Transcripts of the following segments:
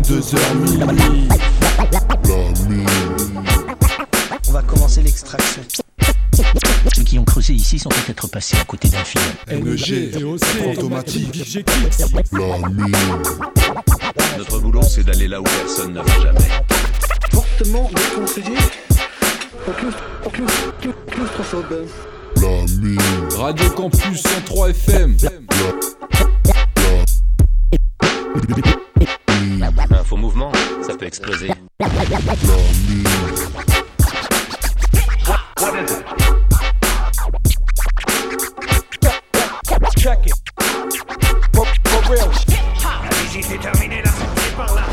22h minuit. On va commencer l'extraction. Ceux qui ont creusé ici sont peut-être passés à côté d'un film. NG, automatique, la mine. Notre boulot, c'est d'aller là où personne ne va jamais. Fortement déconseillé. Claustrophobe. La mine. Radio Campus 103 FM. Un faux mouvement, ça peut exploser. La mine. Check it. For real. La visite est terminée, la sortie est par là.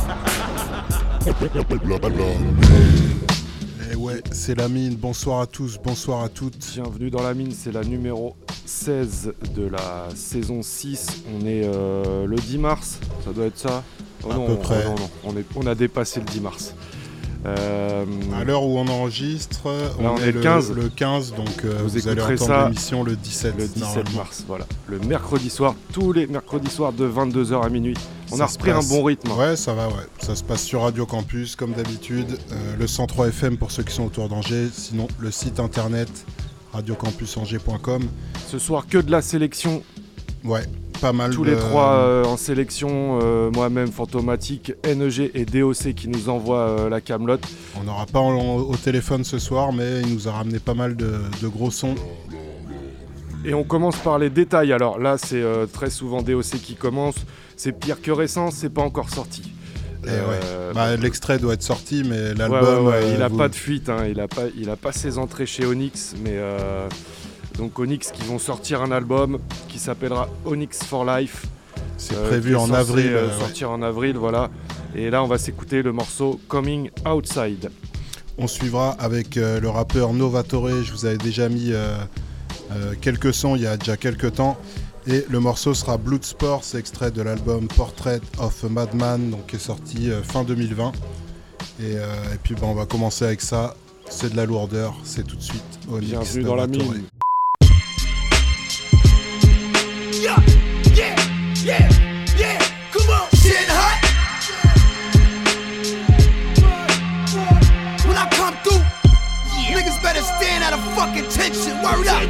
La mine. Eh ouais, c'est la mine. Bonsoir à tous, bonsoir à toutes. Bienvenue dans la mine, c'est la numéro 16 de la saison 6. On est le 10 mars, ça doit être ça. À peu près. Non, on a dépassé le 10 mars. À l'heure où on enregistre, on est le 15. Le 15, donc vous allez écouterez entendre ça l'émission le 17. Le 17 mars, voilà. Le mercredi soir, tous les mercredis soirs de 22h à minuit. On a repris un bon rythme. Ouais, ça va, ouais. Ça se passe sur Radio Campus, comme d'habitude. Le 103 FM pour ceux qui sont autour d'Angers. Sinon, le site internet radiocampusangers.com. Ce soir, que de la sélection. Ouais, pas mal. Tous les trois en sélection, moi-même, Fantomatique, NEG et DOC qui nous envoient la camelote. On n'aura pas au téléphone ce soir, mais il nous a ramené pas mal de gros sons. Et on commence par les détails. Alors là, c'est très souvent DOC qui commence. C'est pire que récent, c'est pas encore sorti. L'extrait doit être sorti, mais l'album... il a pas de fuite, hein. Il a pas ses entrées chez Onyx, mais... Donc Onyx qui vont sortir un album qui s'appellera Onyx for Life. C'est prévu en avril. Sortir en avril, voilà. Et là, on va s'écouter le morceau Coming Outside. On suivra avec le rappeur Novatore. Je vous avais déjà mis quelques sons il y a déjà quelques temps. Et le morceau sera Bloodsport, c'est extrait de l'album Portrait of a Madman, donc qui est sorti fin 2020. Et puis on va commencer avec ça. C'est de la lourdeur, c'est tout de suite Onyx. Bienvenue dans la mine. Yeah, come on. Shit hot. When I come through, niggas better stand at a fucking tension. Word up.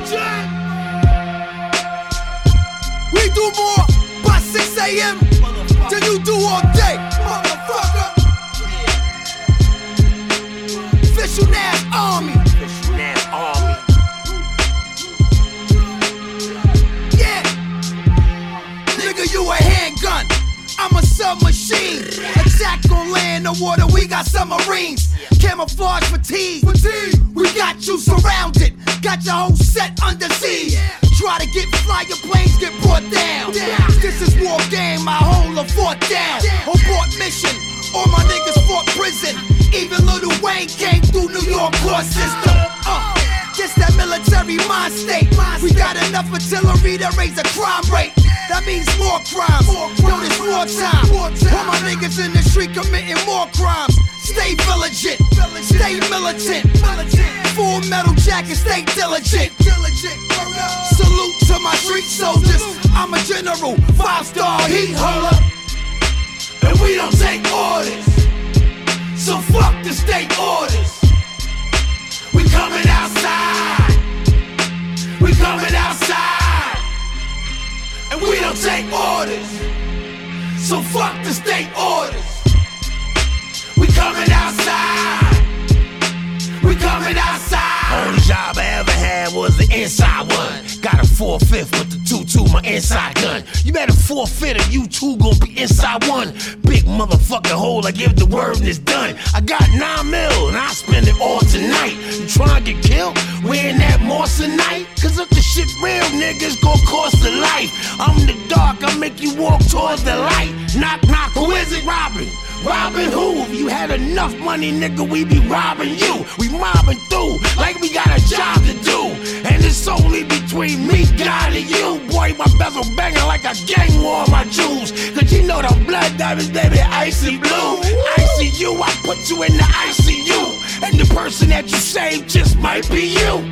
We do more by 6 a.m. than you do all day, motherfucker. Official Nas Army. You a handgun, I'm a submachine. Attack on land or water, we got submarines. Camouflage fatigue, we got you surrounded. Got your whole set under siege. Try to get fly, your planes get brought down. This is war game, my whole fought down. Abort mission, all my niggas fought prison. Even Lil Wayne came through New York court system. Just that military mind state. We got enough artillery to raise a crime rate. That means more crimes. Yo, this wartime. All my niggas in the street committing more crimes. Stay vigilant, stay militant. Full metal jacket, stay diligent. Salute to my street soldiers. I'm a general, 5-star heat holder. And we don't take orders. So fuck the state orders. We coming outside. We coming outside. And we don't take orders. So fuck the state orders. We coming outside. We coming outside. Only job I ever had was the inside one. Got a 4/5 with the 2-2, my inside gun. You better forfeit if you two gon' be inside one. Big motherfucking hole, I give the word and it's done. I got 9 mil and I spend it all tonight. You tryna get killed? Wearing that Moissanite? Cause if the shit real, niggas gon' cost a life. I'm the dark, I make you walk towards the light. Knock, knock, who is it robbing? Robbing who? If you had enough money, nigga, we be robbing you. We mobbing through like we got a job to do. And it's only between me, God, and you. Boy, my bezel banging like a gang war on my jewels. Cause you know the blood diamonds, baby, icy blue. Icy you, I put you in the ICU. And the person that you saved just might be you.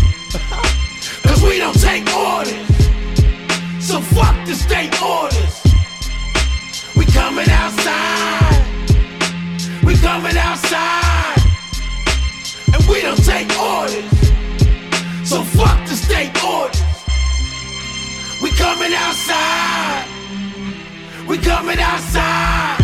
Cause we don't take orders. So fuck the state orders. We coming outside. We coming outside. And we don't take orders. So fuck the state orders. We coming outside. We coming outside.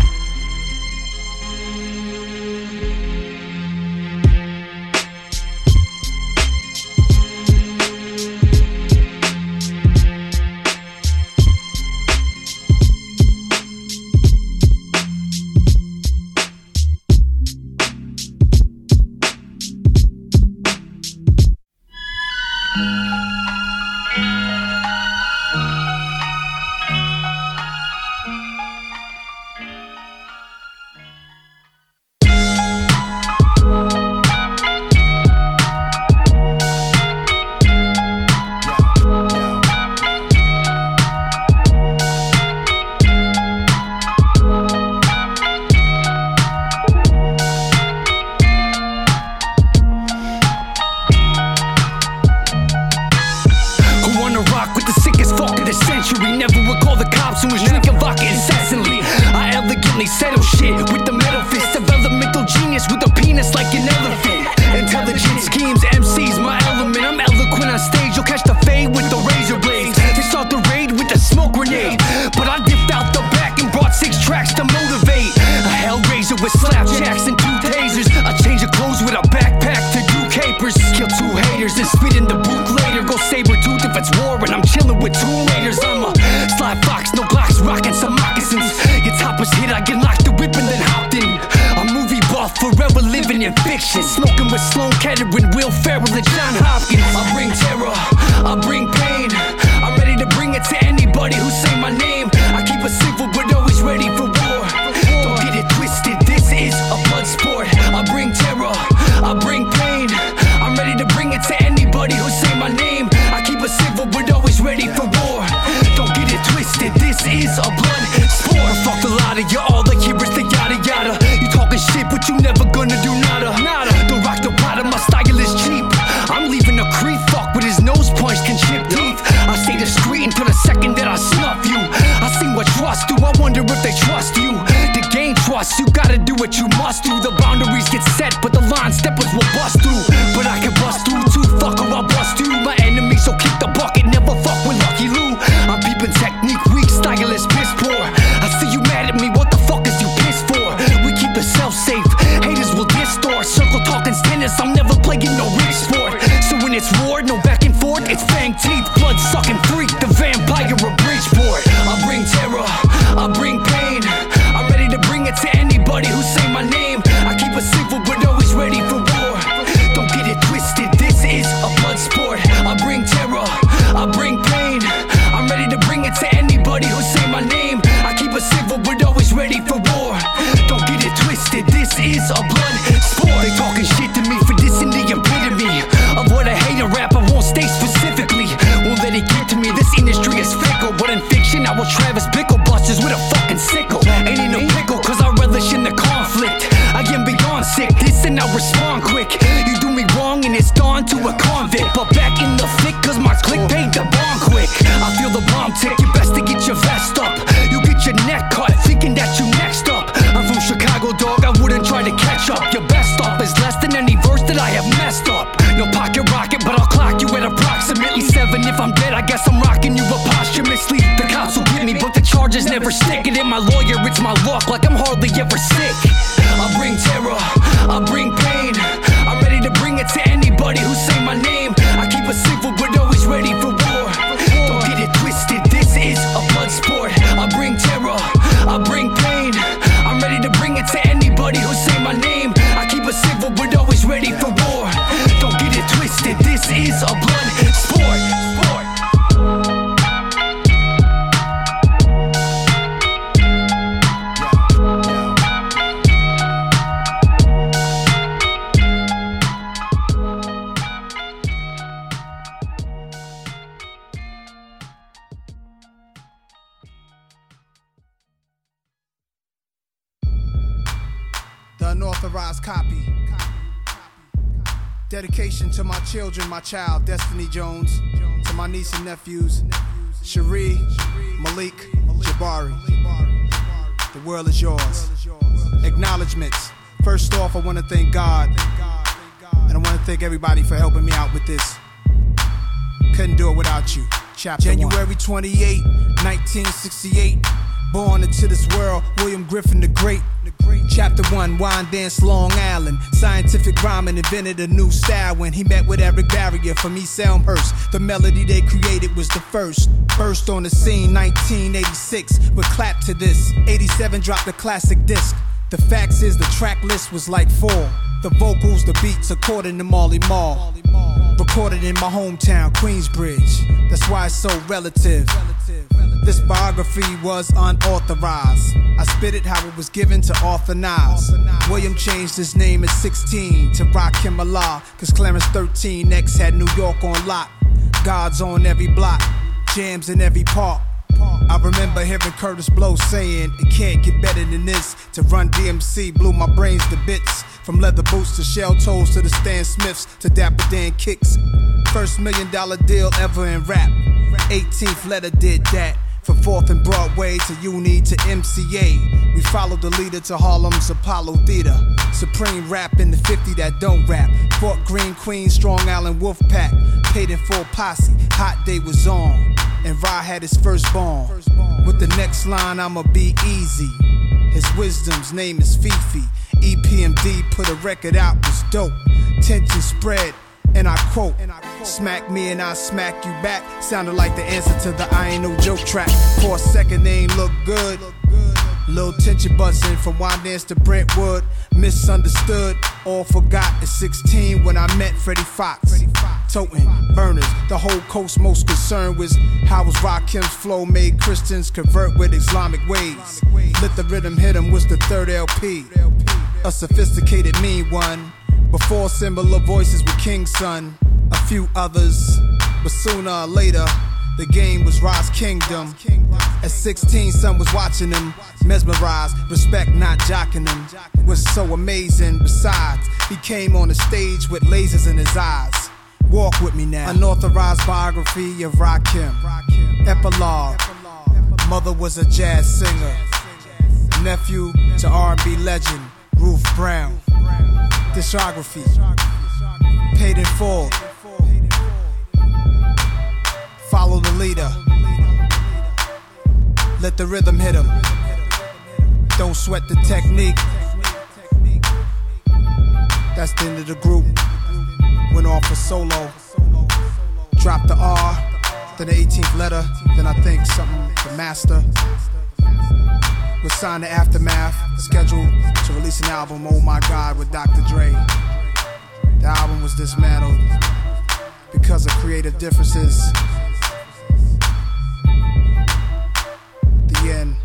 unauthorized copy. Dedication to my children, my child, Destiny Jones. To my niece and nephews, Cherie, Malik, Jabari. The world is yours. Acknowledgements. First off, I want to thank God. And I want to thank everybody for helping me out with this. Couldn't do it without you. Chapter January 28, 1968. Born into this world, William Griffin the Great. Chapter 1, Wine Dance, Long Island. Scientific rhyming invented a new style when he met with Eric Barrier from East Elmhurst. The melody they created was the first. Burst on the scene, 1986. But clap to this. 87 dropped a classic disc. The facts is the track list was like 4. The vocals, the beats, according to Marley Marl. Recorded in my hometown, Queensbridge. That's why it's so relative. This biography was unauthorized. I spit it how it was given to Arthur Nas. William changed his name at 16 to Rakim Allah, cause Clarence 13X had New York on lock. God's on every block, jams in every park. I remember hearing Curtis Blow saying, it can't get better than this. To Run DMC blew my brains to bits. From leather boots to shell toes to the Stan Smiths to Dapper Dan kicks. First $1 million deal ever in rap. 18th letter did that. From 4th and Broadway to Uni to MCA. We followed the leader to Harlem's Apollo Theater. Supreme rap in the 50 that don't rap. Fort Greene, Queens, Strong Island, Wolfpack. Paid in full posse, Hot Day was on. And Ra had his firstborn. With the next line, I'ma be easy. His wisdom's name is Fifi. EPMD put a record out, was dope. Tension spread, and I quote, smack me and I smack you back. Sounded like the answer to the I Ain't No Joke track. For a second they ain't look good. Little tension buzzing from Wine Dance to Brentwood. Misunderstood, all forgot at 16 when I met Freddie Fox. Toting burners, the whole coast most concerned was how was Rakim's flow made Christians convert with Islamic ways. Let the rhythm hit 'em was the third LP. A sophisticated mean one. Before similar voices with King's Son, a few others, but sooner or later, the game was Ra's Kingdom. At 16, son was watching him, mesmerized, respect not jocking him. It was so amazing, besides, he came on the stage with lasers in his eyes. Walk with me now. Unauthorized biography of Rakim. Epilogue. Mother was a jazz singer. Nephew to R&B legend, Ruth Brown. Discography. Paid in full. Follow the leader. Let the rhythm hit him. Don't sweat the technique. That's the end of the group. Went off a solo. Dropped the R, then the 18th letter, then I think something the master. Was signed to Aftermath, scheduled to release an album, Oh My God, with Dr. Dre. The album was dismantled because of creative differences. The end.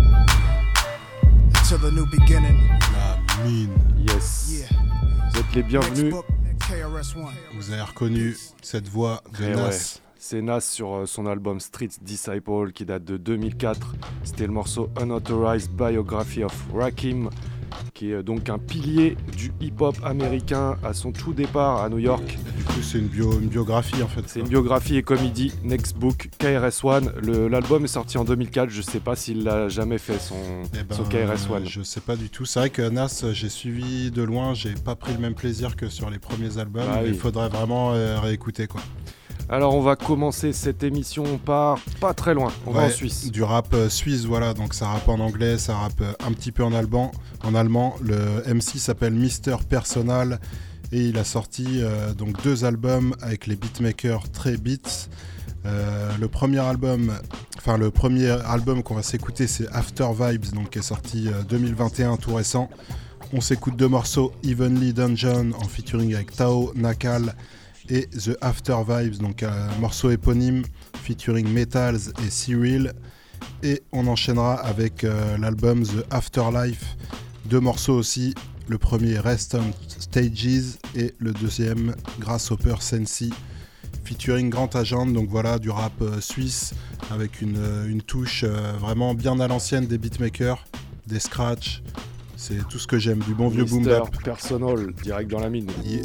Until the new beginning. La mine. Yes. Yeah. Vous êtes les bienvenus. Vous avez reconnu cette voix de Nas. Ouais. C'est Nas sur son album Street Disciple qui date de 2004. C'était le morceau Unauthorized Biography of Rakim, qui est donc un pilier du hip-hop américain à son tout départ à New York. Du coup, c'est une biographie en fait. C'est une biographie et comme il dit, Next Book, KRS-One. L'album est sorti en 2004, je sais pas s'il l'a jamais fait son KRS-One. Je sais pas du tout. C'est vrai que Nas, j'ai suivi de loin, j'ai pas pris le même plaisir que sur les premiers albums. Il faudrait vraiment réécouter quoi. Alors on va commencer cette émission par pas très loin, on va en Suisse. Du rap suisse, voilà, donc ça rappe en anglais, ça rappe un petit peu en allemand. Le MC s'appelle Mr. Personal et il a sorti donc 2 albums avec les beatmakers Trey Beats. Le premier album qu'on va s'écouter, c'est After Vibes, donc qui est sorti 2021, tout récent. On s'écoute 2 morceaux, Evenly Dungeon en featuring avec Tao, Nakal, et The After Vibes, donc un morceau éponyme featuring Metals et Cyril. Et on enchaînera avec l'album The Afterlife, 2 morceaux aussi. Le premier Rest on Stages et le deuxième Grasshopper Sensi featuring Grand Agent. Donc voilà, du rap suisse avec une touche vraiment bien à l'ancienne des beatmakers, des scratchs. C'est tout ce que j'aime, du bon vieux boom bap. Personal, direct dans la mine. Yeah.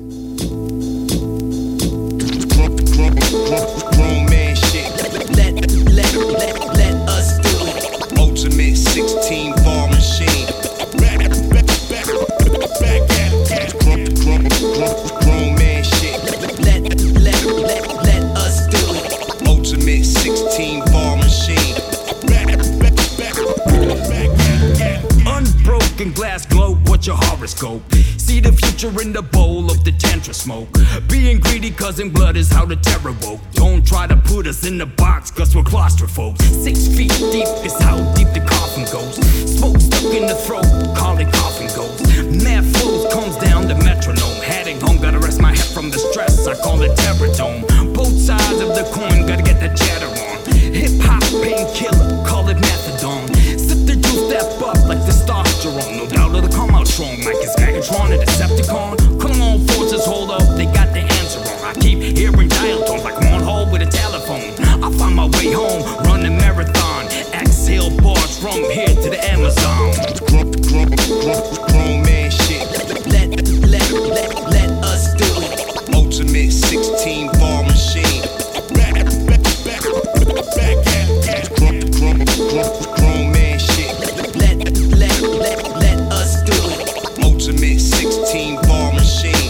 Grown man shit. Let us do it. Ultimate 16 bar in the bowl of the tantra smoke. Being greedy causing blood is how the terror woke. Don't try to put us in the box cause we're claustrophobes. 6 feet deep is how deep the coffin goes. Smoke stuck in the throat, call it coffin goes. Mad flows comes down the metronome. Heading home, gotta rest my head from the stress, I call it terror dome. Both sides of the coin, gotta get the cheddar on. Hip hop painkiller, call it methadone. Sip the juice, step up like testosterone. No doubt it'll come out strong like it's Megatron, a Decepticon. Come on, forces, hold up, they got the answer wrong. I keep hearing dial tones like I'm on hold with a telephone. I find my way home, run a marathon. Exhale bars from here to the Amazon. Grown man shit. Let us do it. Ultimate 16 bar machine. Back at grown man shit. Let us do it. Ultimate 16 bar machine.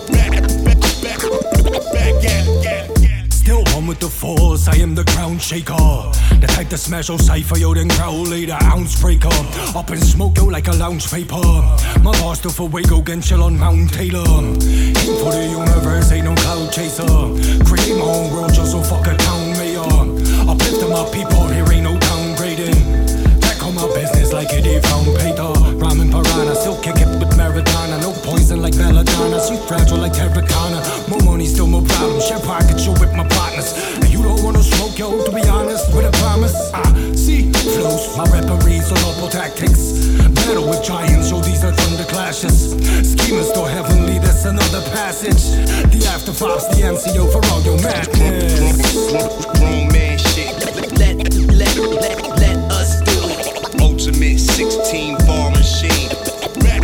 Back at. Still on with the force, I am the ground shaker. The type to smash your cipher, yo, then growl later, ounce breaker. Up in smoke, yo, like a lounge vapor. My boss still for Waco, can chill on Mount Taylor. Aim for the universe, ain't no cloud chaser. Create my own world, just so fuck a town mayor. Uplift my people, here ain't no downgrading. Back on my business like it ain't found Peter. Rhyming piranha, still kick it with Maradona. No poison like belladonna, so fragile like terracotta. More money, still more problems. Share pockets, yo, with my partners. And you don't wanna smoke, yo, to be honest, with a promise. See, flows, my referees on local tactics. Battle with giants, yo, these are thunder clashes. Schemers still heavenly, that's another passage. The after fives, the MCO for all your madness. Grown man shit. Let us do it. Ultimate 16 bar machine. Back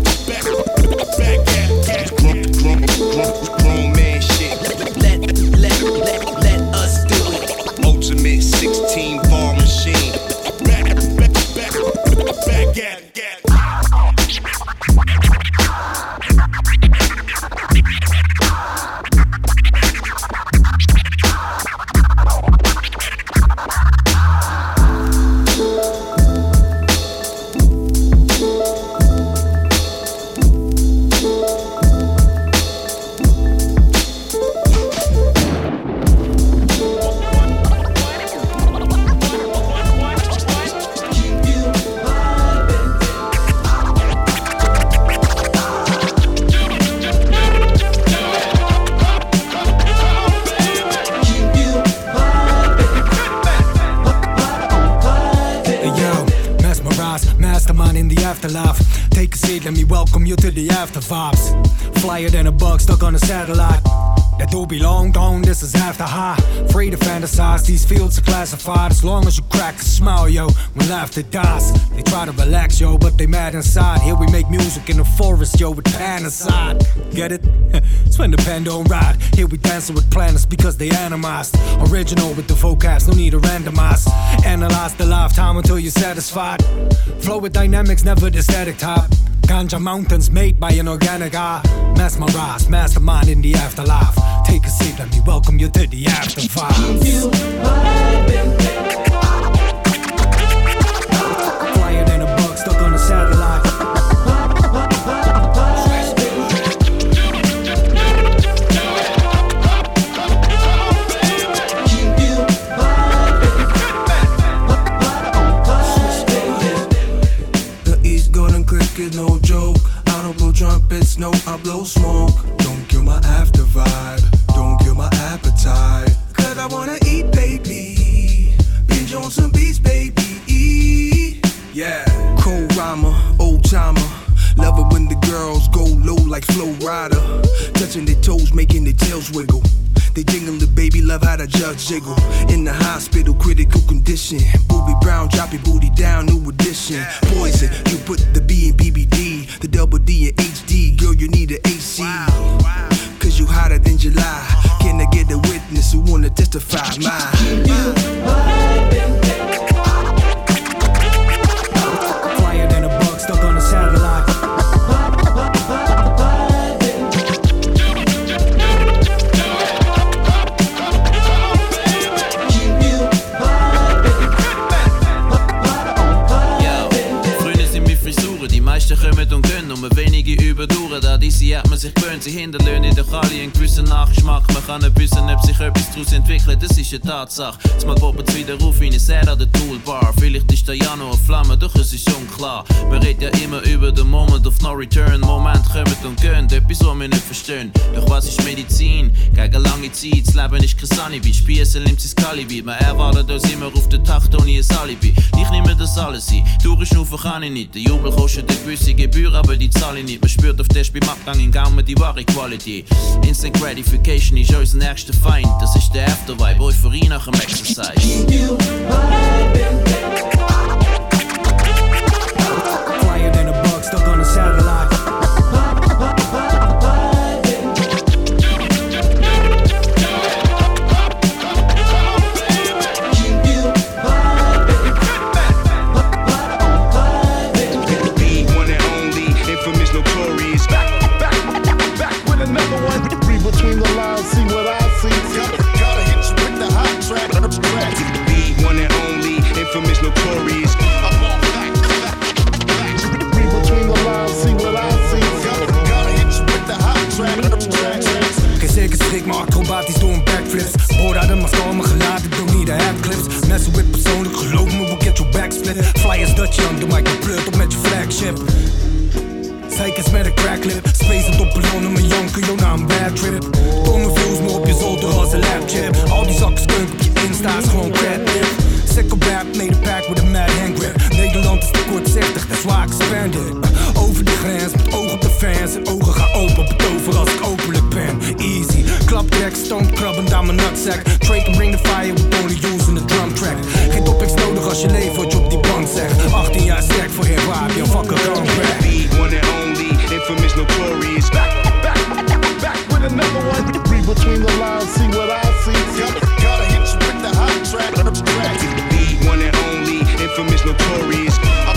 at grown man shit. Let us do it. Ultimate 16 bar machine. Back at. Take a seat, let me welcome you to the after vibes. Flyer than a bug stuck on a satellite. That do belong gone, this is after high. Free to fantasize, these fields are classified. As long as you crack a smile, yo, when laughter dies. They try to relax, yo, but they mad inside. Here we make music in the forest, yo, with pan aside. Get it? It's when the pen don't ride. Here we dancing with planets because they animized. Original with the vocabs, no need to randomize. Analyze the lifetime until you're satisfied. Flow with dynamics, never the static type. Ganja mountains made by an organic eye. Mesmerized, mastermind in the afterlife. Take a seat, let me welcome you to the after vibes. Flyer than a bug stuck on a satellite. The East Golden Cricket, no joke. I don't blow trumpets, no, I blow smoke. Don't kill my after vibe, don't kill my appetite. Cause I wanna eat, baby. Binge on some beats, baby. Yeah. Cold rhymer, old timer. Love it when the girls go low like Flow Rider. Touching their toes, making their tails wiggle. They jingle the baby, love how the judge jiggle. In the hospital, critical condition. Booby Brown, drop your booty down, new edition. Poison, you put the B in BBD, the double D in HD. Girl, you need an AC. Cause you hotter than July. Can I get a witness who wanna testify? Flyer than a bug stuck on a satellite. Die meisten kommen und gehen, nur wenige überdauern. Da diese hat man sich Return, sie hinterlassen in der Kali einen gewissen Nachgeschmack. Man kann nicht wissen, ob sich etwas daraus entwickelt, das ist eine Tatsache. Jetzt mal poppen wieder auf wie eine Serie an der Toolbar. Vielleicht ist der Januar eine Flamme, doch es ist unklar. Man redet ja immer über den Moment of no return. Moment kommt und gehen, etwas, was wir nicht verstehen. Doch was ist Medizin? Gegen lange Zeit, das Leben ist kein Sunnyby. Spiessen nimmt sein Kalibi, man erwartet uns immer auf den Takt ohne ein Alibi. Ich nehme das alles ein, durchschnaufen kann ich nicht. Der Jubel kostet eine gewisse Gebühr, aber die zahle ich nicht. Man spürt auf Test beim Abgang in Gaumen die wahre Quality. Instant Gratification ist unser nächster Feind. Das ist der Aftervibe, Euphorie nach dem Exercise. Flyer than a bug stuck on a satellite. Between the lines, see what I see. Gotta hit you with the hot track. The one and only, infamous, notorious. Read between the lines, see what I see. Gotta hit you with the hot track. Geen zeker schrik, maar acrobatisch door een backflips. Boord uit de mascara, me gelaten, doe niet de headclips. Messen with persoonlijk, geloof me, we'll get your back split. Flyers Dutch Young, de mic pleurt op met je flagship. Zeikers met een cracklip, spacend op ballonnen, mijn janken, jouw naam bad trip. Domme views, maar op je zolder als een lapchip. Al die zakken skunk op je Insta is gewoon crap-tip. Sickle rap, made a pack with a mad hand grip. Nederland is te kortzichtig, that's why I expanded. Over de grens, met oog op de fans. En ogen gaan open, betover als ik openlijk ben. Easy, klaptrack, stomp krabbend aan mijn nutsack. Trade can bring the fire, we only using the drum track. Geen topics nodig als je leeft wat je op die bank zegt. 18 jaar sterk voor hip-hop, je fucker gun rap. Infamous, notorious. Back with another one. Read between the lines, see what I see. Gotta hit you with the hot track. The one and only, infamous, notorious.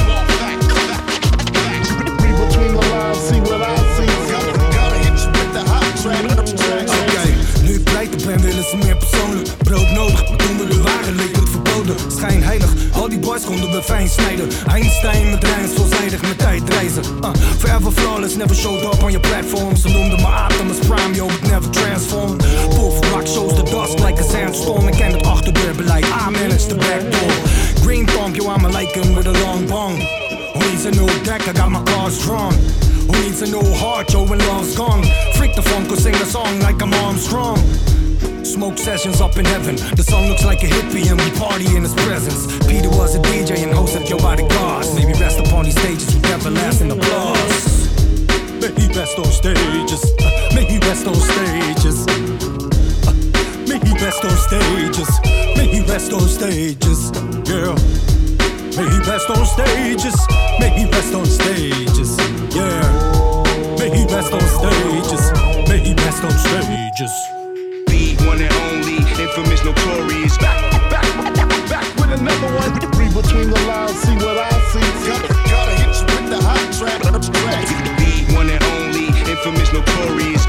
Read between the lines, see what I see. Gotta hit you with the hot track. Oké, nu ik pleiten ben, willen ze meer persoonlijk. Brood nodig, maar toen we de waren leek het verboden. Schijnheilig, al die boys konden we fijn snijden. Einstein met rijms, veelzijdig met tijd reizen. Forever flawless, never showed up on your platform. Ze noemden me Optimus Prime, yo, but never transform. Wolf rock shows the dust like a sandstorm. Ik ken het achterdeurbeleid, I manage the back door. Green thumb, yo, I'm a Lycan with a long bong. Who needs a new deck, I got my cards drawn. Who needs a new heart, yo, when love's gone. Freak the funk, or sing a song like I'm Armstrong. Smoke sessions up in heaven. The song looks like a hippie and we party in his presence. Peter was a DJ and hosted Yo Bodyguards. May we rest upon these stages with everlasting applause. May he rest on stages. May he rest on stages. May he rest on stages. May he rest on stages. Yeah. May he rest on stages. May he rest on stages. Yeah. May he rest on stages. May he rest on stages. One and only, infamous, notorious. Back with another one. Read between the lines, see what I see. Gotta hit you with the hot track. The one and only, infamous, notorious.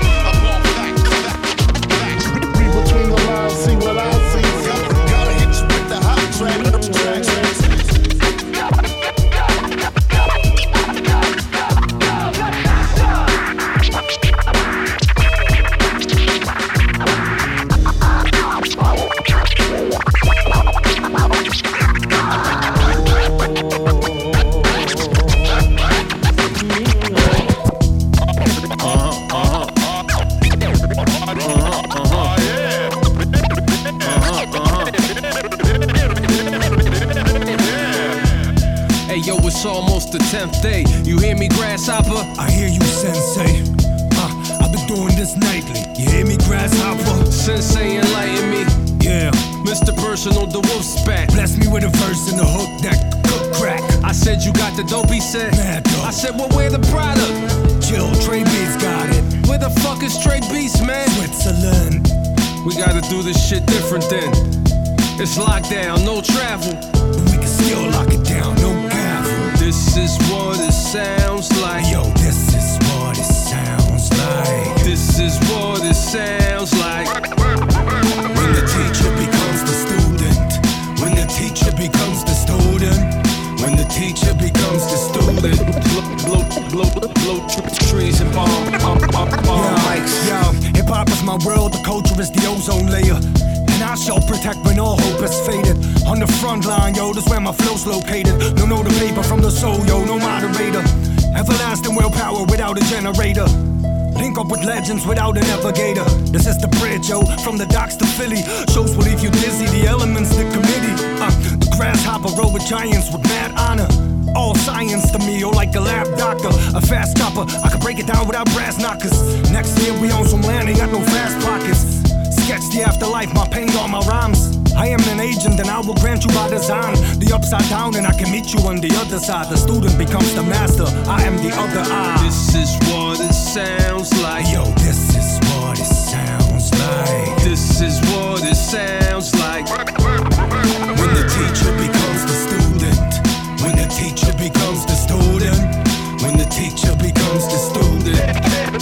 Read between the lines, see what I see. Gotta hit you with the hot track. It's almost the 10th day. You hear me, grasshopper? I hear you, sensei. I've been doing this nightly. You hear me, grasshopper? Sensei, enlighten me. Yeah. Mr. Personal, the wolf spat. Bless me with a verse and a hook that could crack. I said you got the dope, he said. Mad dope. I said, well, where the product? Chill, Trey Beats got it. Where the fuck is Trey Beats, man? Switzerland. We gotta do this shit different then. It's lockdown, no travel. But we can still lock it down, no gavel. This is what it sounds like. Yo, this is what it sounds like. This is what it sounds like. When the teacher becomes the student. When the teacher becomes the student. When the teacher becomes the student. Blow trees and bomb. Yeah. my world, the culture is the ozone layer. And I shall protect when all hope is faded. On the front line, yo, that's where my flow's located. No the paper from the soul, yo, no moderator. Everlasting willpower without a generator. Link up with legends without a navigator. This is the bridge, yo, from the docks to Philly. Shows will leave you dizzy, the elements, the committee. The grasshopper roll with giants with mad honor. All science to me, yo, like a lab doctor. A fast chopper, I can break it down without brass knockers. Next year we own some land, ain't got no fast pockets. Sketch the afterlife, my pain on my rhymes. I am an agent and I will grant you by design the upside down and I can meet you on the other side. The student becomes the master, I am the other eye. This is what it sounds like. Yo, this is what it sounds like. This is what it sounds like. When the teacher becomes the student. When the teacher becomes the student. When the teacher becomes the student.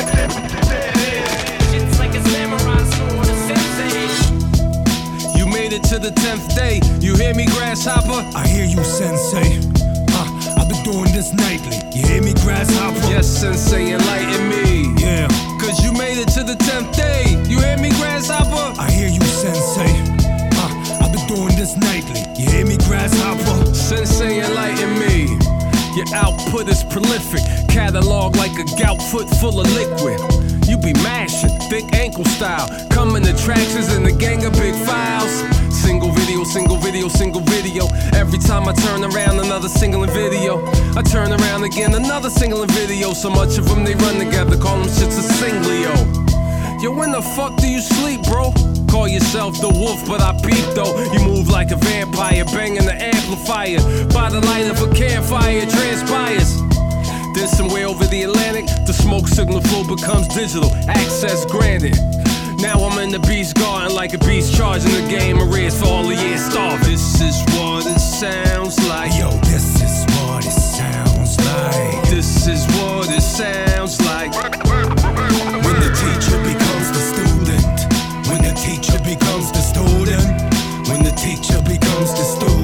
It's like a samurai sword, a sensei. You made it to the 10th day. You hear me, grasshopper? I hear you, sensei. I've been doing this nightly. You hear me, grasshopper? Yes, sensei, enlighten me. Yeah. Cause you made it to the 10th day. You hear me, grasshopper? I hear you, sensei. I've been doing this nightly. You hear me, grasshopper? Sensei, enlighten me. Your output is prolific. Catalog like a gout foot full of liquid. You be mashing, thick ankle style. Coming to tractions in the gang of big files. Single video, single video, single video. Every time I turn around, another single in video. I turn around again, another single in video. So much of them, they run together, call them shits a singlio. Yo, when the fuck do you sleep, bro? Call yourself the wolf, but I peep though. You move like a vampire, banging the amplifier. By the light of a campfire, it transpires. Then somewhere over the Atlantic, the smoke signal flow becomes digital, access granted. Now I'm in the beast garden like a beast charging the game arrears for all the years starving. This is what it sounds like. Yo, this is what it sounds like. This is what it sounds like. When the teacher becomes the student. When the teacher becomes the student. When the teacher becomes the student.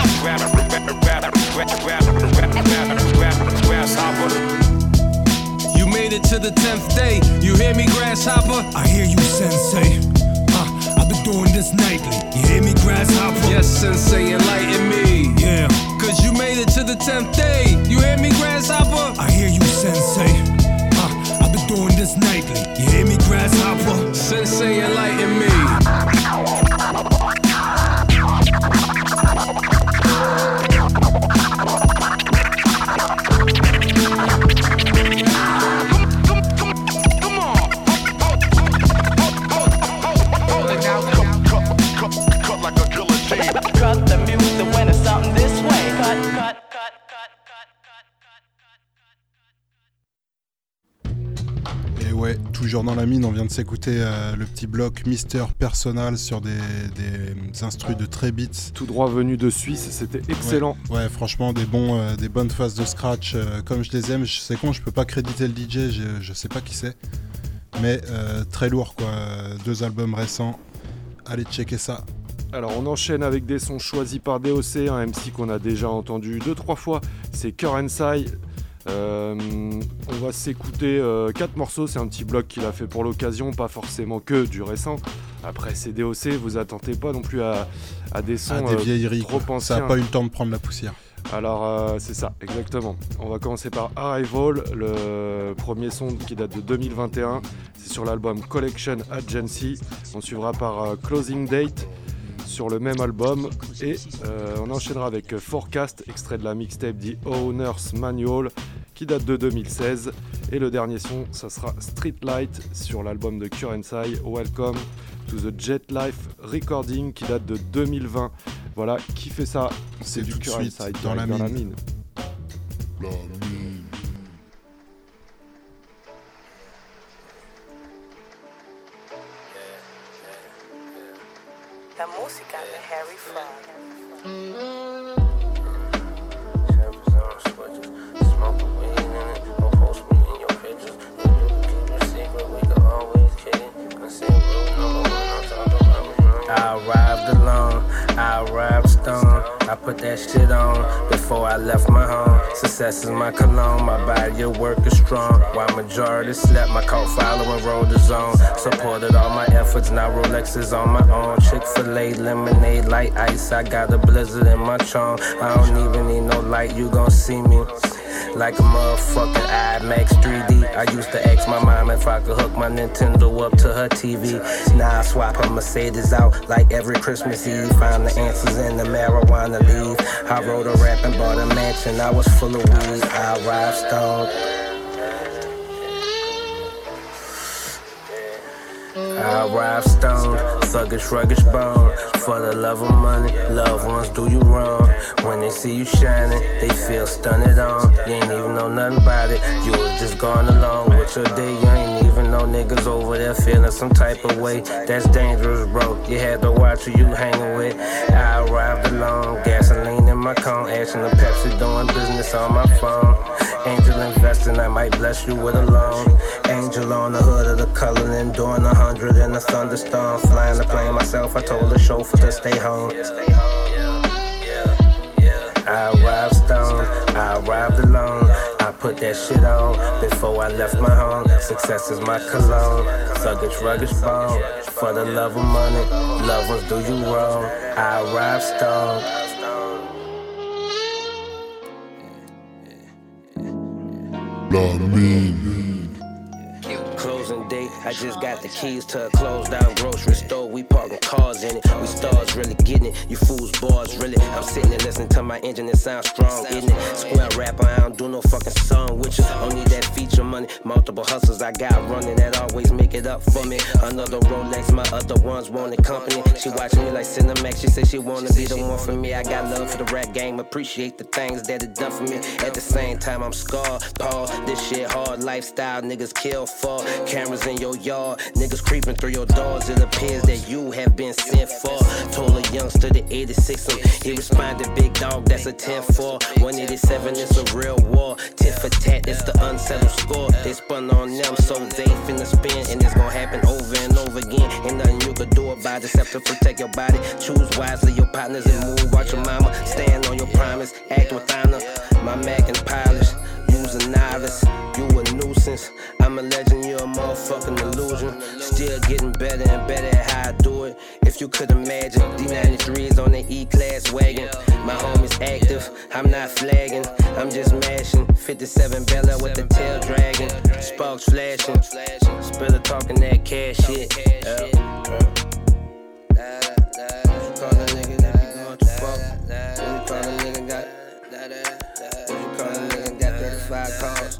You made it to the 10th day. You hear me, grasshopper? I hear you, sensei. I've been doing this nightly. You hear me, grasshopper? Yes, sensei, enlighten me. Yeah. Cause you made it to the 10th day. You hear me, grasshopper? I hear you, sensei. I've been doing this nightly. You hear me, grasshopper? Sensei, enlighten me. Cut the music when it's something this way. Cut. Et ouais, toujours dans la mine, on vient de s'écouter le petit bloc Mister Personal sur des instrus de très beats. Tout droit venu de Suisse, c'était excellent. Ouais, franchement, des bonnes phases de scratch comme je les aime. C'est con, je peux pas créditer le DJ, je sais pas qui c'est. Mais très lourd quoi, 2 albums récents. Allez checker ça. Alors on enchaîne avec des sons choisis par DOC, un MC qu'on a déjà entendu 2-3 fois, c'est Currency. On va s'écouter 4 morceaux, c'est un petit bloc qu'il a fait pour l'occasion, pas forcément que du récent. Après c'est DOC, vous attendez pas non plus à des sons des vieilleries, trop anciens. Ça a pas eu le temps de prendre la poussière. Alors c'est ça, exactement. On va commencer par Arrival, le premier son qui date de 2021. C'est sur l'album Collection Agency. On suivra par Closing Date sur le même album. Et on enchaînera avec Forecast, extrait de la mixtape The Owner's Manual qui date de 2016. Et le dernier son, ça sera Streetlight sur l'album de Currency, Welcome to the Jet Life Recording qui date de 2020. Voilà, qui fait ça? C'est du Currency dans la mine. La música de Harry Fraud. I arrived alone, I arrived stoned, I put that shit on before I left my home. Success is my cologne, my body of work is strong. While majority slept, my cult following rolled the zone. Supported all my efforts, now Rolex is on my own. Chick-fil-A, lemonade, light ice, I got a blizzard in my chong. I don't even need no light, you gon' see me like a motherfucking IMAX 3D. I used to ask my mom if I could hook my Nintendo up to her TV. Now I swap her Mercedes out like every Christmas Eve. Find the answers in the marijuana leaf. I wrote a rap and bought a mansion. I was full of weed. I arrived stoned. I arrived stoned, thuggish, ruggish bone. For the love of money, loved ones do you wrong. When they see you shining, they feel stunned on. You ain't even know nothing about it, you was just going along with your day. You ain't even know niggas over there feeling some type of way. That's dangerous, bro, you had to watch who you hanging with. I arrived alone, gasoline in my cone. Ashing the Pepsi, doing business on my phone. Angel investing, I might bless you with a loan. Angel on the hood of the Cullinan, doing 100 in a thunderstorm. Flying the plane myself, I told the chauffeur to stay home. I arrived stoned, I arrived alone. I put that shit on before I left my home. Success is my cologne, thuggish, ruggish bone. For the love of money, loved ones do you wrong. I arrived stoned. Closing day, I just got the keys to a closed down grocery store. We parking cars in it, we stars really getting it. You fools bars really. I'm sitting there listening to my engine, it sounds strong, isn't it? Square rapper, I don't do no fucking song with you. Don't need that feature money, multiple hustles I got running that always make it up for me. Another Rolex, my other ones wanted company. She watching me like Cinemax, she said she wanna be the one for me. I got love for the rap game, appreciate the things that it done for me. At the same time, I'm scarred, pause, this shit hard lifestyle, niggas kill for. Cameras in your yard, niggas creeping through your doors. It appears that you have been sent for. Told a youngster the 86 him, he responded, big dog, that's a 10-4. 187, it's a real war. Tit for tat, it's the unsettled score. They spun on them, so they finna spin, and it's gonna happen over and over again. Ain't nothing you could do about it except to protect your body. Choose wisely your partners and move out your mama. Stand on your promise, act with honor. My Mac and polish, use a novice. You a nuisance, I'm a legend, you're a motherfucking illusion. Still getting better and better at how I do it. If you could imagine, D93's on the E-Class wagon. My homie's active, I'm not flagging, I'm just mashing. 57 Bella with the tail dragging, sparks flashing, Spiller talking that cash shit. Call a nigga that be going too far. You call a nigga got 35 calls.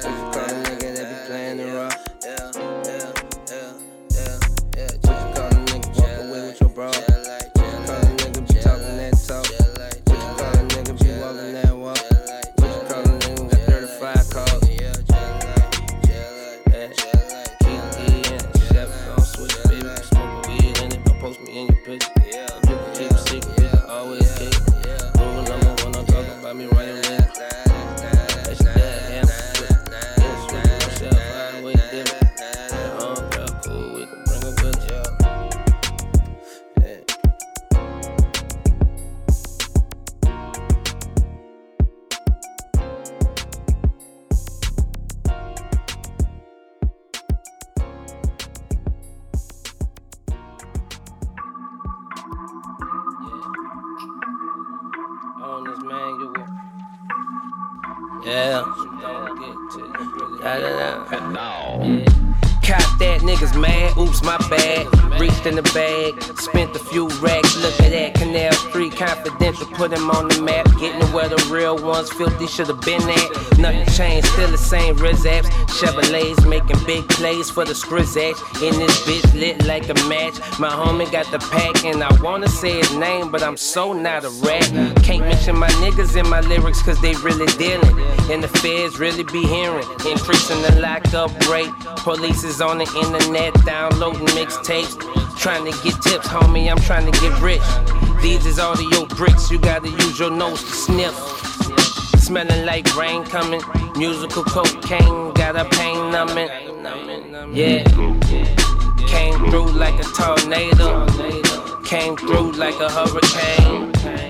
And now, cop that, niggas mad, oops, my bad. Reached in the bag, spent a few racks. Look at that, Canal Street Confidential, put him on the map. Getting where the real ones filthy should've been at. Nothing changed, still the same Rizzaps. Chevrolets making big plays for the Skrizzax. In this bitch lit like a match. My homie got the pack and I wanna say his name, but I'm so not a rat. Can't mention my niggas in my lyrics cause they really dealing. And the feds really be hearing. Increasing the lockup rate. Police is on the internet downloading mixtapes. Trying to get tips, homie, I'm trying to get rich. These is audio bricks, you gotta use your nose to sniff. Smelling like rain coming, musical cocaine, got a pain numbing. Yeah, came through like a tornado, came through like a hurricane.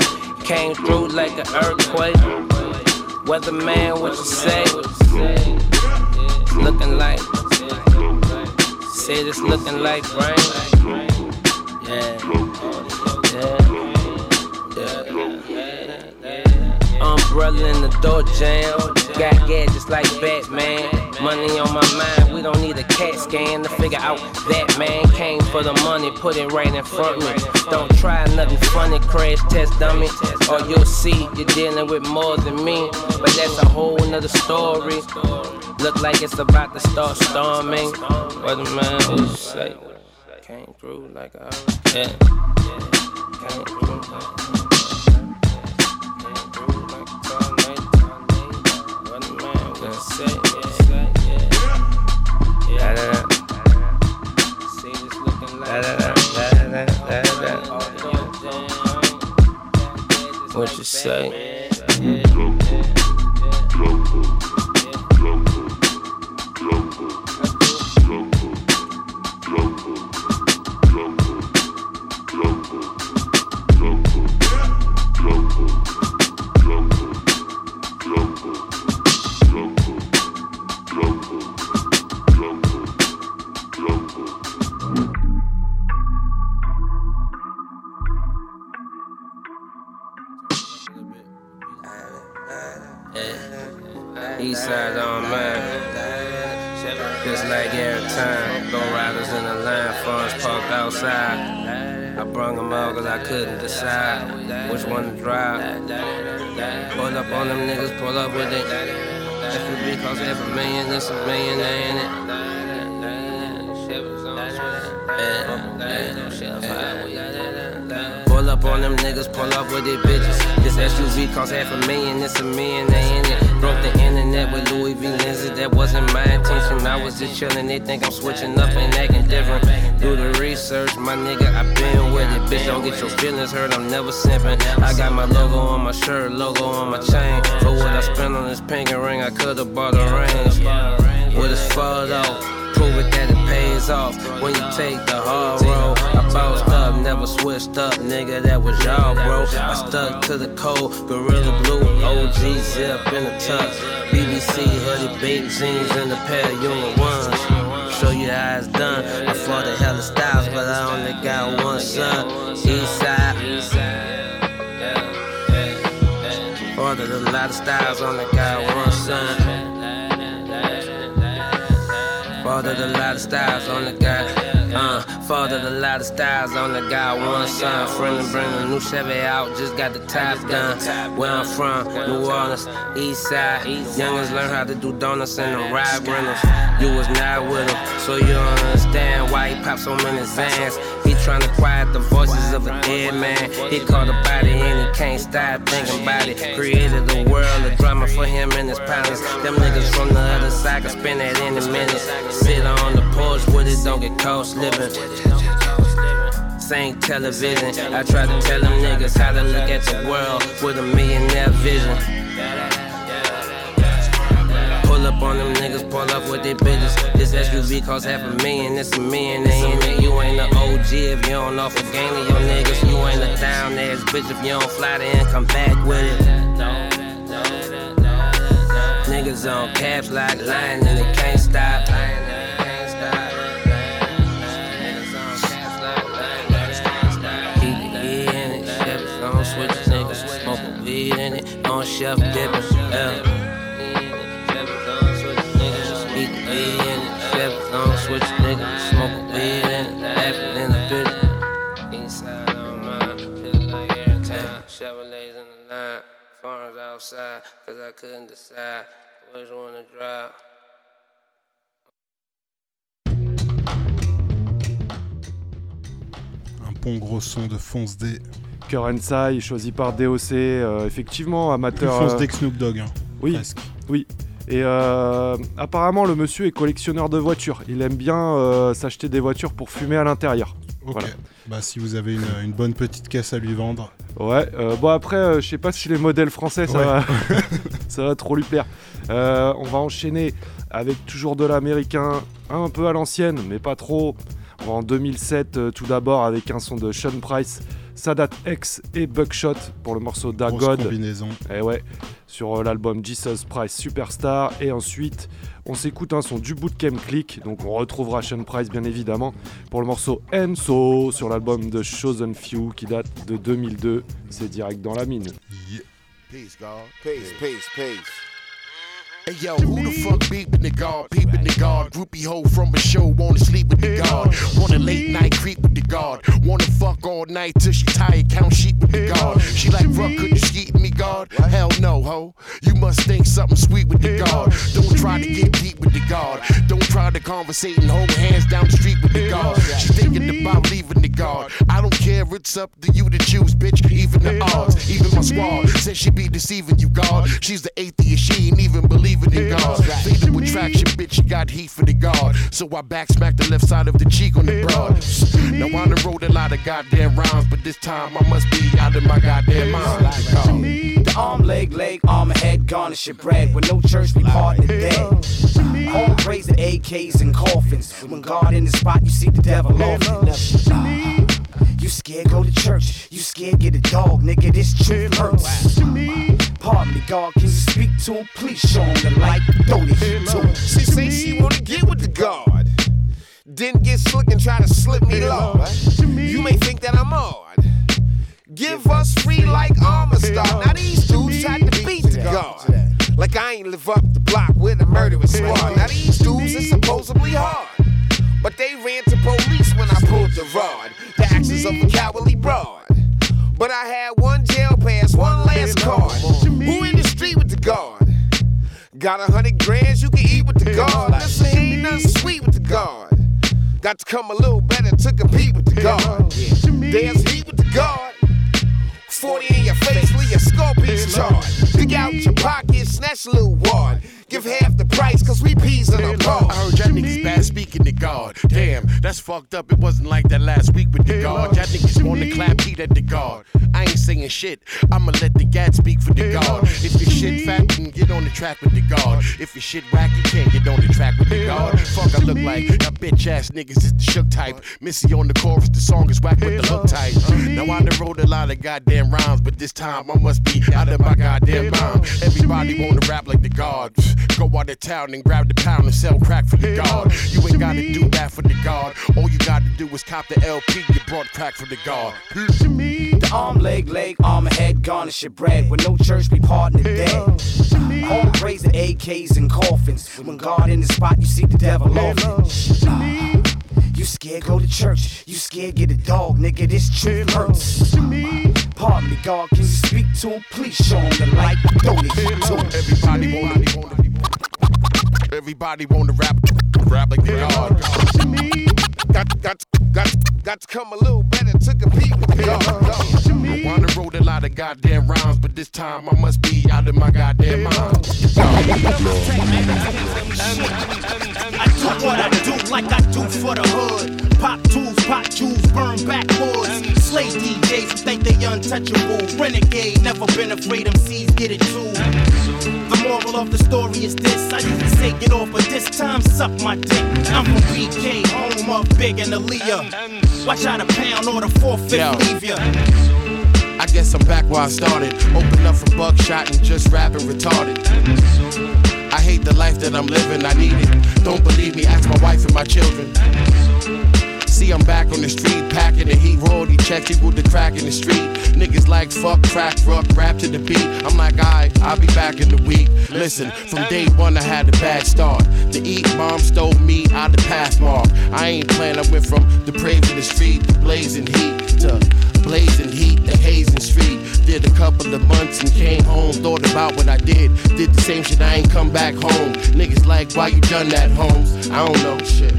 Came through like an earthquake. Weatherman, what you say? It's looking like. Said it's looking like rain. Yeah. Umbrella in the door jam. Got gadgets like Batman. Money on my mind, we don't need a CAT scan to figure out that man came for the money, put it right in front of me. Don't try nothing funny, crash test dummy, or you'll see you're dealing with more than me. But that's a whole nother story. Look like it's about to start storming. What the man would say? Came through like a yeah. Came through like what you say? Eastside on mine. Just like every time. Low riders in the line, phones parked outside. I brung them all cause I couldn't decide which one to drive. Pull up on them niggas, pull up with it. FUB cost $500,000, this $1 million, ain't it? Pull up on them niggas, pull up with it, bitches. This SUV cost $500,000, this $1 million, ain't it? Broke the internet with Louis V lenses, that wasn't my intention. I was just chillin', they think I'm switching up and acting different. Do the research, my nigga, I been with it. Bitch, don't get your feelings hurt, I'm never simping. I got my logo on my shirt, logo on my chain. For what I spent on this pink ring, I could've bought a range. What it's for though? Prove it that it pays off when you take the hard road. I bounced up, never switched up, nigga, that was y'all, bro. I stuck to the code, Gorilla Blue, OG zip in the tux, BBC hoodie, baked jeans, and a pair of Union ones. Show you how it's done. I fought the hell of styles, but I only got one son. Eastside. Ordered a lot of styles, only got one son. Fathered a lot of styles, only got, fathered a lot of styles, only got one son. Friend bring a new Chevy out, just got the top done. Where I'm from, New Orleans, East Side. Youngins learn how to do donuts and the ride rentals. You was not with him, so you don't understand why he popped so many Zans. He tryna quiet the voices of a dead man. He caught a body and he can't stop thinking about it. Created a world of drama for him and his partners. Them niggas from the other side can spend that any minute. Sit on the porch with it, don't get caught slipping. Same television. I try to tell them niggas how to look at the world with a millionaire vision. Pull up on them niggas, pull up with their bitches. This SUV cost $500,000, this $1 million, ain't it? You ain't the OG if you don't offer game to your niggas. You ain't a down ass bitch if you don't fly there and come back with it. Niggas on caps like lying and they can't stop. Switch niggas, smoking weed in it, on shelf dipping, eat weed in it, Chevys on switch niggas, smoking weed in it, laughing in the bitch. Inside on mine, feel like every time, Chevrolets in the line, farms outside, cause I couldn't decide which one to drive. Un bon gros son de Fonce D. Currency, choisi par DOC, effectivement, amateur. Fonce D que Snoop Dogg, hein, oui, presque. Oui. Et apparemment, le monsieur est collectionneur de voitures. Il aime bien s'acheter des voitures pour fumer à l'intérieur. Ok. Voilà. Bah, si vous avez une bonne petite caisse à lui vendre. Ouais. Bon, après, je sais pas si les modèles français, ça va trop lui plaire. On va enchaîner avec toujours de l'américain, un peu à l'ancienne, mais pas trop. On va en 2007, tout d'abord, avec un son de Sean Price. Sadat X et Buckshot pour le morceau Da Grosse God. combinaison. Et ouais, sur l'album Jesus Price Superstar. Et ensuite, on s'écoute un son du Bootcamp Click. Donc on retrouvera Sean Price bien évidemment pour le morceau Enso sur l'album de Chosen Few qui date de 2002. C'est direct dans la mine. Yeah. Peace, God. Peace. Hey yo, who the fuck beeping the guard, peeping the guard? Groupie hoe from a show, wanna sleep with the guard. Wanna late night creep with the guard. Wanna fuck all night till she tired, count sheep with the guard. She like, fuck, could you skeet me, guard? Hell no, ho. You must think something sweet with the guard. Don't try to get deep with the guard. Don't try to conversate and hold hands down the street with the guard. She thinking about leaving the guard. I don't care, it's up to you to choose, bitch. Even the odds, even my squad says she be deceiving you, guard. She's the atheist, she ain't even believing in God. Fatal attraction, bitch, she got heat for the guard. So I back smack the left side of the cheek on the broad. Now I done wrote a lot of goddamn rhymes, but this time I must be out of my goddamn mind. The arm, leg, arm, and head, garnish your bread. With no church, we partner dead. Home raising AKs and coffins. When God in the spot, you see the devil often. You scared, go to church. You scared, get a dog, nigga, this truth hurts. Pardon me, God, can you speak to him? Please show him the light, throw the heat to him. She say she wanna get with the God, then get slick and try to slip me low. You may think that I'm odd. Give us free like armor star. Now these dudes tried to beat the God. Like I ain't live up the block with a murderous squad. Now these dudes is supposedly hard, but they ran to police when I pulled the rod. The actions of a cowardly broad. But I had one jail pass, one last card. Who in the street with the guard? Got 100 grand you can eat with the guard. Listen, ain't nothing sweet with the guard. Got to come a little better to compete with the guard. There's heat with the guard. 40 in your face, leave your scorpions charged. Dig out your pocket, snatch a little wad. Give half the price, cause we peas in our car. I heard y'all niggas bad speaking to God. Damn, that's fucked up, it wasn't like that last week with the God. Y'all niggas wanna clap heat at the God. I ain't saying shit, I'ma let the gat speak for the God. If your shit fat, then get on the track with the God. If your shit whack, you can't get on the track with the God. Fuck, I look like a bitch ass niggas is the shook type. Missy on the chorus, the song is whack with the look type. Now I done wrote a lot of goddamn rhymes, but this time I must be out of my goddamn mind. Everybody wanna rap like the God. Go out of town and grab the pound and sell crack for the God. You ain't gotta do that for the God. All you gotta do is cop the LP, you brought crack for the God. The arm, leg, arm, and head, garnish your bread. With no church, we partner dead. Home raising AKs and coffins. When God in the spot, you see the devil often. You scared, go to church. You scared, get a dog, nigga, this truth hurts. Pardon me, God, can you speak to him? Please show him the light, throw the heat to him. Everybody wanna rap like the God. Got to come a little better to compete with the God. I wanna wrote a lot of goddamn rhymes, but this time I must be out of my goddamn mind. I do what I do like I do for the hood. Pop tools, pop jewels, burn backwoods. Slay DJs who think they untouchable. Renegade, never been afraid MCs get it too. The moral of the story is this: I used to say get off, but this time suck my dick. I'm from BK, home of Big and Aaliyah. Watch out a pound or the 4-5 leave ya. I guess I'm back where I started. Open up for buckshot and just rapping retarded. I hate the life that I'm living, I need it. Don't believe me, ask my wife and my children. See, I'm back on the street, packing the heat, royalty checks equal the crack in the street. Niggas like fuck, crack, rock, rap to the beat. I'm like, I'll be back in the week. Listen, from day one I had a bad start. The eat bomb stole me out the pathmark. I ain't playing, I went from depraved in the street to blazing heat to blazing heat, the hazing street. Did a couple of months and came home, thought about what I did. Did the same shit, I ain't come back home. Niggas like, why you done that, Holmes? I don't know, shit.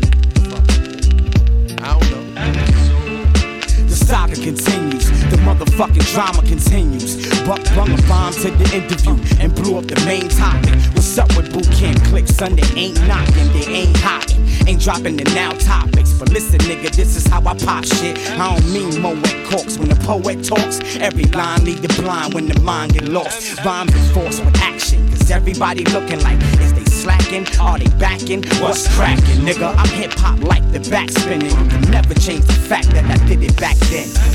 I don't know. The saga continues, the motherfucking drama continues. Buck brung a bomb to the interview and blew up the main topic. What's up with boot camp clips? Son, they ain't knocking, they ain't hotting. Ain't dropping the now topics. But listen, nigga, this is how I pop shit. I don't mean Moet corks. When the poet talks, every line lead the blind when the mind get lost. Rhymes enforced with action, cause everybody looking like, is they slacking? Are they backing? What's cracking? Nigga, I'm hip-hop like the back spinning. You can never change the fact that I did it back then.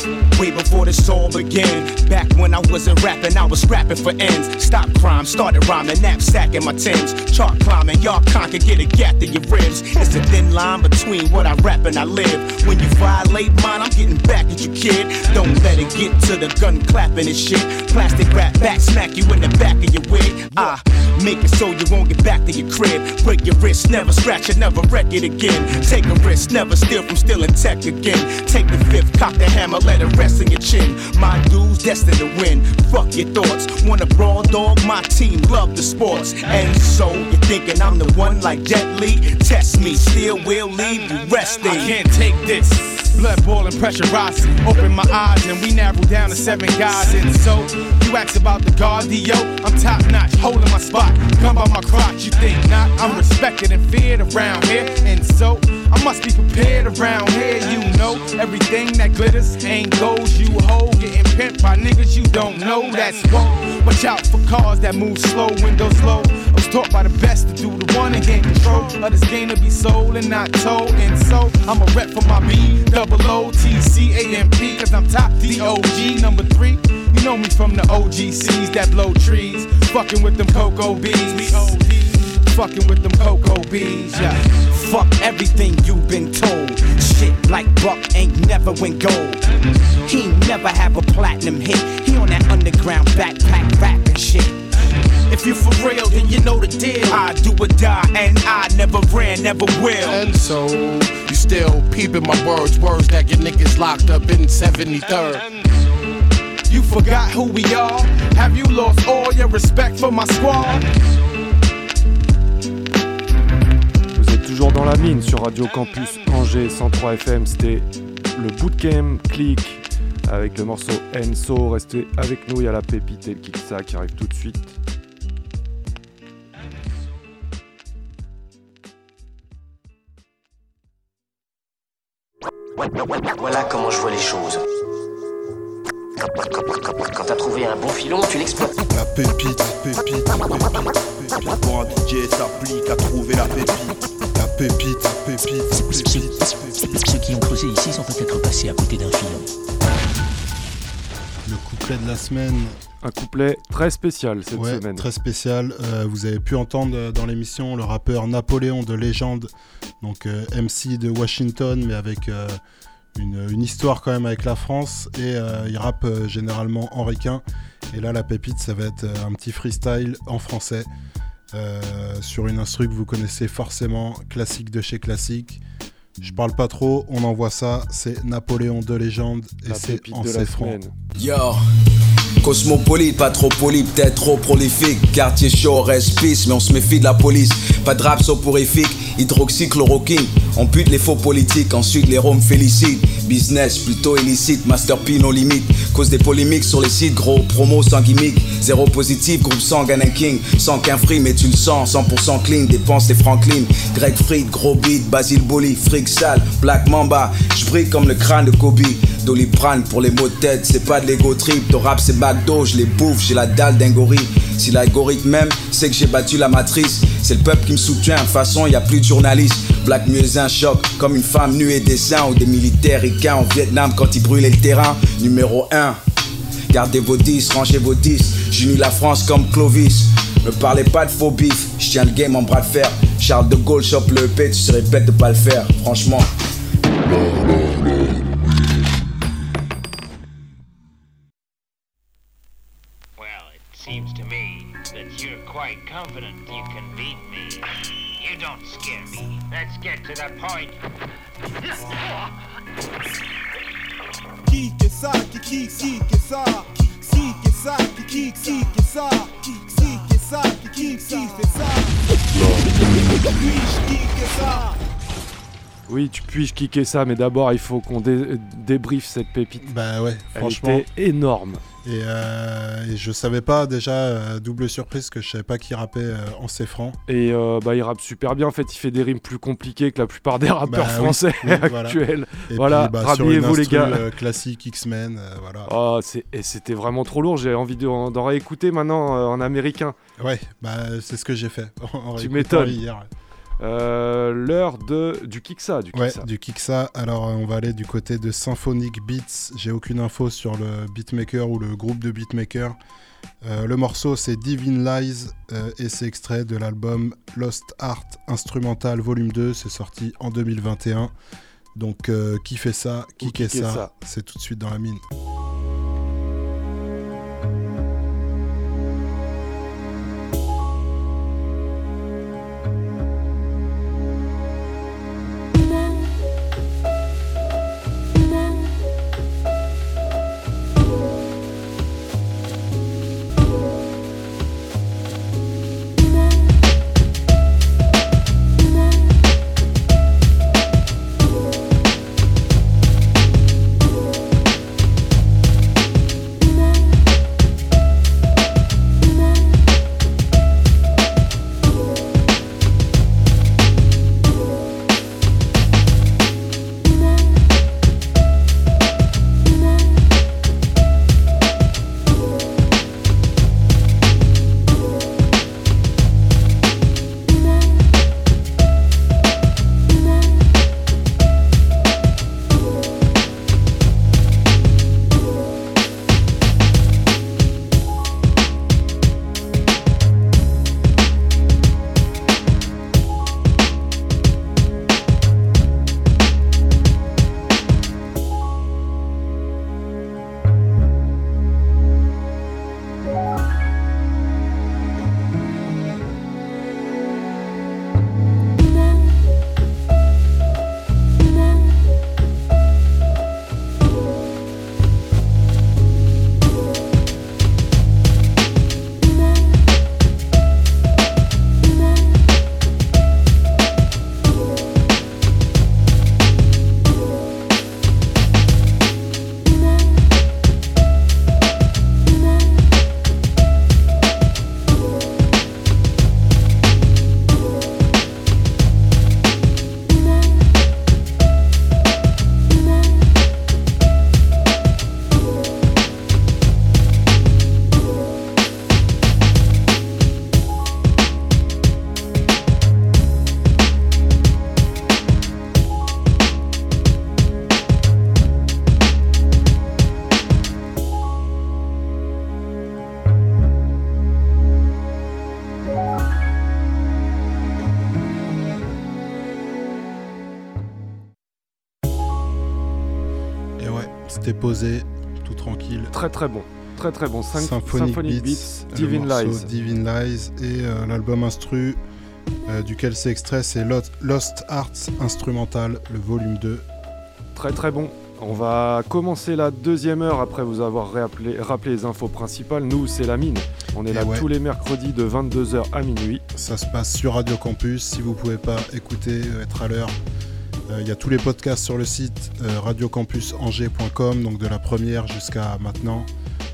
Way before this all began. Back when I wasn't rapping, I was scrapping for ends. Stop crime, started rhyming, knapsack in my Timbs. Chart climbing, y'all conquer, get a gap to your ribs. It's a thin line between what I rap and I live. When you violate mine, I'm getting back at you, kid. Don't let it get to the gun clapping and shit. Plastic rap back, smack you in the back of your wig. Make it so you won't get back to your crib. Break your wrist, never scratch it, never wreck it again. Take a risk, never steal from stealing tech again. Take the fifth, cock the hammer, let it rest in your chin. My dudes destined to win, fuck your thoughts. Want a brawl, dog, my team love the sports. And so, you're thinking I'm the one like Jet Li? Test me, still will leave you resting. I can't take this. Blood boiling, pressure rising. Open my eyes and we narrow down to 7 guys. And so, you ask about the cardio. I'm top notch, holding my spot. Come by my crotch, you think not? I'm respected and feared around here. And so, I must be prepared around here. You know, everything that glitters ain't gold. You hold, getting pimped by niggas you don't know. That's whoa. Watch out for cars that move slow, windows low. I was taught by the best to do the one and gain control of this game to be sold and not told. And so, I'm a rep for my B-double-O-T-C-A-M-P. Cause I'm top D-O-G, number 3. You know me from the OGCs that blow trees. Fucking with them cocoa bees. Fucking with them cocoa bees, yeah. Fuck everything you've been told. Shit like Buck ain't never win gold. He never have a platinum hit. He on that underground backpack rapping shit. If you for real, then you know the deal. I do or die, and I never ran, never will. And so, you still peeping my words that get niggas locked up in 73rd. You forgot who we are? Have you lost all your respect for my squad? Vous êtes toujours dans la mine sur Radio Campus Angers 103 FM. C'était le Bootcamp Click avec le morceau Enso. Restez avec nous, il y a la pépite et le Kiksa qui arrive tout de suite. Voilà comment je vois les choses. Quand t'as trouvé un bon filon, tu l'exploites. La pépite. Pour un DJ s'applique à trouver la pépite. La pépite. Ceux qui ont creusé ici sont peut-être passés à côté d'un filon. Le couplet de la semaine. Un couplet très spécial cette semaine. Très spécial. Vous avez pu entendre dans l'émission le rappeur Napoléon de Légende, donc MC de Washington, mais avec une histoire quand même avec la France. Et il rappe généralement en ricain. Et là, la pépite, ça va être un petit freestyle en français sur une instru que vous connaissez forcément, classique de chez classique. Je parle pas trop, on envoie ça. C'est Napoléon de Légende et la c'est en 7 francs. Yo, cosmopolite, pas trop poli, peut-être trop prolifique. Quartier chaud, reste pisse, mais on se méfie de la police. Pas de rap soporifique, hydroxychloroquine. On bute les faux politiques, ensuite les roms félicitent. Business plutôt illicite, Master P nos limites. Cause des polémiques sur les sites, gros promo sans gimmick. Zéro positif, groupe sans Gun King. Sans qu'un free, mais tu le sens, 100% clean. Dépense des Franklin, Greg Fried, gros beat, Basile Boli, fric sale, Black Mamba. J'brille comme le crâne de Kobe. Doliprane pour les mots de tête, c'est pas de l'ego trip. Ton rap c'est McDo, je les bouffe, j'ai la dalle d'un gorille. Si l'algorithme même, c'est que j'ai battu la matrice. C'est le peuple qui me soutient, de toute façon y a plus de journalistes. Black muezzin choc, comme une femme nue et dessin. Ou des militaires ricains au Vietnam quand ils brûlaient le terrain. Numéro 1, gardez vos 10, rangez vos 10. J'unis la France comme Clovis. Me parlez pas de faux bif, je tiens le game en bras de fer. Charles de Gaulle chope le EP, tu serais bête de pas le faire, franchement. Seems to me that you're quite confident you can beat me. You don't scare me. Let's get to the point. Qui que ça, qui que ça, qui que ça, qui que ça, qui que ça, qui fait ça. Qui que ça. Oui, tu puis-je kicker ça, mais d'abord il faut qu'on débriefe cette pépite. Bah ouais, franchement. Elle était énorme. Et je savais pas déjà, double surprise, que je savais pas qui rappait en C francs. Et il rappe super bien, en fait il fait des rimes plus compliquées que la plupart des rappeurs français actuels. Voilà, rhabillez-vous les gars. Classique X-Men, voilà. Oh, et c'était vraiment trop lourd, j'ai envie d'en réécouter maintenant en américain. Ouais, bah c'est ce que j'ai fait. Tu m'étonnes. Hier. L'heure du Kiksa. Du Kiksa. Alors on va aller du côté de Symphonic Beats. J'ai aucune info sur le beatmaker ou le groupe de beatmakers. Le morceau c'est Divine Lies et c'est extrait de l'album Lost Art Instrumental Volume 2. C'est sorti en 2021. Donc qui fait ça, qui est ça, c'est tout de suite dans la mine. C'était posé, tout tranquille. Très très bon. Très très bon. Symphonic Beats, Divine Lies. Divine Lies et l'album instru duquel c'est extrait, c'est Lost Arts Instrumental, le volume 2. Très très bon. On va commencer la deuxième heure après vous avoir rappelé les infos principales. Nous, c'est la mine. On est là tous les mercredis de 22h à minuit. Ça se passe sur Radio Campus. Si vous pouvez pas écouter, être à l'heure, il y a tous les podcasts sur le site radiocampusangers.com, donc de la première jusqu'à maintenant.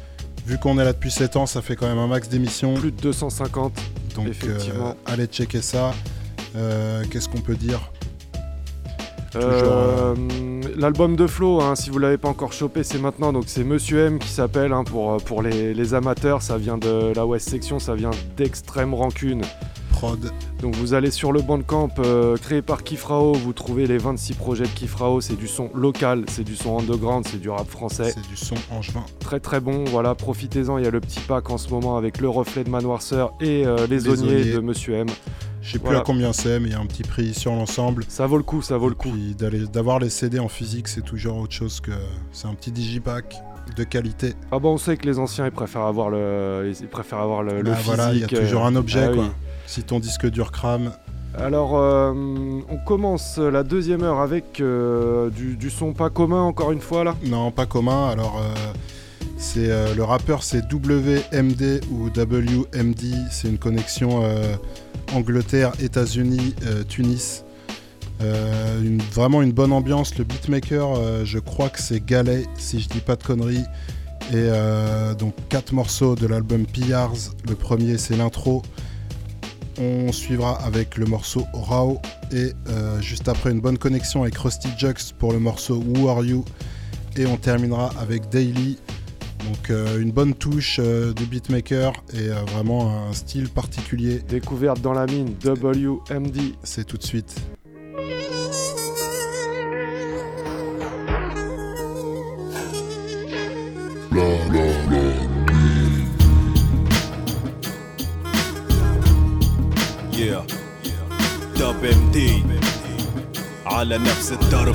Vu qu'on est là depuis 7 ans, ça fait quand même un max d'émissions. Plus de 250, donc effectivement. Allez checker ça. Qu'est-ce qu'on peut dire ? L'album de Flo, hein, si vous l'avez pas encore chopé, c'est maintenant. Donc c'est Monsieur M qui s'appelle, hein, pour les amateurs. Ça vient de la West Section, ça vient d'Extrême Rancune. Prod. Donc vous allez sur le Bandcamp créé par Kifrao, vous trouvez les 26 projets de Kifrao. C'est du son local, c'est du son underground, c'est du rap français. C'est du son angevin. Très très bon, voilà, profitez-en. Il y a le petit pack en ce moment avec le reflet de Manoirceur et les Onniers de Monsieur M. Je sais plus à combien c'est, mais il y a un petit prix sur l'ensemble. Ça vaut le coup, ça vaut le coup. Puis d'avoir les CD en physique, c'est toujours autre chose que... C'est un petit digipack de qualité. Ah bon, on sait que les anciens, ils préfèrent avoir le physique. Voilà, il y a toujours un objet, quoi. Oui. Si ton disque dur crame... Alors, on commence la deuxième heure avec du son pas commun, encore une fois, là. Non, pas commun, alors... c'est le rappeur, c'est WMD ou WMD. C'est une connexion Angleterre, États-Unis, Tunis. Vraiment une bonne ambiance. Le beatmaker, je crois que c'est Galet, si je dis pas de conneries. Et donc 4 morceaux de l'album Pillars. Le premier, c'est l'intro. On suivra avec le morceau Rao. Et juste après, une bonne connexion avec Rusty Jux pour le morceau Who Are You. Et on terminera avec Daily. Donc une bonne touche du beatmaker et vraiment un style particulier. Découverte dans la mine, WMD. C'est tout de suite. Yeah, WMD على نفس الدرب.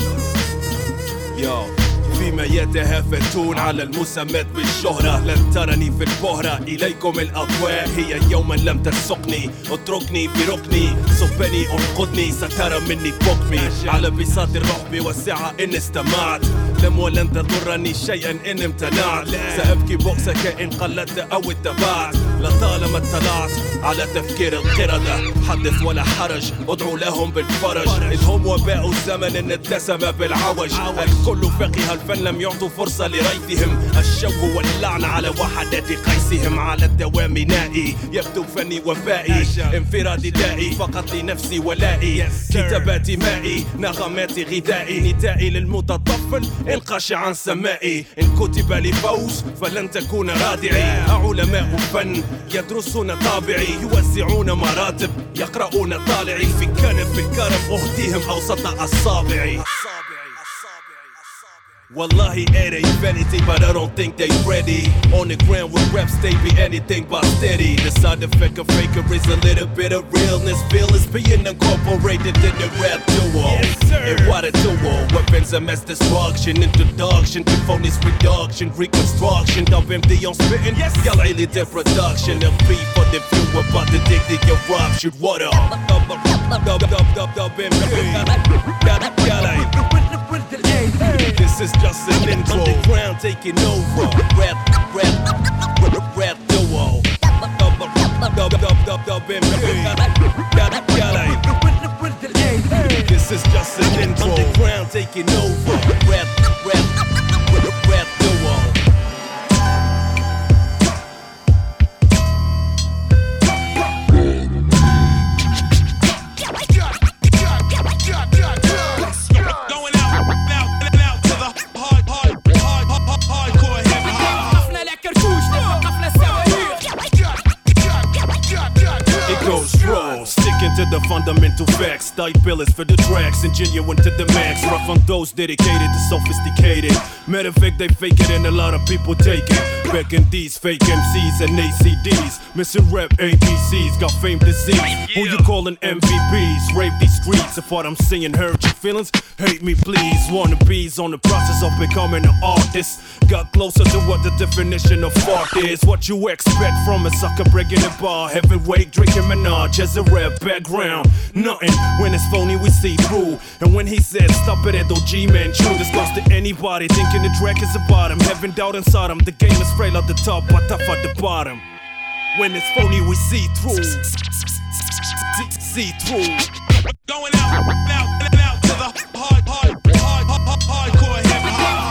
Yo. فيما يتهافتون على المسمات بالشهرة لن ترني في البهرة إليكم الأضواء هي يوما لم تسقني اتركني في ركني صبني انقذني سترى مني بكمي على بساط الرحب والسعة إن استمعت لم ولن تضرني شيئا إن امتنعت سأبكي بؤسك إن قلدت أو اتبعت لطالما اطلعت على تفكير القردة حدث ولا حرج ادعو لهم بالفرج إذ هم وباء الزمن إن اتسم بالعوج الكل فقه الفن لم يعطوا فرصة لريثهم الشوه واللعن على وحدة قيسهم على الدوام نائي يبدو فني وفائي انفرادي دائي فقط لنفسي ولائي كتاباتي مائي نغماتي غذائي ندائي للمتطفل انقش عن سمائي إن كتب لفوز فلن تكون رادعي علماء فن يدرسون طابعي يوزعون مراتب يقرؤون طالعي في كنف الكرم أهديهم أوسط أصابعي Wallahi, it ain't vanity, but I don't think they ready. On the ground with reps, they be anything but steady. The side effect of faker is a little bit of realness. Feel is being incorporated in the rap duo. Yes, sir. And what a duo. Weapons of mass destruction, introduction to phonies reduction, reconstruction. WMD on spitting, yes. Y'all ain't the production. A beat for the view about the dick that you rob. Shoot water. This is just an intro. Underground taking over. Rap duo. This is just an intro. Underground taking over. Rap duo. To the fundamental facts, tight billets for the tracks, and genuine to the max. Rough on those dedicated to sophisticated. Matter of fact, they fake it and a lot of people take it. Back in these fake MCs and ACDs, missing rep ABCs, got fame disease. Who you calling MVPs? Rape these streets. If what I'm saying hurt your feelings, hate me please. Wannabes on the process of becoming an artist. Got closer to what the definition of art is. What you expect from a sucker breaking a bar, heavyweight drinking Minaj as a rap background. Nothing when it's phony we see through. And when he said stop it at OG man true, this goes to anybody thinking the track is about him. Having doubt inside him, the game is frail at the top but tough at the bottom. When it's phony we see through. See through. Going out to the hardcore hip hop.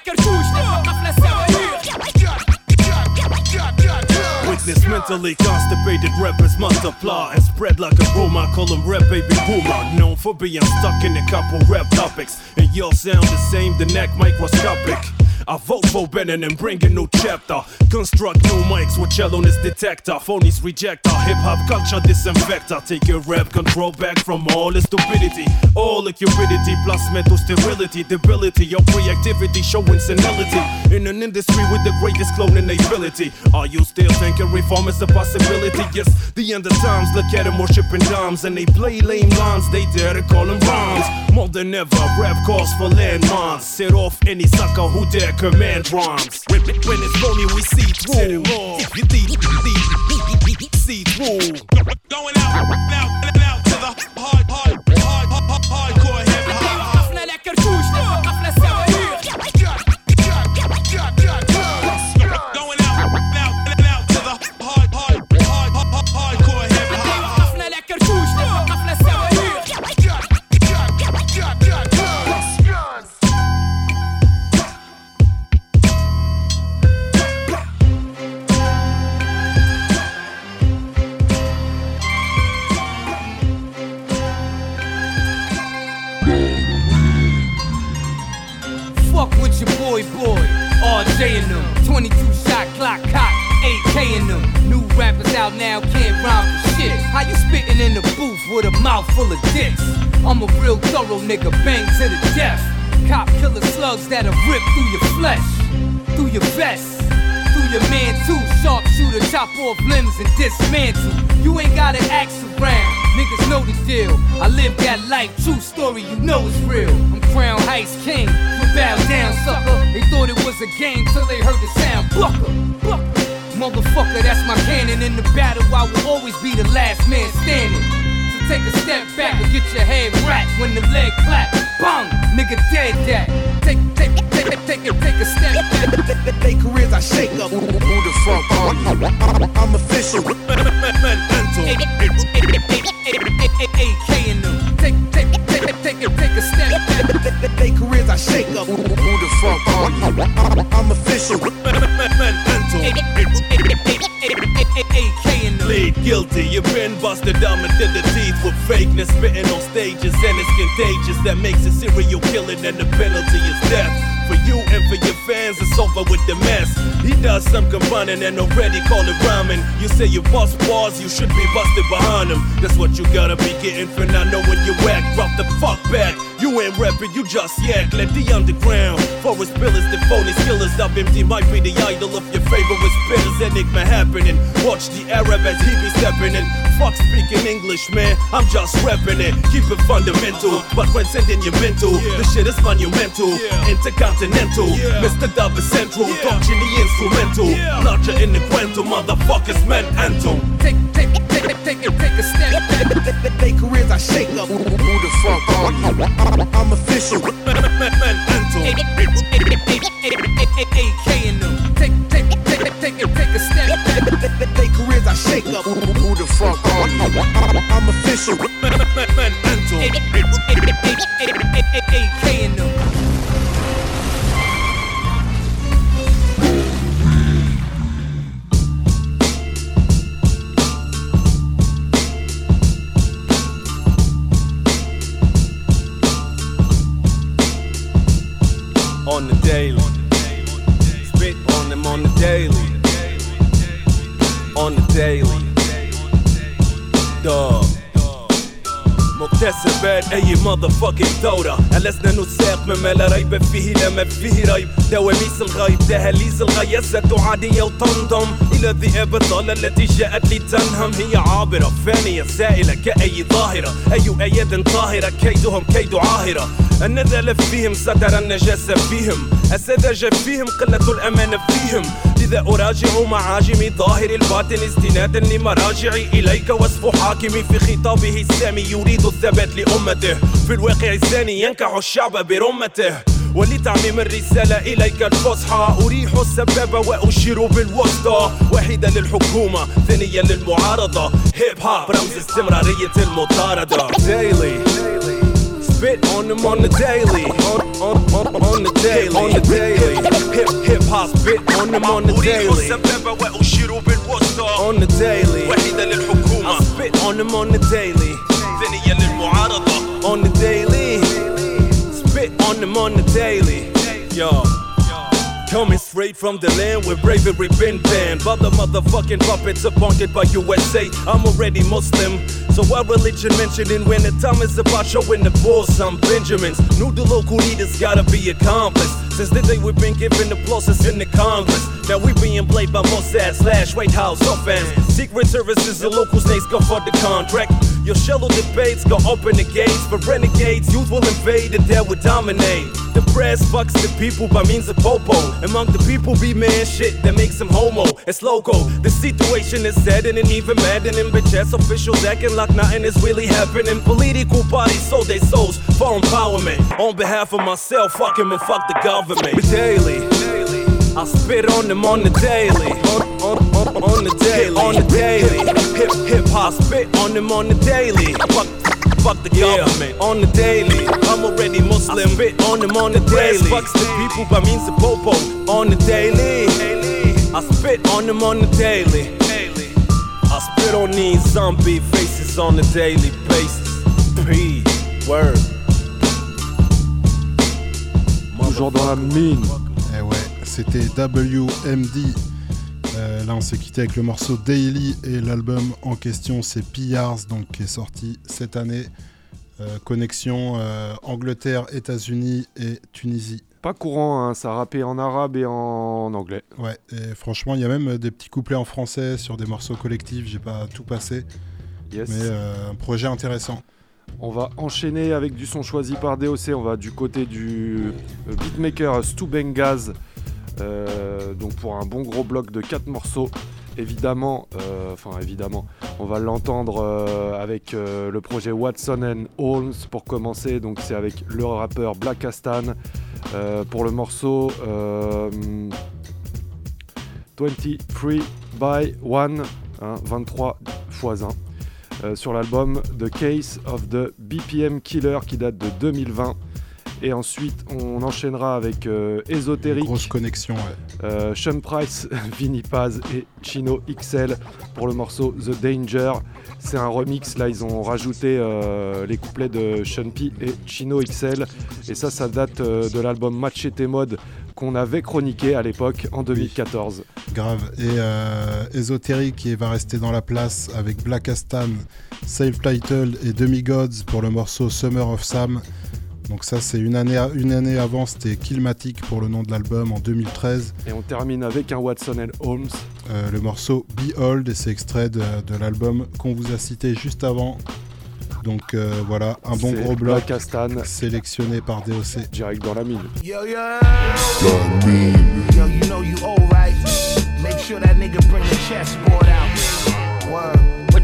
Witness mentally constipated rappers multiply and spread like a rumor. I call them rap baby boomer, known for being stuck in a couple rap topics. And y'all sound the same, the neck microscopic. I vote for Bannon and bring a new chapter. Construct new mics with cello on this detector. Phonies reject our hip-hop culture disinfector. Take your rap control back from all the stupidity, all the cupidity plus mental sterility. Debility, your creativity showing senility. In an industry with the greatest cloning ability. Are you still thinking reform is a possibility? Yes, the end of times, look at them worshiping dimes. And they play lame lines, they dare to call them rhymes. More than ever, rap calls for landmines. Set off any sucker who dare command rhymes. When it's phony, we see through. See through. Going out to the hardcore hip hop. حفلة لكرتوش حفلة سواهير. Going out to the hardcore hip hop. حفلة لكرتوش حفلة سواهير. Fuck with your boy. RJ in them, 22 shot clock cock, 8K in them. New rappers out now can't rhyme for shit. How you spitting in the booth with a mouth full of dicks? I'm a real thorough nigga, bang to the death. Cop killer slugs that'll rip through your flesh, through your vest, through your man too. Sharpshooter, chop off limbs and dismantle. You ain't gotta ask around, niggas know the deal. I live that life, true story, you know it's real. I'm Crown Heights King, you bow down sucker. They thought it was a game till they heard the sound. Bucker, bucker. Motherfucker, that's my cannon. In the battle, I will always be the last man standing. So take a step back and get your head wrapped when the leg clap. Bang, nigga dead that. Take a step back. They careers I shake up. Who the fuck are you? I'm official. AK in them. Take a step back. They careers I shake up. Who the fuck are you? I'm official. AK in them. Plead guilty, you've been busted down into the teeth with fakeness, spitting on stages, and it's contagious. That makes it serial killing, and the penalty is death. For you and for your fans, it's over with the mess. He does some combining and already call it rhyming. You say you bust bars, you should be busted behind him. That's what you gotta be getting for not knowing you act. Drop the fuck back, you ain't rapping, you just yak. Let the underground, forest pillars, the phony skillers. Up empty might be the idol of your favorite spitters. Enigma happening, watch the Arab as he be stepping in. Fuck speaking English, man, I'm just repping it. Keep it fundamental, but transcending your mental. The shit is monumental, intercontinental. Mr. Dub is central, touching the instrumental. Larger in the quantum, motherfuckers meant anthem. Take a step back. They careers I shake up. Who the fuck are you? I'm official. AK in them. Take a step back. They careers I shake up. Who the fuck are you? I'm official. AK in them. On the daily, spit on them on the daily, on the daily, dog. مكتسبات أي motherfucking دورة ألسنا نساق مما لا ريب فيه لما فيه ريب دواميس الغيب دهاليز الغياسة عادية وتنضم إلى الذئاب الضالة التي جاءت لتنهم هي عابرة فانية سائلة كأي ظاهرة أي أياد طاهرة كيدهم كيد عاهرة النذل فيهم ستر النجاسة فيهم السذاجة فيهم قلة الأمانة فيهم لذا أراجع معاجمي ظاهر الباطن استنادا لمراجعي إليك وصف حاكمي في خطابه السامي يريد الثبات لأمته في الواقع الزاني ينكح الشعب برمته ولتعميم الرسالة إليك الفصحى أريح السبابة وأشير بالوسطى واحدة للحكومة ثانية للمعارضة هيب هوب رمز استمرارية المطاردة Daily Spit on them on the daily, on the daily, on the daily. Hip hop spit on them on the daily. On the daily. I spit on them on the daily. On the daily. Spit on them on the daily. Yo. Coming straight from the land where bravery been banned. But the motherfucking puppets appointed by USA. I'm already Muslim, so why religion mentioning when the time is about showing the bulls some Benjamins? Knew the local leaders gotta be accomplished. Since the day we've been given the process in the Congress. Now we being played by Mossad / White House offense. Secret services and local snakes go for the contract. Your shallow debates go open the gates for renegades. Youth will invade and they will dominate. The press fucks the people by means of popo. Among the people be man shit that makes them homo. It's loco. The situation is saddening, even maddening. Bitch-ass officials acting like nothing is really happening. Political parties sold their souls for empowerment. On behalf of myself, fuck him and fuck the government. Daily, I spit on them on the daily. On the daily, on the daily. Hip hop spit on them on the daily. Fuck the government, on the daily. I'm already Muslim, spit on them on the daily. Fucks the people by means of popo, on the daily. I spit on them on the daily. I spit on these zombie faces on a daily basis. P, word. Toujours dans la mine. Eh ouais, c'était WMD. Là on s'est quitté avec le morceau Daily et l'album en question c'est P.R.S, donc qui est sorti cette année. Connexion Angleterre, États-Unis et Tunisie. Pas courant, hein, ça rappait en arabe et en anglais. Ouais, et franchement il y a même des petits couplets en français sur des morceaux collectifs, j'ai pas tout passé. Yes. Mais un projet intéressant. On va enchaîner avec du son choisi par DOC, on va du côté du beatmaker Stu Bengaz. Donc pour un bon gros bloc de 4 morceaux, évidemment, on va l'entendre avec le projet Watson and Holmes pour commencer. Donc c'est avec le rappeur Black Astan pour le morceau 23 by 1, 23 x 1 sur l'album The Case of the BPM Killer qui date de 2020. Et ensuite, on enchaînera avec Esoteric. Grosse connexion, ouais. Sean Price, Vinny Paz et Chino XL pour le morceau The Danger. C'est un remix, là ils ont rajouté les couplets de Sean P et Chino XL. Et ça date de l'album Machete Mode qu'on avait chroniqué à l'époque en 2014. Oui, grave. Et Esoteric qui va rester dans la place avec Black Astan, Self-Titled et Demigods pour le morceau Summer of Sam. Donc ça c'est une année avant, c'était Killmatic pour le nom de l'album en 2013. Et on termine avec un Watson and Holmes. Le morceau Behold, et c'est extrait de l'album qu'on vous a cité juste avant. Donc voilà, un bon gros bloc sélectionné par DOC. Direct dans la mine. Yo, yo, you know you old, right? Make sure that nigga bring the chessboard out. Word.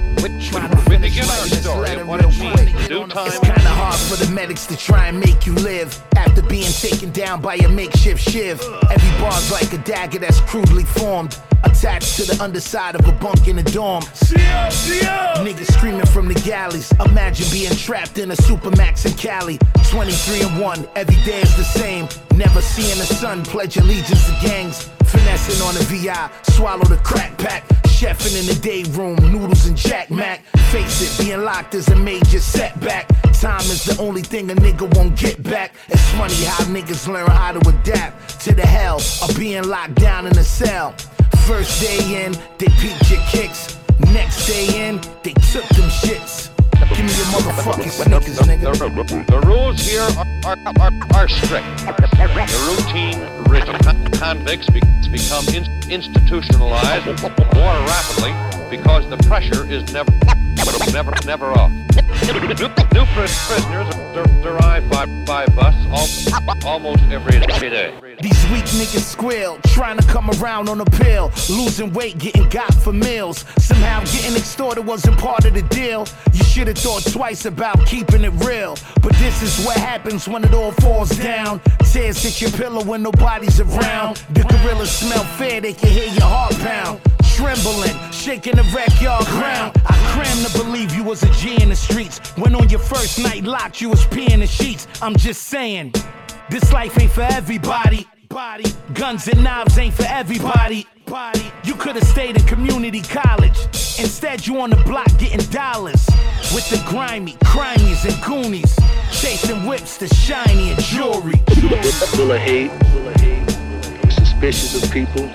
It's kinda hard for the medics to try and make you live after being taken down by a makeshift shiv. Every bar's like a dagger that's crudely formed, attached to the underside of a bunk in a dorm. Niggas screaming from the galleys. Imagine being trapped in a Supermax in Cali. 23-1, every day is the same. Never seeing the sun, pledge allegiance to gangs. Finessing on the VI, swallow the crack pack. Chefing in the day room, noodles and Jack Mac. Face it, being locked is a major setback. Time is the only thing a nigga won't get back. It's funny how niggas learn how to adapt to the hell of being locked down in a cell. First day in, they peeped your kicks. Next day in, they took them shits. Give me your motherfucking Snickers, nigga. The rules here are strict. The routine rigid. Convicts become institutionalized more rapidly because the pressure is never off. New prisoners arrive by bus almost every day. These weak niggas squeal, trying to come around on a pill. Losing weight, getting got for meals. Somehow getting extorted wasn't part of the deal. You should have thought twice about keeping it real. But this is what happens when it all falls down. Tears hit your pillow when nobody's around. The gorillas smell fear, they can hear your heart pound. Trembling, shaking the backyard ground. I crammed to believe you was a G in the streets. When on your first night locked, you was peeing the sheets. I'm just saying, this life ain't for everybody. Guns and knives ain't for everybody. You could've stayed in community college. Instead, you on the block getting dollars. With the grimy, crimies and goonies. Chasing whips to shiny and jewelry. Full of hate, suspicious of people.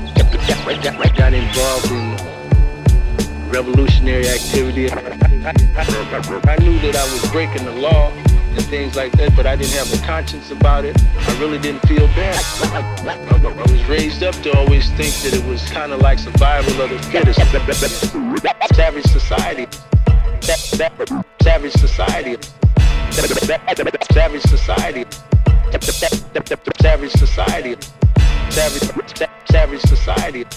Got involved in revolutionary activity. I knew that I was breaking the law and things like that, but I didn't have a conscience about it. I really didn't feel bad. I was raised up to always think that it was kind of like survival of the fittest. Savage society. Savage society. Savage society. Savage society. Savage society.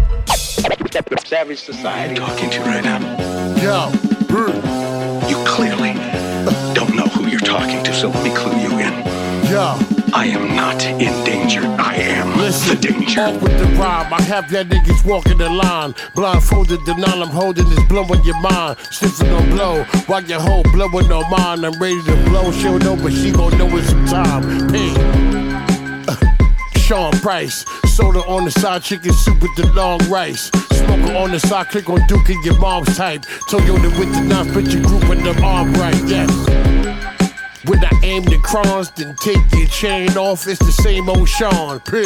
Savage society. I'm talking to you right now. Yo, You clearly don't know who you're talking to, so let me clue you in. Yo. I am not in danger. I am the danger. Off with the rhyme, I have that niggas walking the line. Blindfolded, denial, I'm holding this blowing your mind. Sniffing on blow, while your whole blowing on mine. I'm ready to blow, she'll know, but she gon' know it's some time. Pay. Sean Price, soda on the side, chicken soup with the long rice. Smoker on the side, click on Duke and your mom's type. Toyota with the knife, put your group in the arm right, yes. When I aim the crons, then take your chain off. It's the same old Sean P.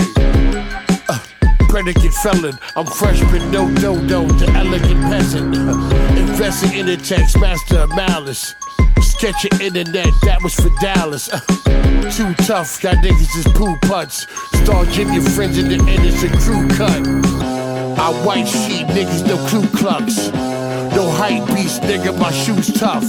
Predicate felon, I'm fresh but no dodo, the elegant peasant. Investing in the text, master of malice. Sketch your internet, that was for Dallas. Too tough, y'all niggas is poo putts. Star Jim, your friends in the end, it's a crew cut. I white sheep, niggas, no Ku Klux. No hype beast, nigga, my shoes tough.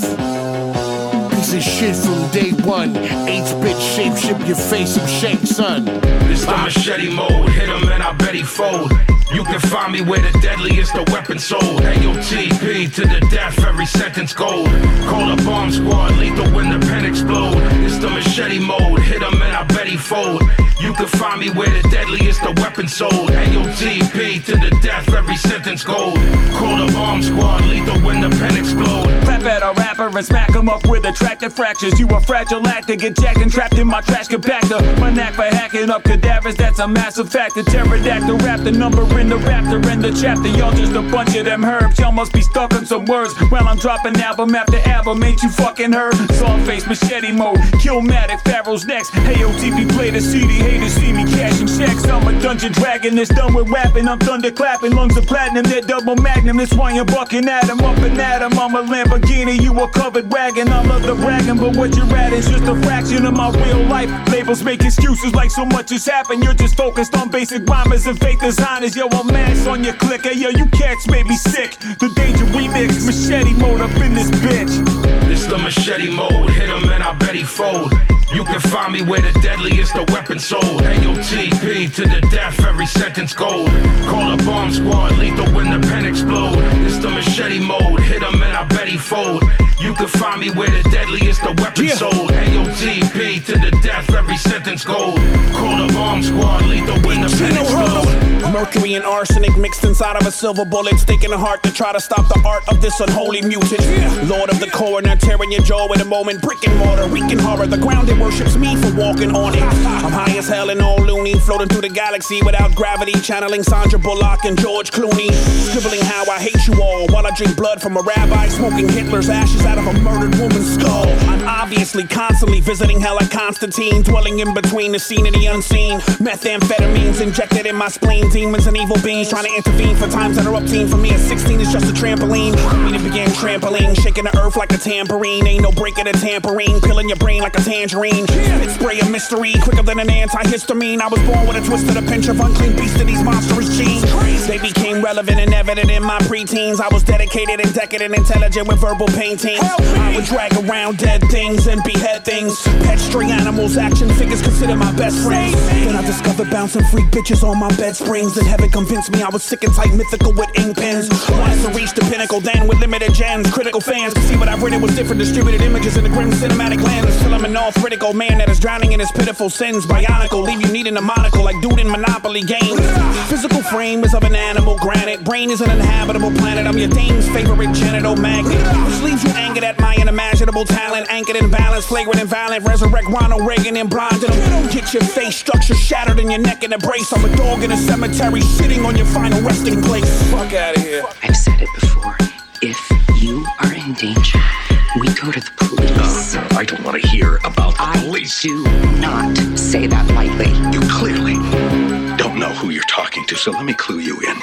Piece of shit from day one. 8-bit shape, ship your face, I'm shank, son. This the machete mode, hit him and I bet he fold. You can find me where the deadliest the weapon sold. AOTP to the death, every sentence gold. Call a bomb squad, lethal when the pen explode. It's the machete mode, hit him and I bet he fold. You can find me where the deadliest the weapon sold. AOTP to the death, every sentence gold. Call a bomb squad, lethal when the pen explode. Rap at a rapper and smack him up with attractive fractures. You a fragile actor, get jacked and trapped in my trash compactor. My knack for hacking up cadavers, that's a massive factor. Pterodactyl rap, the number in the raptor in the chapter. Y'all just a bunch of them herbs, y'all must be stuck on some words. While I'm dropping album after album, ain't you fucking heard? Saw face machete mode, Killmatic, Pharaoh's next. Hey OTP play the CD, haters see me cashing checks. I'm a dungeon dragon that's done with rapping. I'm thunder clapping, lungs of platinum, they're double magnum. That's why you're bucking at him, up and at him. I'm a Lamborghini, you a covered wagon. I love the bragging, but what you're at is just a fraction of my real life. Labels make excuses like so much has happened. You're just focused on basic rhymers and fake designers. Yo, I'm mass on your click. Hey, yo, you cats made me sick. The Danger remix, machete mode up in this bitch. This the machete mode, hit him and I bet he fold. You can find me where the deadliest the weapon sold. AOTP to the death, every sentence gold. Call a bomb squad, lethal when the pen explode. This the machete mode, hit him and I bet he fold. You can find me where the deadliest the weapon sold. AOTP to the death, every sentence gold. Call a bomb squad, lethal when the pen explode. Mercury and arsenic mixed inside of a silver bullet, sticking a heart to try to stop the art of this unholy mutant. Lord of the coroner, tearing your jaw in a moment, brick and mortar, wreaking horror. The ground that worships me for walking on it. I'm high as hell and all loony, floating through the galaxy without gravity, channeling Sandra Bullock and George Clooney, scribbling how I hate you all while I drink blood from a rabbi, smoking Hitler's ashes out of a murdered woman's skull. I'm obviously constantly visiting hell like Constantine, dwelling in between the seen and the unseen. Methamphetamines injected in my spleen, demons and evil beings trying to intervene for times that are obscene. For me at 16 is just a trampoline. For me to begin trampoline, shaking the earth like a tambourine. Ain't no break in a tambourine, peeling your brain like a tangerine. Spit spray of mystery, quicker than an antihistamine. I was born with a twist of a pinch of unclean beast of these monstrous genes. They became relevant and evident in my preteens. I was dedicated and decadent, intelligent with verbal paintings. I would drag around dead things and behead things. Pet stray animals, action figures consider my best friends. Then I discovered bouncing freak bitches on my bed springs. Then heaven convinced me I was sick and tight, mythical with ink pens. Wanted to reach the pinnacle, then with limited gems. Critical fans could see what I've written was different. Distributed images in the grim cinematic lens. Till I'm an all-critical man that is drowning in his pitiful sins. Bionicle, leave you needing a monocle like dude in Monopoly games. Physical frame is of an animal, granite. Brain is an uninhabitable planet. I'm your dame's favorite genital magnet, which leaves you angered at my unimaginable talent. Anchored in balance, flagrant and violent. Resurrect Ronald Reagan and blinded him. Get your face structure shattered and your neck in a brace. I'm a dog in a cemetery sitting on your final resting place. Fuck out of here. I've said it before. If you are in danger, we go to the police. No, I don't want to hear about the police. I do not say that lightly. You clearly don't know who you're talking to, so let me clue you in.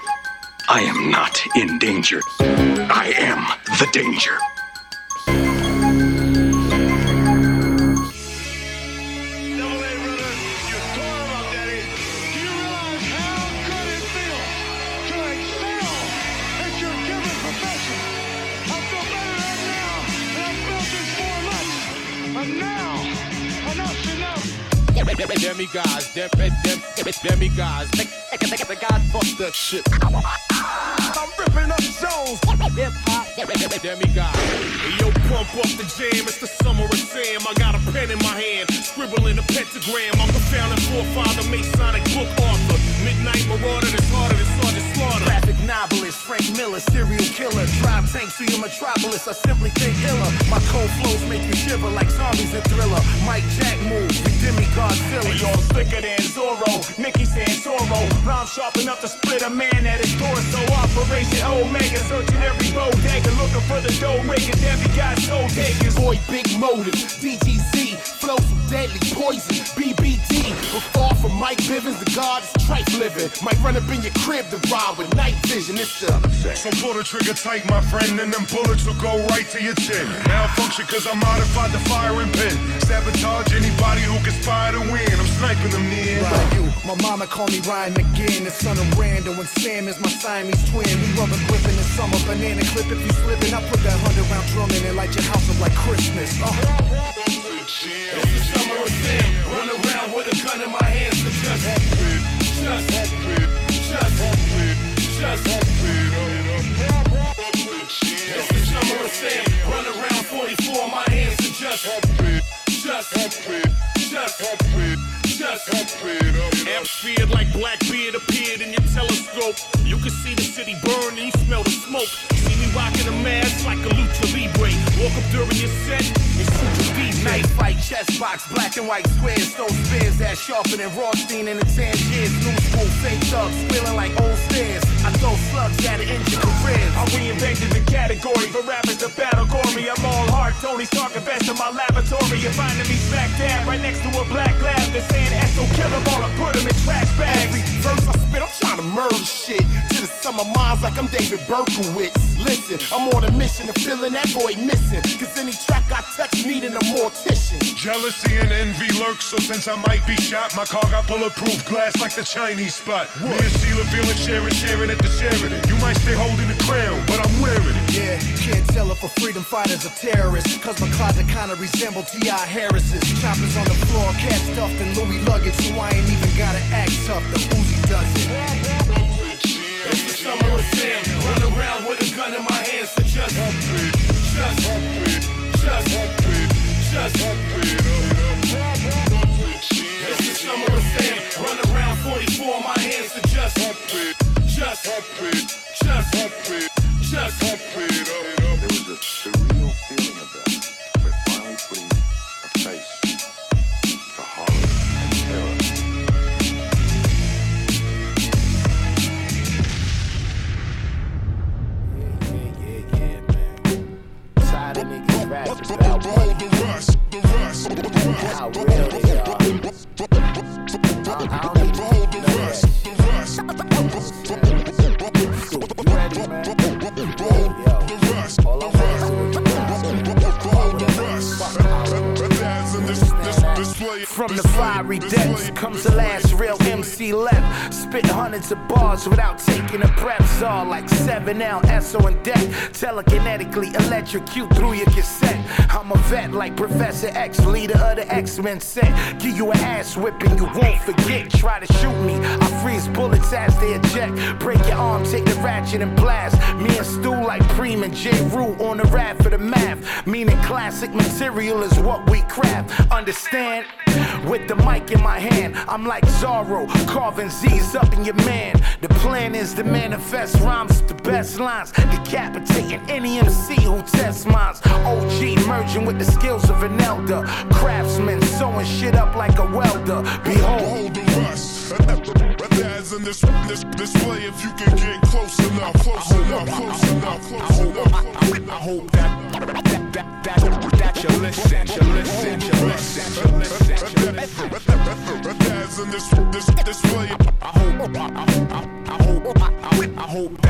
I am not in danger. I am the danger. Demigods, demigods. The God fuck that shit. I'm ripping up zones. Hip hop. Demigods. Yo, pump up the jam. It's the summer of Sam. I got a pen in my hand, scribbling a pentagram. I'm the founding forefather, Masonic book author. Midnight marauder that's harder than Sergeant Slaughter. Graphic novelist, Frank Miller, serial killer. Drive tanks to your metropolis. I simply think iller. My cold flows make you shiver like zombies in Thriller. Mike Jack moves, the demigod villain. Hey, y'all thicker than Zorro. Nicky Santoro, rhyme sharp enough to split a man at his door. So Operation Omega, searching every bodega, looking for the dough makers. Every guy's soul takers. Boy, big motive, DGZ, flow some deadly poison, BBD. We're far from Mike Bivens, the god is tripe living. Might run up in your crib to ride with night vision. It's the so pull the trigger tight, my friend, and them bullets will go right to your chin. Malfunction cause I modified the firing pin. Sabotage anybody who conspire to win. I'm sniping them near. Ryu, my mama call me Ryan McGinn, the son of Randall, and Sam is my Siamese twin. We rubber gripping the summer, banana clip if you slipping. I put that 100-round drum in and light your house up like Christmas. It's the summer of Sam, run around with a gun in my hands to just It's the summer of Sam, run around 44 in my hands to just Atmosphere like Blackbeard appeared in your telescope. You can see the city burn and you smell the smoke. See me rocking a mask like a lucha libre. Walk up during your set and shoot your DJ. Night fight, chess box, black and white squares. Those spears that sharper than Rothstein in the Tangiers. New school fake thugs, squealing like old stairs. I throw slugs at an engine careers. I reinvented the category for rappers to battle gory. I'm all heart, Tony Stark, invest in my laboratory. You're finding me smack dab right next to a black lab. They're saying SO kill them all, I put them in trash bags. Every verse I spit, I'm trying to murder shit. To the summer minds like I'm David Berkowitz. Listen, I'm on a mission to filling that boy missing. Cause any track I touch needing a mortician. Jealousy and envy lurk, so since I might be shot, my car got bulletproof glass like the Chinese spot. Me and Sheila feeling sharing at the Sheridan. You might stay holding the crown, but I'm wearing it. Yeah, you can't tell if a freedom fighter's a terrorist. Cause my closet kinda resemble T.I. Harris's. Choppers on the floor, cat stuffed in Louis luggage. So I ain't even gotta act tough, the Uzi does it. It's the summer of Sam, run around with a gun in my hands to just It's the summer of Sam, run around 44 in my hands to just There was a surreal feeling of that. We're finally putting a face to horror and terror. Yeah, man. Tired of niggas rapping about how real they are. I don't need to hold the rest. You ready, man? All I'm From the fiery depths comes the last real MC left. Spit hundreds of bars without taking a breath. All like 7L, SO and deck. Telekinetically electrocute through your cassette. I'm a vet like Professor X, leader of the X-Men set. Give you an ass whipping you won't forget. Try to shoot me, I freeze bullets as they eject. Break your arm, take the ratchet and blast. Me and Stu like Preem and J. Rue on the rap for the math. Meaning classic material is what we craft. Understand? With the mic in my hand, I'm like Zorro, carving Z's up in your man. The plan is to manifest rhymes with the best lines, decapitating any MC who tests minds. OG merging with the skills of an elder, craftsman sewing shit up like a welder. Behold the rust. As in this way, if you can get close enough. I hope that you listen. As in this way, I hope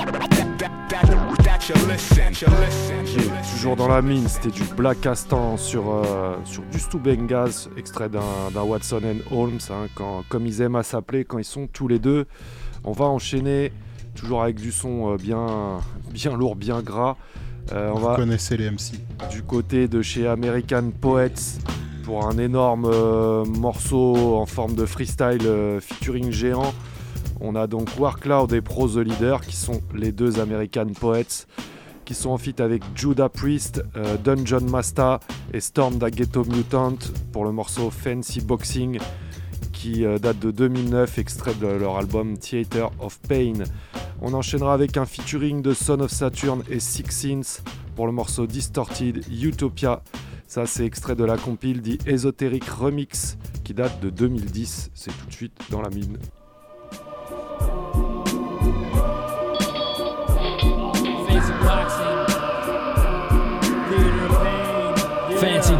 that you listen. Toujours dans la mine, c'était du Black Castan sur du Stu Bengals, extrait d'un Watson and Holmes, hein, comme ils aiment à s'appeler quand ils sont tous les deux. On va enchaîner, toujours avec du son bien lourd, bien gras. Vous connaissez les MC. Du côté de chez American Poets, pour un énorme morceau en forme de freestyle featuring géant. On a donc Warcloud et Pro The Leader, qui sont les deux American Poets, qui sont en feat avec Judah Priest, Dungeon Master et Storm Da Ghetto Mutant pour le morceau Fancy Boxing, qui date de 2009, extrait de leur album Theater of Pain. On enchaînera avec un featuring de Son of Saturn et Six Sins pour le morceau Distorted Utopia. Ça, c'est extrait de la compile dit Esoteric Remix qui date de 2010. C'est tout de suite dans la mine.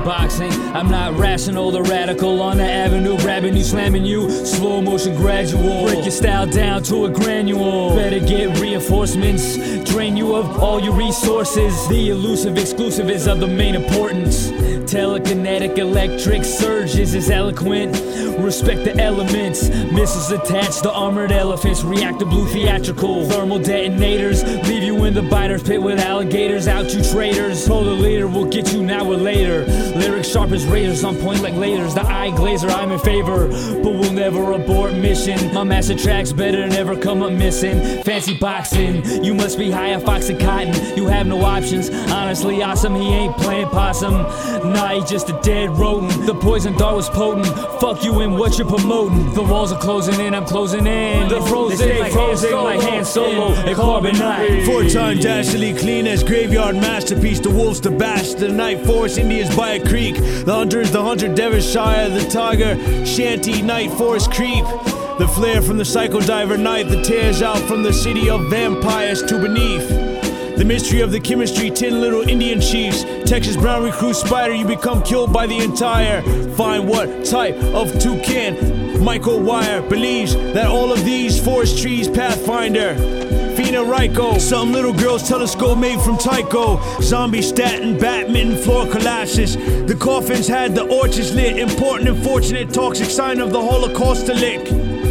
boxing. I'm not rational, the radical on the avenue, grabbing you, slamming you, slow motion gradual. Break your style down to a granule. Better get reinforcements, drain you of all your resources. The elusive exclusive is of the main importance. Telekinetic electric surges is eloquent. Respect the elements. Missiles attached to armored elephants. Reactor blue theatrical. Thermal detonators leave you in the biter's pit with alligators. Out you traitors. Polar leader will get you now or later. Lyrics sharp as razors on point like lasers. The eye glazer, I'm in favor, but we'll never abort mission. My master tracks better never come up missing. Fancy boxing, you must be high on Fox and Cotton. You have no options. Honestly, awesome, he ain't playing possum. Nah, he just a dead rodent. The poison dart was potent. Fuck you and what you're promoting. The walls are closing in, I'm closing in. The frozen like Han Solo and Carbonite. 4-time dastardly clean as graveyard masterpiece. The wolves to bash, the night forest, Indians by a creek. The hunter is the hunter, Devonshire, the tiger, shanty, night forest creep. The flare from the psycho diver knife that tears out from the city of vampires to beneath. The mystery of the chemistry, 10 little Indian chiefs. Texas brown recruit spider, you become killed by the entire. Find what type of toucan Michael Wire believes that all of these forest trees pathfinder. Fina Ryko, some little girl's telescope made from Tycho. Zombie statin, Batman, floor collapses. The coffins had the orchards lit. Important and fortunate, toxic sign of the Holocaust to lick.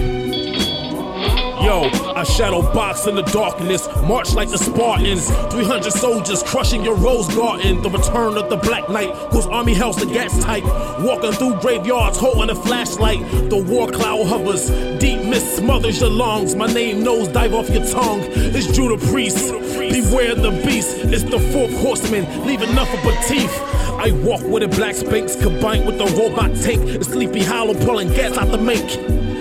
Yo, I shadow box in the darkness, march like the Spartans. 300 soldiers crushing your rose garden. The return of the Black Knight, whose army held the gas type. Walking through graveyards, holding a flashlight. The war cloud hovers, deep mist smothers your lungs. My name knows dive off your tongue. It's Judah Priest. Beware the beast. It's the fourth horseman, leaving nothing but teeth. I walk with a black Spanx combined with a robot tank. A Sleepy Hollow pulling gas out the make.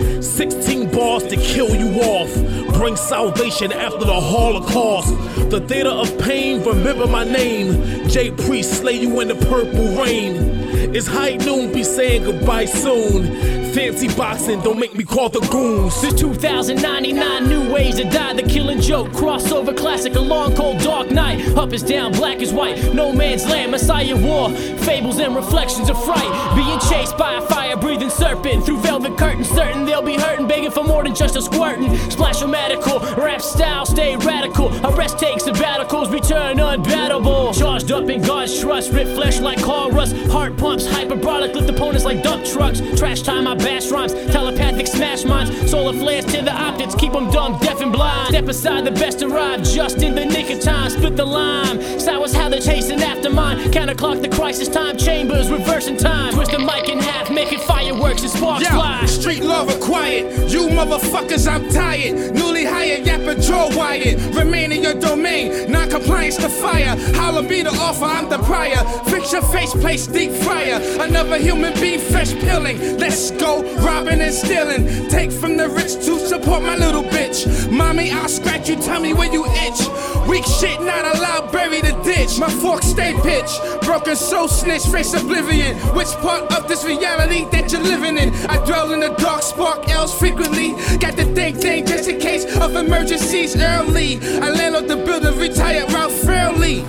16 bars to kill you off. Bring salvation after the Holocaust. The theater of pain, remember my name. J Priest, slay you in the purple rain. It's high noon, be saying goodbye soon. Fancy boxing, don't make me call the goons. There's 2,099 new ways to die. The Killing Joke, crossover classic, a long cold dark night. Up is down, black is white, no man's land, Messiah war. Fables and reflections of fright. Being chased by a fire-breathing serpent. Through velvet curtains, certain they'll be hurting. Begging for more than just a squirtin'. Splash-o-matical, rap style, stay radical. Arrest takes sabbaticals, return unbattable. Charged up in God's trust, rip flesh like car rust. Heart pumps, hyperbolic, lift opponents like dump trucks. Trash time, I bash rhymes, telepathic smash minds. Solar flares to the optics, keep them dumb, deaf and blind. Step aside, the best arrive, just in the nick of time. Split the lime, sour's how they're chasing after mine. Counterclock the crisis time chambers, reversing time. Twist the mic in half, making fireworks and sparks fly. Street law required, you motherfuckers, I'm tired. Newly hired, yapper, jaw wired. Remain in your domain, non-compliance to fire. Holla be the offer, I'm the prior. Fix your face, place deep fryer. Another human being, fresh peeling. Let's go. Robbing and stealing, take from the rich to support my little bitch. Mommy, I'll scratch you, tell me where you itch. Weak shit not allowed, bury the ditch. My fork stay pitch, broken soul snitch, face oblivion. Which part of this reality that you're living in? I dwell in the dark, spark L's frequently. Got the thing just in case of emergencies early. I land on the building, retired Ralph Fairley.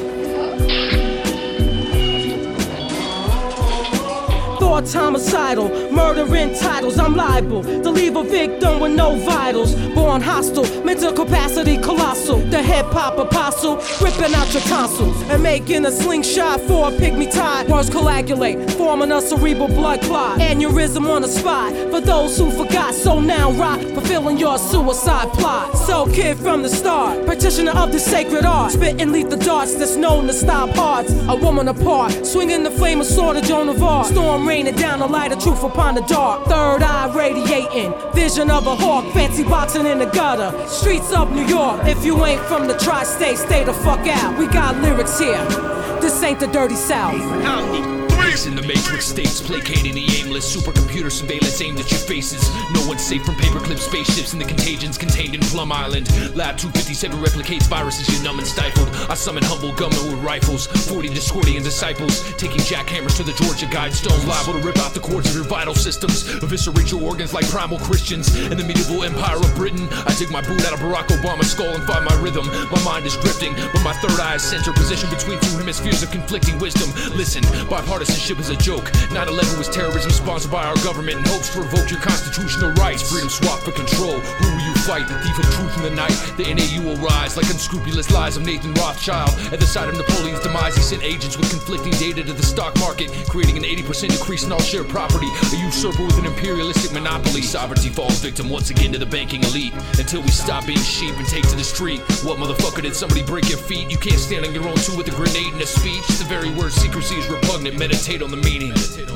Thoughts homicidal, murdering titles, I'm liable to leave a victim with no vitals. Born hostile, mental capacity colossal. The hip-hop apostle, ripping out your tonsils and making a slingshot for a pygmy tie. Words coagulate, forming a cerebral blood clot. Aneurysm on the spot, for those who forgot. So now rock, fulfilling your suicide plot. So kid from the start, practitioner of the sacred art. Spitting lethal darts that's known to stop hearts. A woman apart, swinging the flame of sword of Joan of Arc. Storm raining down the light of truth upon the dark. Third eye radiating, vision of a hawk. Fancy boxing in the gutter, streets of New York. If you ain't from the tri-state, stay the fuck out. We got lyrics here, this ain't the dirty South. breaks in the matrix states, placating the aimless. Supercomputer surveillance aimed at your faces. No one's safe from paperclip spaceships and the contagions contained in Plum Island. Lab 257 replicates viruses you're numb and stifled. I summon humble gunmen with rifles, 40 Discordian disciples, taking jackhammers to the Georgia Guidestones, liable to rip out the cords of your vital systems, eviscerate your organs like primal Christians. In the medieval empire of Britain, I dig my boot out of Barack Obama's skull and find my rhythm. My mind is drifting, but my third eye is center, positioned between two hemispheres of conflicting wisdom. Listen, bipartisanship is a joke. 9/11 was terrorism sponsored by our government in hopes to revoke your constitutional rights. Freedom swap for control. Who will you fight? The thief of truth in the night. The NAU will rise like unscrupulous lies of Nathan Rothschild. At the side of Napoleon's demise, he sent agents with conflicting data to the stock market, creating an 80% increase in all share property. A usurper with an imperialistic monopoly. Sovereignty falls victim once again to the banking elite. Until we stop being sheep and take to the street. What motherfucker did somebody break your feet? You can't stand on your own too with a grenade and a speech. The very word secrecy is repugnant. Meditate on the meaning.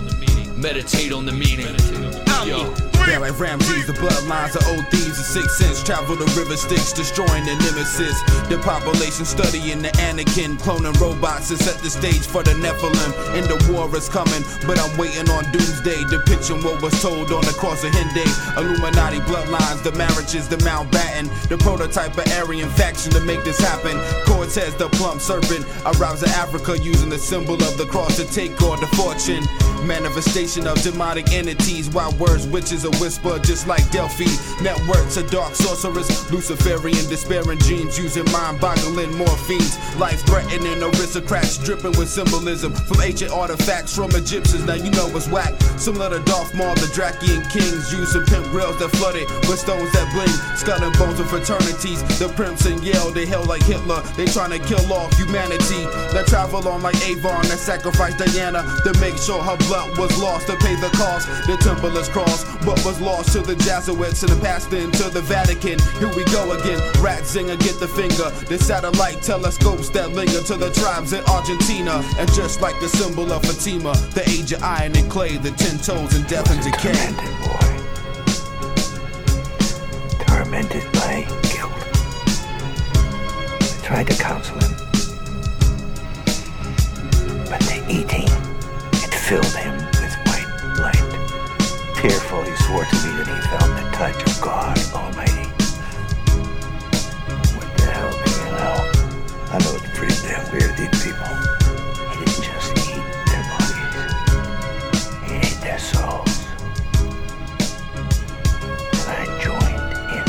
Meditate on the meaning. Yo. Yeah, like Ramses, the bloodlines of old thieves, the Sixth Sense travel the river Styx, destroying the nemesis. The population studying the Anakin, cloning robots to set the stage for the Nephilim. And the war is coming, but I'm waiting on Doomsday, depicting what was told on the cross of Henday. Illuminati bloodlines, the marriages, the Mountbatten, the prototype of Aryan faction to make this happen. Cortez, the plump serpent, arrives in Africa using the symbol of the cross to take on the fortune. Manifestation of demonic entities, wild words, witches, a whisper, just like Delphi. Networks of dark sorcerers, Luciferian despairing dreams, using mind-boggling morphines. Life-threatening aristocrats, dripping with symbolism from ancient artifacts from Egyptians. Now you know what's whack. Similar to Darth Maul, the Drakian kings, using pimp grills that flooded with stones that bling. Skull and bones of fraternities, the pimps in Yale, they held like Hitler. They trying to kill off humanity. That travel on like Avon, that sacrificed Diana to make sure her blood was lost to pay the cost. The Templar's cross, but was lost to the Jesuits and the passed into the Vatican. Here we go again, Ratzinger get the finger. The satellite telescopes that linger to the tribes in Argentina. And just like the symbol of Fatima, the age of iron and clay, the 10 toes and death and decay. Tormented by guilt. I tried to counsel him, but the eating, it filled him with white light. Tearful, he swore to me that he felt the touch of God Almighty. What the hell do you know? I know it's pretty damn weird, these people. He didn't just eat their bodies, he ate their souls. And I joined in.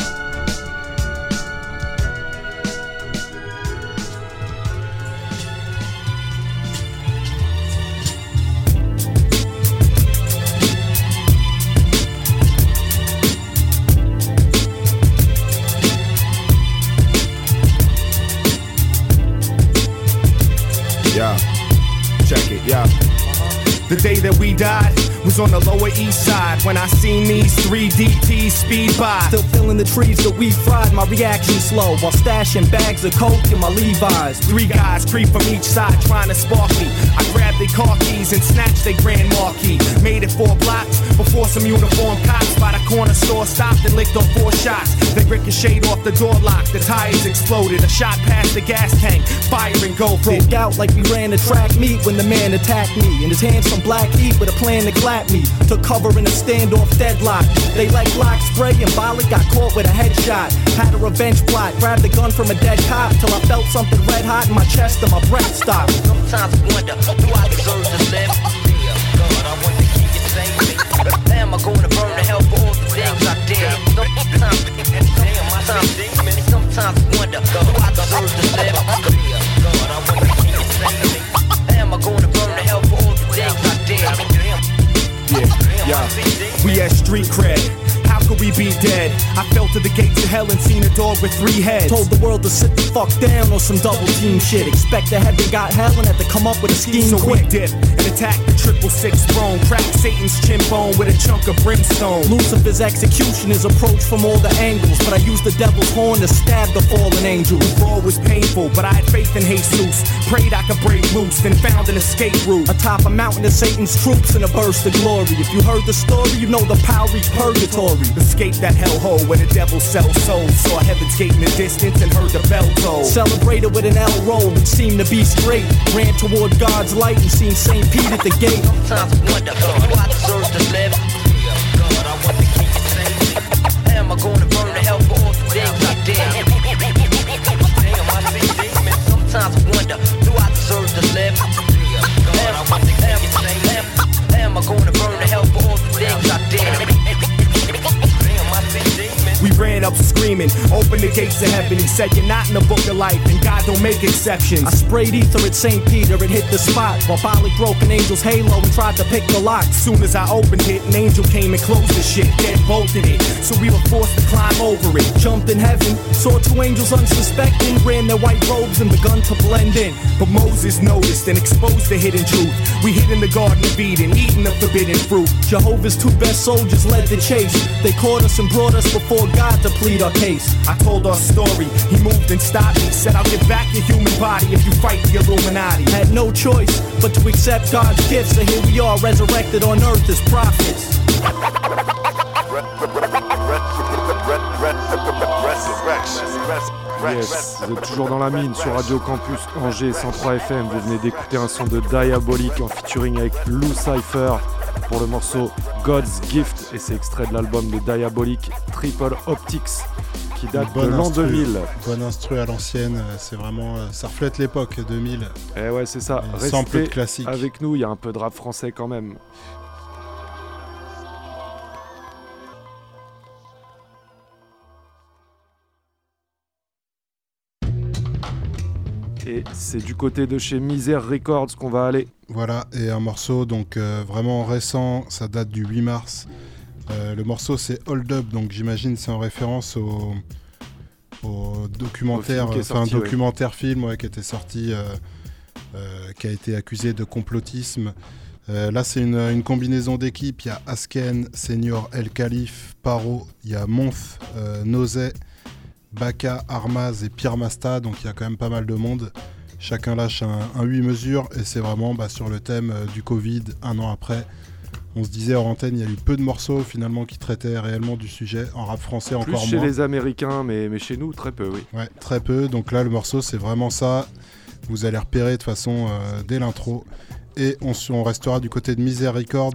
Yeah, check it, yeah. The day that we died was on the Lower East Side when I seen these 3 DTs speed by. Still feeling the trees that we fried, my reaction slow while stashing bags of coke in my Levi's. 3 guys creep from each side trying to spark me. I grabbed their car keys and snatched their grand marquee. Made it 4 blocks before some uniformed cops by the corner store stopped and licked on 4 shots. They ricocheted off the door lock, the tires exploded. A shot past the gas tank, fire engulfed it. Broke out like we ran a track meet when the man attacked me. In his hands some black heat with a plan to clap me. Took cover in a standoff deadlock. They like lock spray and Bollock got caught with a headshot. Had a revenge plot, grabbed a gun from a dead cop till I felt something red hot in my chest and my breath stopped. Sometimes I wonder, do I deserve to live? God, I want to keep it safe. Am I going to burn to hell for all the things I did? Sometimes I wonder, do I deserve to live? God, I want to keep it safe. Am I going to burn to hell for all the things I did? Yeah, we had street cred. How could we be dead? I fell to the gates of hell and seen a dog with 3 heads. Told the world to sit the fuck down on some double team shit. Expect the heaven got hell and had to come up with a scheme so quick. We dipped and attacked the 666 throne. Cracked Satan's chin bone with a chunk of brimstone. Lucifer's execution is approached from all the angles, but I used the devil's horn to stab the fallen angel. The fall was painful, but I had faith in Jesus. Prayed I could break loose, then found an escape route. Atop a mountain of Satan's troops in a burst of glory. If you heard the story, you know the power reached purgatory. Escape that hellhole where the devil sells souls. Saw Heaven's Gate in the distance and heard the bell toll. Celebrated with an L roll and seemed to be straight. Ran toward God's light and seen St. Pete at the gate. Sometimes I wonder who I deserve to live. God, I want to keep you safe. Am I gonna burn to hell for all the things I did? Damn, I see demons. Sometimes I wonder do I deserve to live. God, I want to keep you safe. Am I gonna burn to hell for all the things I did? We ran up screaming, open the gates of heaven. He said you're not in the book of life and God don't make exceptions. I sprayed ether at St. Peter, it hit the spot. While Bolly broke an angel's halo and tried to pick the lock. Soon as I opened it, an angel came and closed the shit, dead bolted it. So we were forced to climb over it. Jumped in heaven, saw two angels unsuspecting. Ran their white robes and begun to blend in. But Moses noticed and exposed the hidden truth. We hid in the Garden of Eden, eating the forbidden fruit. Jehovah's two best soldiers led the chase. They caught us and brought us before God to plead our case. I told our story, he moved and stopped me. Said I'll give back your human body if you fight the Illuminati. Had no choice but to accept God's gifts. So here we are resurrected on earth as prophets. Yes, vous êtes toujours dans la mine sur Radio Campus Angers 103 FM. Vous venez d'écouter un son de Diabolique en featuring avec Lou Cypher pour le morceau God's Gift, et c'est extrait de l'album de Diabolique Triple Optics qui date de l'an 2000. Bonne instru à l'ancienne, c'est vraiment, ça reflète l'époque 2000. Et ouais, c'est ça. Restez classique avec nous, il y a un peu de rap français quand même. Et c'est du côté de chez Misère Records qu'on va aller. Voilà, et un morceau donc vraiment récent, ça date du 8 mars. Le morceau c'est Hold Up, donc j'imagine c'est en référence au documentaire, documentaire film qui était sorti, qui a été accusé de complotisme. Là c'est une combinaison d'équipes, il y a Asken, Senior, El Khalif, Paro, il y a Month, Nozé, Baka, Armaz et Pierre Masta, donc il y a quand même pas mal de monde. Chacun lâche un 8 mesures et c'est vraiment sur le thème du Covid, un an après. On se disait hors antenne, il y a eu peu de morceaux finalement qui traitaient réellement du sujet. En rap français encore moins. Plus chez les Américains, mais chez nous très peu, oui. Ouais, très peu. Donc là le morceau c'est vraiment ça. Vous allez repérer de toute façon dès l'intro. Et on restera du côté de Misère Records,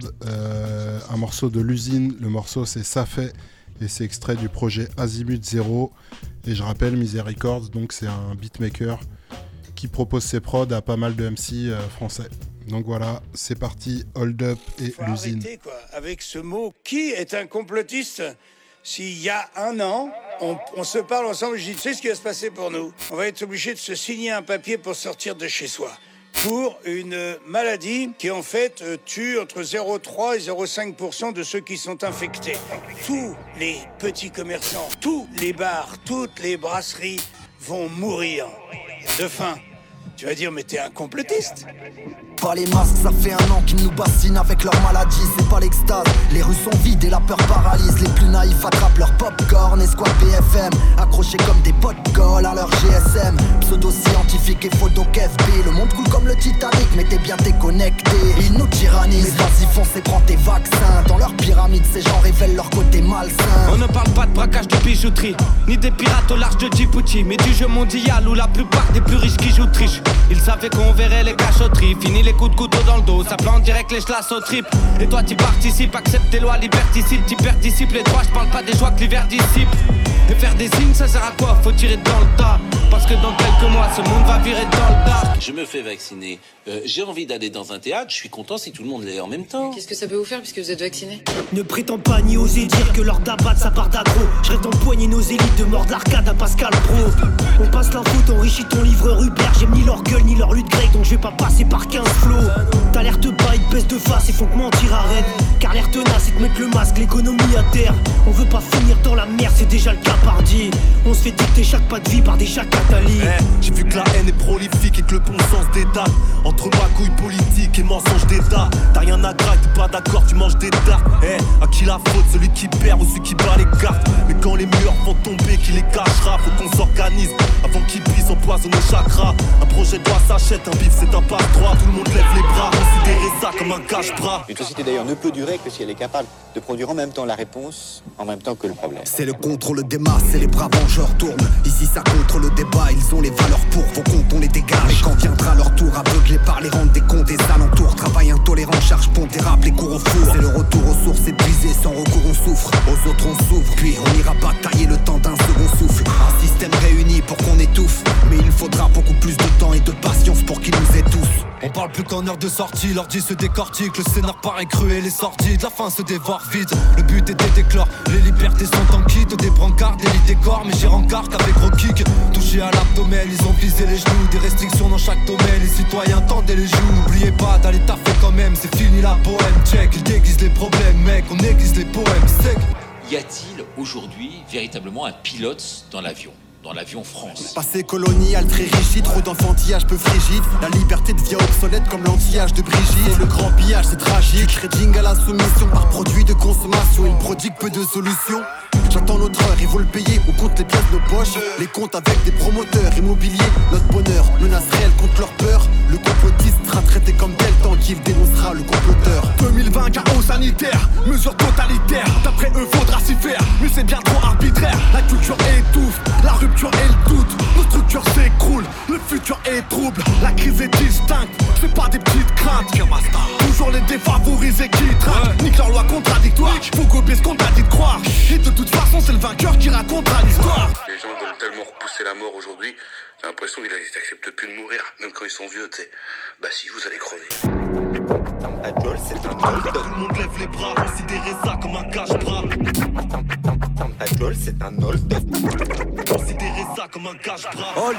un morceau de l'usine. Le morceau c'est Ça fait. Et c'est extrait du projet Azimut Zero. Et je rappelle, Misère Records, donc c'est un beatmaker qui propose ses prods à pas mal de MC français. Donc voilà, c'est parti, Hold Up et l'usine. Arrêter, quoi, avec ce mot, qui est un complotiste? S'il y a un an, on se parle ensemble, je dis, tu sais ce qui va se passer pour nous? On va être obligé de se signer un papier pour sortir de chez soi. Pour une maladie qui en fait tue entre 0,3 et 0,5% de ceux qui sont infectés. Tous les petits commerçants, tous les bars, toutes les brasseries vont mourir de faim. Tu vas dire, mais t'es un complotiste. Pas les masques, ça fait un an qu'ils nous bassinent avec leur maladie, c'est pas l'extase. Les rues sont vides et la peur paralyse. Les plus naïfs attrapent leur popcorn et squat BFM, accrochés comme des potes colle à leur GSM. Pseudo-scientifique et photo KFB. Le monde coule comme le Titanic, mais t'es bien déconnecté. Ils nous tyrannisent, vas-y fonce et prends tes vaccins. Dans leur pyramide, ces gens révèlent leur côté malsain. On ne parle pas de braquage de bijouterie, ni des pirates au large de Djibouti, mais du jeu mondial où la plupart des plus riches qui jouent triche. Ils savaient qu'on verrait les cachotteries, fini les coups de couteau dans le dos, ça plante direct les chlasses au trip. Et toi t'y participes, accepte tes lois liberticides, t'y participes les droits, je parle pas des joies que l'hiver dissipe. Et faire des signes ça sert à quoi? Faut tirer dans le tas, parce que dans quelques mois ce monde va virer dans le tas. Je me fais vacciner, j'ai envie d'aller dans un théâtre, je suis content si tout le monde l'est en même temps. Qu'est-ce que ça peut vous faire puisque vous êtes vacciné? Ne prétends pas ni oser dire que leur d'abat ça part d'aggro. Je reste empoigné nos élites de mort de l'arcade à Pascal Pro. On passe l'info, t'enrichis ton livreur Uber. J'aime ni leur gueule ni leur lutte grecque, donc je vais pas passer par 15 flots. T'as l'air de bas, ils te baissent de face et font que mentir arrête. Car l'air tenace et te mettre le masque, l'économie à terre. On veut pas finir dans la merde, c'est déjà le cas pardi. On se fait dicter chaque pas de vie par des jacques Nathalie. J'ai vu que la haine est prolifique et que le bon sens dédale. Entre magouille politique et mensonge d'État. T'as rien à grailler, t'es pas d'accord, tu manges des dards. À qui la faute, celui qui perd ou celui qui bat les cartes. Mais quand les murs vont tomber, qui les cachera? Faut qu'on s'organise avant qu'ils puissent empoisonner chakra. Un projet de loi s'achète, un bif c'est un passe-droit. Tout le monde lève les bras, considérez ça comme un cache-bras. Une société d'ailleurs ne peut durer que si elle est capable de produire en même temps la réponse, en même temps que le problème. C'est le contrôle des masses et les bras vengeurs tournent. Ici ça contrôle le débat, ils ont les valeurs pour vos comptes, on les dégage. Mais quand viendra leur tour, aveuglés par les rentes des comptes des alentours. Travail intolérant, charge pondérable, les cours au four. C'est le retour aux sources épuisées, sans recours on souffre. Aux autres on s'ouvre, puis on ira batailler le temps d'un second souffle. Un système réuni pour qu'on étouffe. Mais il faudra beaucoup plus de temps et de patience pour qu'ils nous étouffent. On parle plus qu'en heure de sortie, l'ordi se décortique. Le scénar paraît cruel et sordide, la fin se dévore vite. Le but était d'éclore, les libertés sont en kit. Des brancards, des lits, des corps, mais j'ai rencard qu'avec gros kick. Touché à l'abdomen, ils ont visé les genoux. Des restrictions dans chaque domaine, les citoyens tendaient les joues. N'oubliez pas d'aller taffer quand même, c'est fini la bohème. Check, ils déguisent les problèmes, mec, on aiguise les poèmes, sec. Y a-t-il aujourd'hui véritablement un pilote dans l'avion France? Passé colonial très rigide, trop d'enfantillage peu frigide. La liberté devient obsolète comme l'anti-âge de Brigitte. Le grand pillage c'est tragique, trading à la soumission par produit de consommation. Il prodigue peu de solutions. J'attends notre heure, ils vont le payer, on compte les pièces de nos poches. Les comptes avec des promoteurs immobiliers, notre bonheur, menace réelle contre leur peur. Le complotiste sera traité comme tel tant qu'il dénoncera le comploteur. 2020, chaos sanitaire, mesures totalitaires. D'après eux, faudra s'y faire, mais c'est bien trop arbitraire. La culture étouffe, la rupture et le doute. Nos structures s'écroulent, le futur est trouble. La crise est distincte, c'est pas des petites craintes. Toujours les défavorisés qui traquent, nique leur loi contradictoire. Faut gober ce qu'on t'a dit de croire. Et de toute façon, c'est le vainqueur qui racontera l'histoire. Les gens veulent tellement repousser la mort aujourd'hui, j'ai l'impression qu'ils n'acceptent plus de mourir, même quand ils sont vieux, tu sais. Bah si, vous allez crever. Adol, c'est un hold. Tout le monde lève les bras, considérez ça comme un cache-bras. Adol, c'est un hold. Considérez ça comme un cache-bras. Hold.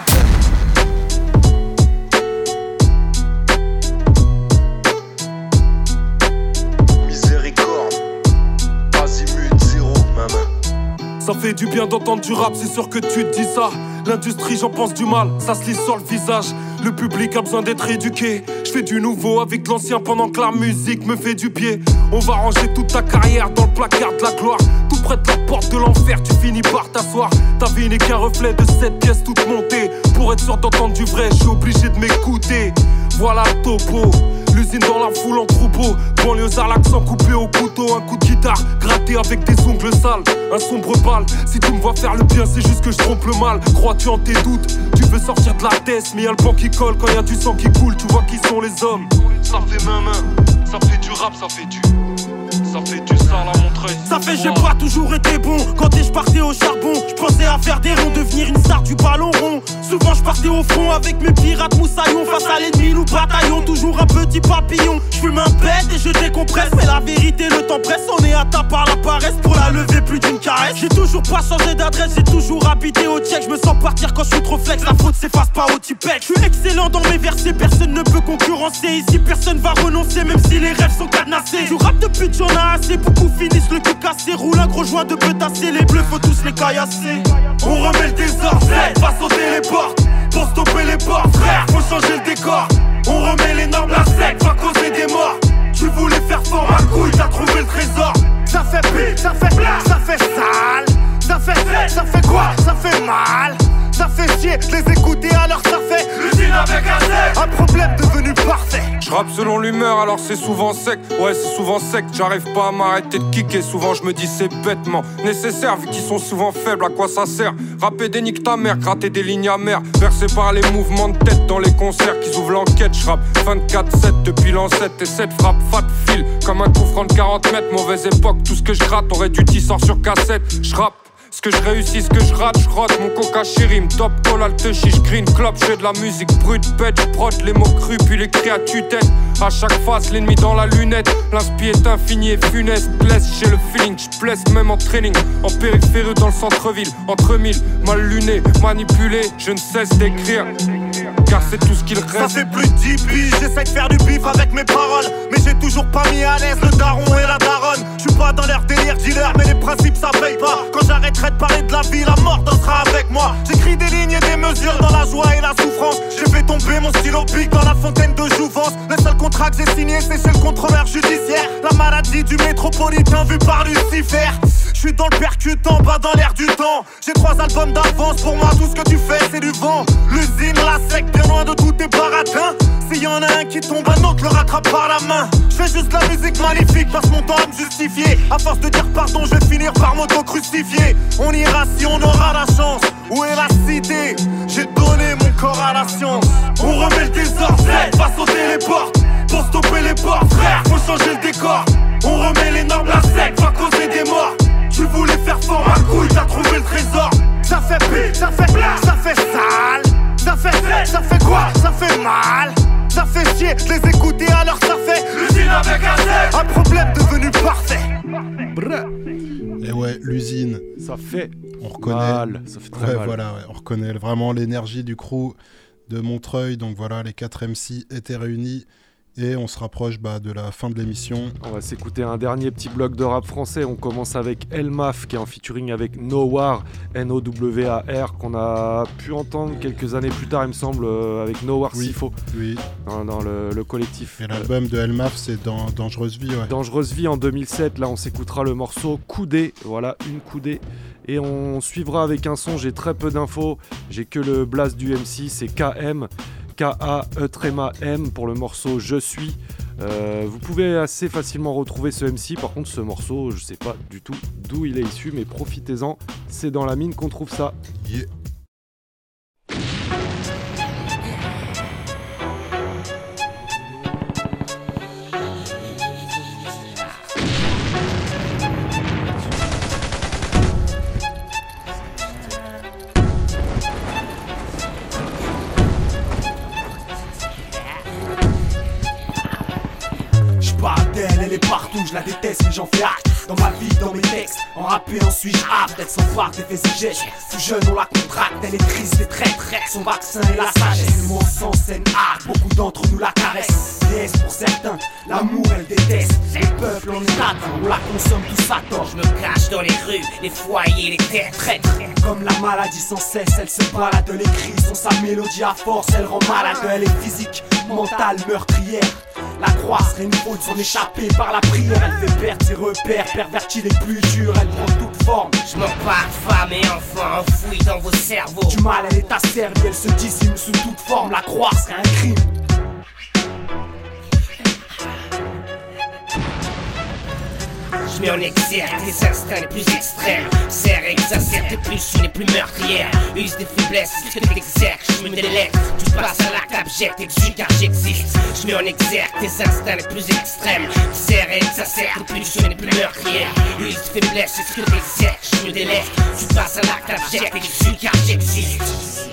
Miséricorde, azimut, zéro, maman. Ça fait du bien d'entendre du rap, c'est sûr que tu te dis ça. L'industrie, j'en pense du mal, ça se lit sur le visage. Le public a besoin d'être éduqué. Je fais du nouveau avec de l'ancien pendant que la musique me fait du pied. On va ranger toute ta carrière dans le placard de la gloire. Tout près de la porte de l'enfer, tu finis par t'asseoir. Ta vie n'est qu'un reflet de cette pièce toute montée. Pour être sûr d'entendre du vrai, je suis obligé de m'écouter. Voilà le topo, l'usine dans la foule en troupeau. Banlieusard, l'accent coupé au couteau. Un coup de guitare, gratté avec des ongles sales. Un sombre bal, si tu me vois faire le bien, c'est juste que je trompe le mal. Crois-tu en tes doutes, tu veux sortir de la tête, mais y'a le banc qui colle quand y'a du sang qui coule. Tu vois qui sont les hommes. Ça fait main, ça fait du rap, ça fait du sale à Montreuil. Ça fait j'ai pas toujours été bon. Quand je partais au charbon, je pensais à faire des ronds, devenir une star du ballon rond. Souvent je partais au front avec mes pirates moussaillons. Face à l'ennemi nous bataillons, toujours un petit papillon. Je fume un pet et je décompresse. Mais la vérité le temps presse, on est atteint par la paresse. Pour la lever plus d'une caresse. J'ai toujours pas changé d'adresse, j'ai toujours habité au check. Je me sens partir quand je suis trop flex, la faute s'efface pas au Tipec. Je suis excellent dans mes versets, personne ne peut concurrencer. Ici personne va renoncer même si les rêves sont cadenassés. Je rappe depuis que j'en ai assez, beaucoup finissent le cul cassé. Roule un gros joint de pétasser, les bleus faut tous les caillasser. On remet le désordre, va sauter les portes. Pour stopper les portes, frère, faut changer le décor. On remet les normes, la sec va causer des morts. Tu voulais faire fort ma couille, t'as trouvé le trésor. Ça fait pire, ça fait sale. Ça fait quoi? Ça fait mal. Ça fait chier de les écouter alors ça fait l'usine avec un sec. Un problème devenu parfait. J'rappe selon l'humeur alors c'est souvent sec. Ouais c'est souvent sec, j'arrive pas à m'arrêter de kicker. Souvent je me dis c'est bêtement nécessaire vu qu'ils sont souvent faibles, à quoi ça sert? Rapper des nique ta mère, gratter des lignes amères. Versé par les mouvements de tête dans les concerts qu'ils ouvrent l'enquête. J'rappe 24/7 depuis l'an 7 et 7 frappe fat fil comme un coup franc de 40 mètres. Mauvaise époque, tout ce que je gratte aurait dû t'y sort sur cassette. J'rappe ce que je réussis, ce que je rate, j'rote mon coca chérim, top call, alte chiche, green club, j'fais de la musique brute, bête, j'prod les mots crus, puis les cris à tue-tête. À chaque face, l'ennemi dans la lunette, l'inspi est infini et funeste, blesse, j'ai le feeling, j'blesse même en training, en périphérie dans le centre-ville, entre mille, mal luné, manipulé, je ne cesse d'écrire. Car c'est tout ce qu'il reste. Ça fait plus de 10 piges, j'essaie de faire du bif avec mes paroles. Mais j'ai toujours pas mis à l'aise le daron et la daronne. J'suis pas dans leur délire mais les principes ça paye pas. Quand j'arrêterai de parler de la vie, la mort dansera avec moi. J'écris des lignes et des mesures mesure dans la joie et la souffrance. J'ai fait tomber mon stylo pic dans la fontaine de jouvence. Le seul contrat que j'ai signé, c'est chez le contrôleur judiciaire. La maladie du métropolitain vu par Lucifer. Je suis dans le percute en bas dans l'air du temps. J'ai 3 albums d'avance, pour moi tout ce que tu fais c'est du vent. L'usine, la sec, bien loin de tous tes baratins. S'il y en a un qui tombe, un autre le rattrape par la main. Je fais juste la musique magnifique, passe mon temps à me justifier. À force de dire pardon, je vais finir par m'auto-crucifier. On ira si on aura la chance. Où est la cité? J'ai donné mon corps à la science. On remet le désordre, va sauter les portes. Pour stopper les portes, frère, faut changer le décor. On remet les normes, la sec, va causer des morts. Tu voulais faire fort ma couille, t'as trouvé le trésor. Ça fait pire, ça fait sale. Ça fait quoi? Ça fait mal. Ça fait chier de les écouter alors ça fait l'usine avec un Z. Un problème devenu parfait. Et ouais, l'usine. Ça fait on reconnaît mal. Ça fait très mal. Voilà, on reconnaît vraiment l'énergie du crew de Montreuil. Donc voilà, les 4 MC étaient réunis. Et on se rapproche de la fin de l'émission. On va s'écouter un dernier petit bloc de rap français. On commence avec Elmaf qui est en featuring avec Nowar, N-O-W-A-R, qu'on a pu entendre quelques années plus tard, il me semble, avec Nowar Sifo. Oui. Dans le collectif. Et l'album de Elmaf, c'est dans Dangereuse Vie. Ouais. Dangereuse Vie en 2007. Là, on s'écoutera le morceau Coudé. Voilà, une coudée. Et on suivra avec un son. J'ai très peu d'infos. J'ai que le blast du MC, c'est KM. K-A-E-M pour le morceau Je suis. Vous pouvez assez facilement retrouver ce MC. Par contre, ce morceau, je sais pas du tout d'où il est issu, mais profitez-en. C'est dans la mine qu'on trouve ça. Yeah. Elle est partout, je la déteste mais j'en fais acte. Dans ma vie, dans mes textes, en rappé en suis-je apte. Elle s'empare des faits et gestes, plus jeune on la contracte. Elle est triste et traître, son vaccin est la sagesse. Le mot sans scène art, beaucoup d'entre nous la caressent. Déesse pour certains, l'amour elle déteste. Le peuple en est atteint, on la consomme tous à tort. Je me cache dans les rues, les foyers, les terres traîtres. Comme la maladie sans cesse, elle se balade, les cris sont sa mélodie à force. Elle rend malade, elle est physique, mentale, meurtrière. La croix serait une faute, s'en échapper par la prière. Elle fait perdre ses repères, pervertit les plus durs. Elle prend toute forme. Je m'empare femmes et enfants enfouis dans vos cerveaux. Du mal elle est asservie, elle se dissimule sous toute forme. La croire serait un crime. Je mets en exergue les instincts les plus extrêmes. Serre, exacerbe tes pulsions les plus meurtrières. Use des faiblesses, ce que t'exerces. Je me délecte, tu passes à l'acte abject, exude car j'existe. Je mets en exergue tes instincts les plus extrêmes. Serre, exacerbe tes pulsions les plus meurtrières. Use des faiblesses, ce que t'exerces. Je me délecte, tu passes à l'acte abject, exude car j'existe.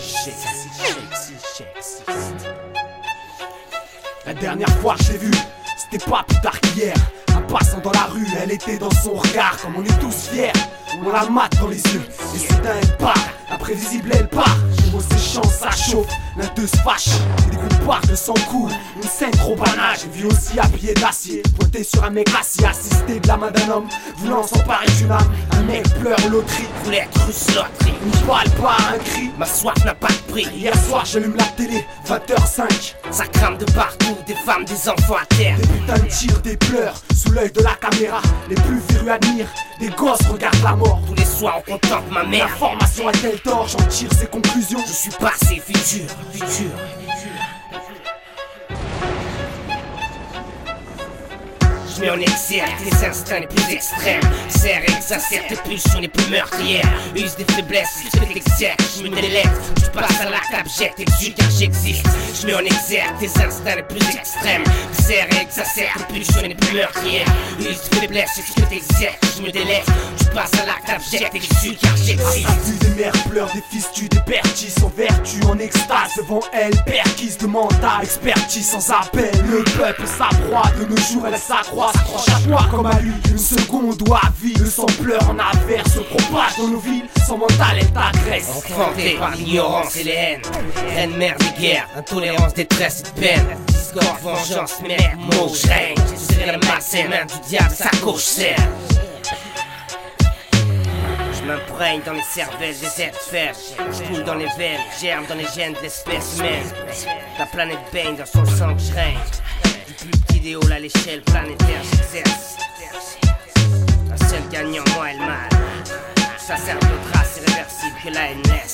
La dernière fois que je l'ai vue, c'était pas plus tard qu'hier. Passant dans la rue, elle était dans son regard. Comme on est tous fiers, on la mate dans les yeux. Et soudain elle part, imprévisible elle part. Les mots s'échangent, ça chauffe, l'un d'eux se fâche. Et des coups partent, le sang coule, une scène trop banale. J'ai vu aussi habillé d'acier, pointé sur un mec assis, assisté de la main d'un homme, voulant s'emparer d'une âme. Un mec pleure loterie, voulait être russe loterie. Une balle pas un cri, ma soif n'a pas de prix. Hier soir j'allume la télé, 20h05. Ça crame de partout, des femmes, des enfants à terre. Des putains de tirs, des pleurs, sous l'œil de la caméra. Les plus férus admirent, des gosses regardent la mort. Tous les soirs on contemple ma mère. L'information a-t-elle tort, j'en tire ses conclusions. Je suis passé, futur. Je mets en exergue les instincts les plus extrêmes. Serre, exacerbe tes pulsions les plus meurtrières. Use des faiblesses, ce que t'exerces. Je me délecte, tu passes à l'acte abject, exude car j'existe. Je mets en exergue tes instincts les plus extrêmes. Serre, exacerbe tes pulsions les plus meurtrières. Use des faiblesses, ce que t'exerces. Je me délecte, tu passes à l'acte abject, exude car j'existe. A vu des mères pleurent, des fils tuent, des pères tissent en vertu, en extase devant elle, perquise de mental, expertise sans appel. Le peuple s'accroît, de nos jours elle s'accroît. S'accroche à toi comme à lui, une seconde ou à vie. Le sang pleure en averse, se propage dans nos villes. Son mental elle t'agresse. Enfanté par l'ignorance et les haines. Reine mère des guerres, intolérance, détresse et de peine. Discorde, vengeance, mère, mot, je règne. Je serai la malsaine main du diable, sa gauche serre. Je m'imprègne dans les cervelles des êtres fers. Je coule dans les veines, germe dans les gènes de l'espèce humaine. La planète baigne dans son sang que je règne. Du plus petit idéal à l'échelle planétaire j'exerce. La seule gagnant, moi et le mal. Ça sert de trace irréversible que la haine laisse.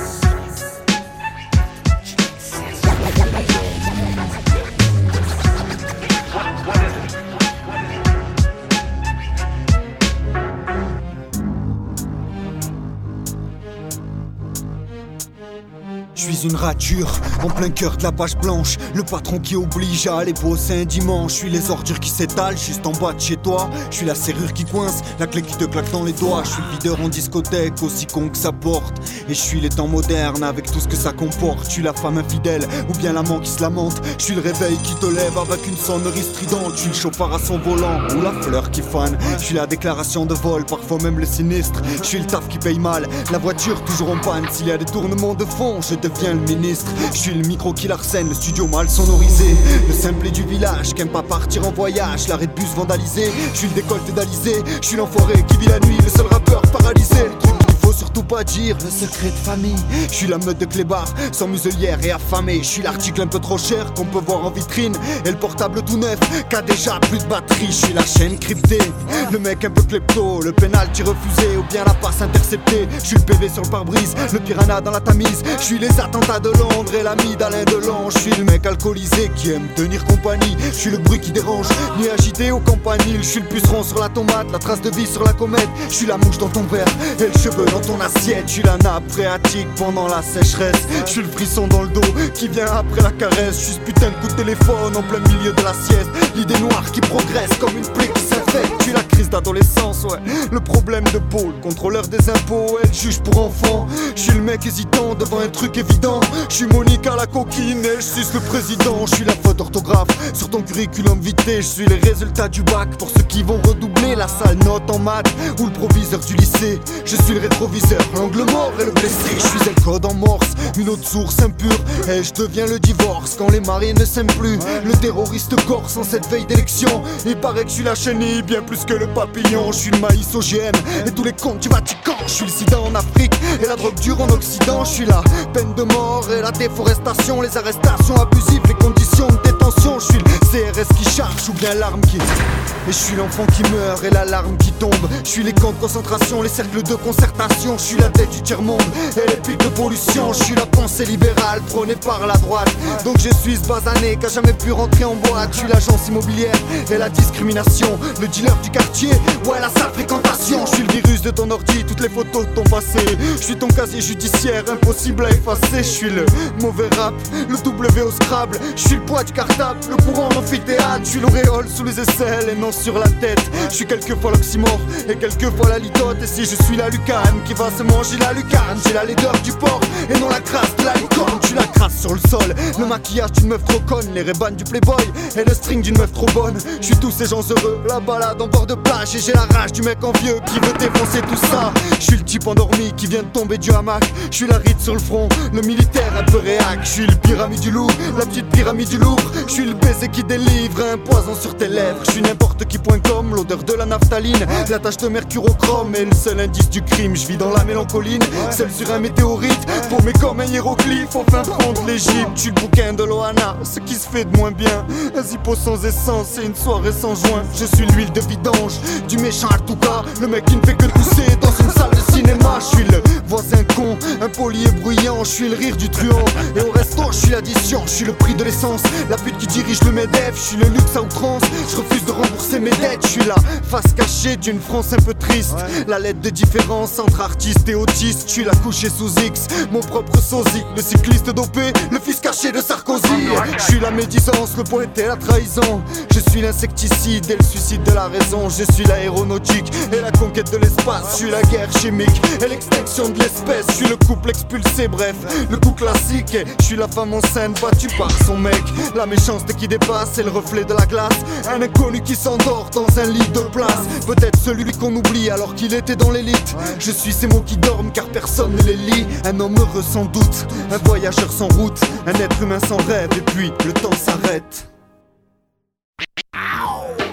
Je suis une rature, en plein cœur de la page blanche. Le patron qui oblige à aller bosser un dimanche. Je suis les ordures qui s'étalent juste en bas de chez toi. Je suis la serrure qui coince, la clé qui te claque dans les doigts. Je suis le videur en discothèque, aussi con que ça porte. Et je suis les temps modernes avec tout ce que ça comporte. Je suis la femme infidèle, ou bien l'amant qui se lamente. Je suis le réveil qui te lève avec une sonnerie stridente. Je suis le chauffard à son volant, ou la fleur qui fane. Je suis la déclaration de vol, parfois même le sinistre. Je suis le taf qui paye mal, la voiture toujours en panne. S'il y a des tournements de fond, je deviens le ministre. Je suis le micro qui l'arsène, le studio mal sonorisé. Le simple du village qui aime pas partir en voyage. L'arrêt de bus vandalisé, je suis le décolleté d'Alizé. Je suis l'enfoiré qui vit la nuit, le seul rappeur paralysé. Le truc qu'il faut surtout pas dire, le secret de famille. Je suis la meute de clébard, sans muselière et affamé. Je suis l'article un peu trop cher qu'on peut voir en vitrine. Et le portable tout neuf, qu'a déjà plus de batterie. Je suis la chaîne cryptée, le mec un peu klepto. Le penalty refusé ou bien la passe interceptée. Je suis le PV sur le pare-brise, le piranha dans la Tamise. Je suis les attentats de Londres et l'ami d'Alain Delon. Je suis le mec alcoolisé qui aime tenir compagnie. Je suis le bruit qui dérange, ni agité au campanile. Je suis le puceron sur la tomate, la trace de vie sur la comète. Je suis la mouche dans ton verre et le cheveu dans ton assiette. Je suis la nappe phréatique pendant la sécheresse. Je suis le frisson dans le dos qui vient après la caresse. Je suis ce putain de coup de téléphone en plein milieu de la sieste. L'idée noire qui progresse comme une plaie qui s'infecte. Je suis la crise d'adolescence, ouais. Le problème de peau, le contrôleur des impôts, elle juge pour enfant. Je suis le mec hésitant devant un truc évident. Je suis Monique à la coquine et je suis le président. Je suis la faute d'orthographe sur ton curriculum vitae. Je suis les résultats du bac pour ceux qui vont redoubler. La sale note en maths ou le proviseur du lycée. Je suis le rétroviseur, l'angle mort et le blessé. Je suis un code en morse, une autre source impure. Et je deviens le divorce quand les mariés ne s'aiment plus. Le terroriste corse en cette veille d'élection. Il paraît que je suis la chenille bien plus que le papillon. Je suis le maïs OGM et tous les comptes du Vatican. Je suis le sida en Afrique et la drogue dure en Occident. Je suis la peine de mort et la déforestation, les arrestations abusives, les conditions de détention. Je suis le CRS qui charge ou bien l'arme qui... Et je suis l'enfant qui meurt et l'alarme qui tombe. Je suis les camps de concentration, les cercles de concertation. Je suis la tête du tiers-monde et les pics de pollution. Je suis la pensée libérale prônée par la droite. Donc je suis ce basané qui a jamais pu rentrer en boîte. Je suis l'agence immobilière et la discrimination. Le dealer du quartier, ouais la sale fréquentation. Je suis le virus de ton ordi, toutes les photos de ton passé. Je suis ton casier judiciaire, impossible à effacer. Je suis le mauvais rap, le W au Scrabble. Je suis le poids du cartable, le courant d'amphithéâtre. Je suis l'auréole sous les aisselles et non sur la tête. Je suis quelquefois l'oxymore et quelquefois la litote. Et si je suis la lucane qui va se manger la lucarne, j'ai la laideur du porc et non la crasse de la licorne. Je suis la crasse sur le sol, le maquillage d'une meuf trop conne, les rébans du playboy et le string d'une meuf trop bonne. Je suis tous ces gens heureux, la balade en bord de plage. Et j'ai la rage du mec envieux qui veut défoncer tout ça. Je suis le type endormi qui vient de tomber du hamac. Je suis la ride sur le front, le militaire un peu réac. Je suis le pyramide du loup, la petite pyramide du Louvre. Je suis le baiser qui délivre un poison sur tes lèvres. Je suis n'importe qui.com, l'odeur de la naphtaline, la tache de mercure au chrome et le seul indice du crime. Je vis dans la mélancoline, seul sur un météorite, paumé comme un hiéroglyphe au fin fond de l'Égypte. Je suis le bouquin de Loana, ce qui se fait de moins bien. Un zippo sans essence et une soirée sans joint. Je suis l'huile de vidange, du méchant à tout cas, le mec qui ne fait que tousser dans une salle de cinéma. Je suis le voisin con, impoli et bruyant. Je suis le rire du truand et au resto je suis l'addition. Je suis le prix de l'essence, la pute qui dirige le MEDEF. Je suis le luxe à outrance, je refuse de rembourser mes dettes. Je suis la face cachée d'une France un peu triste, la lettre de différence entre artiste et autiste. Je suis la couchée sous X, mon propre sosie, le cycliste dopé, le fils caché de Sarkozy. Je suis la médisance, le poète et la trahison. Je suis l'insecticide et le suicide de la raison. Je suis l'aéronautique et la conquête de l'espace. Je suis la guerre chimique et l'extinction de l'espèce. Je suis le couple expulsé, bref, le coup classique. Et je suis la femme enceinte battue par son mec. La méchanceté qui dépasse et le reflet de la glace. Un inconnu qui s'endort dans un lit de place. Peut-être celui qu'on oublie alors qu'il était dans l'élite. Je suis ces mots qui dorment car personne ne les lit. Un homme heureux sans doute, un voyageur sans route, un être humain sans rêve. Et puis le temps s'arrête.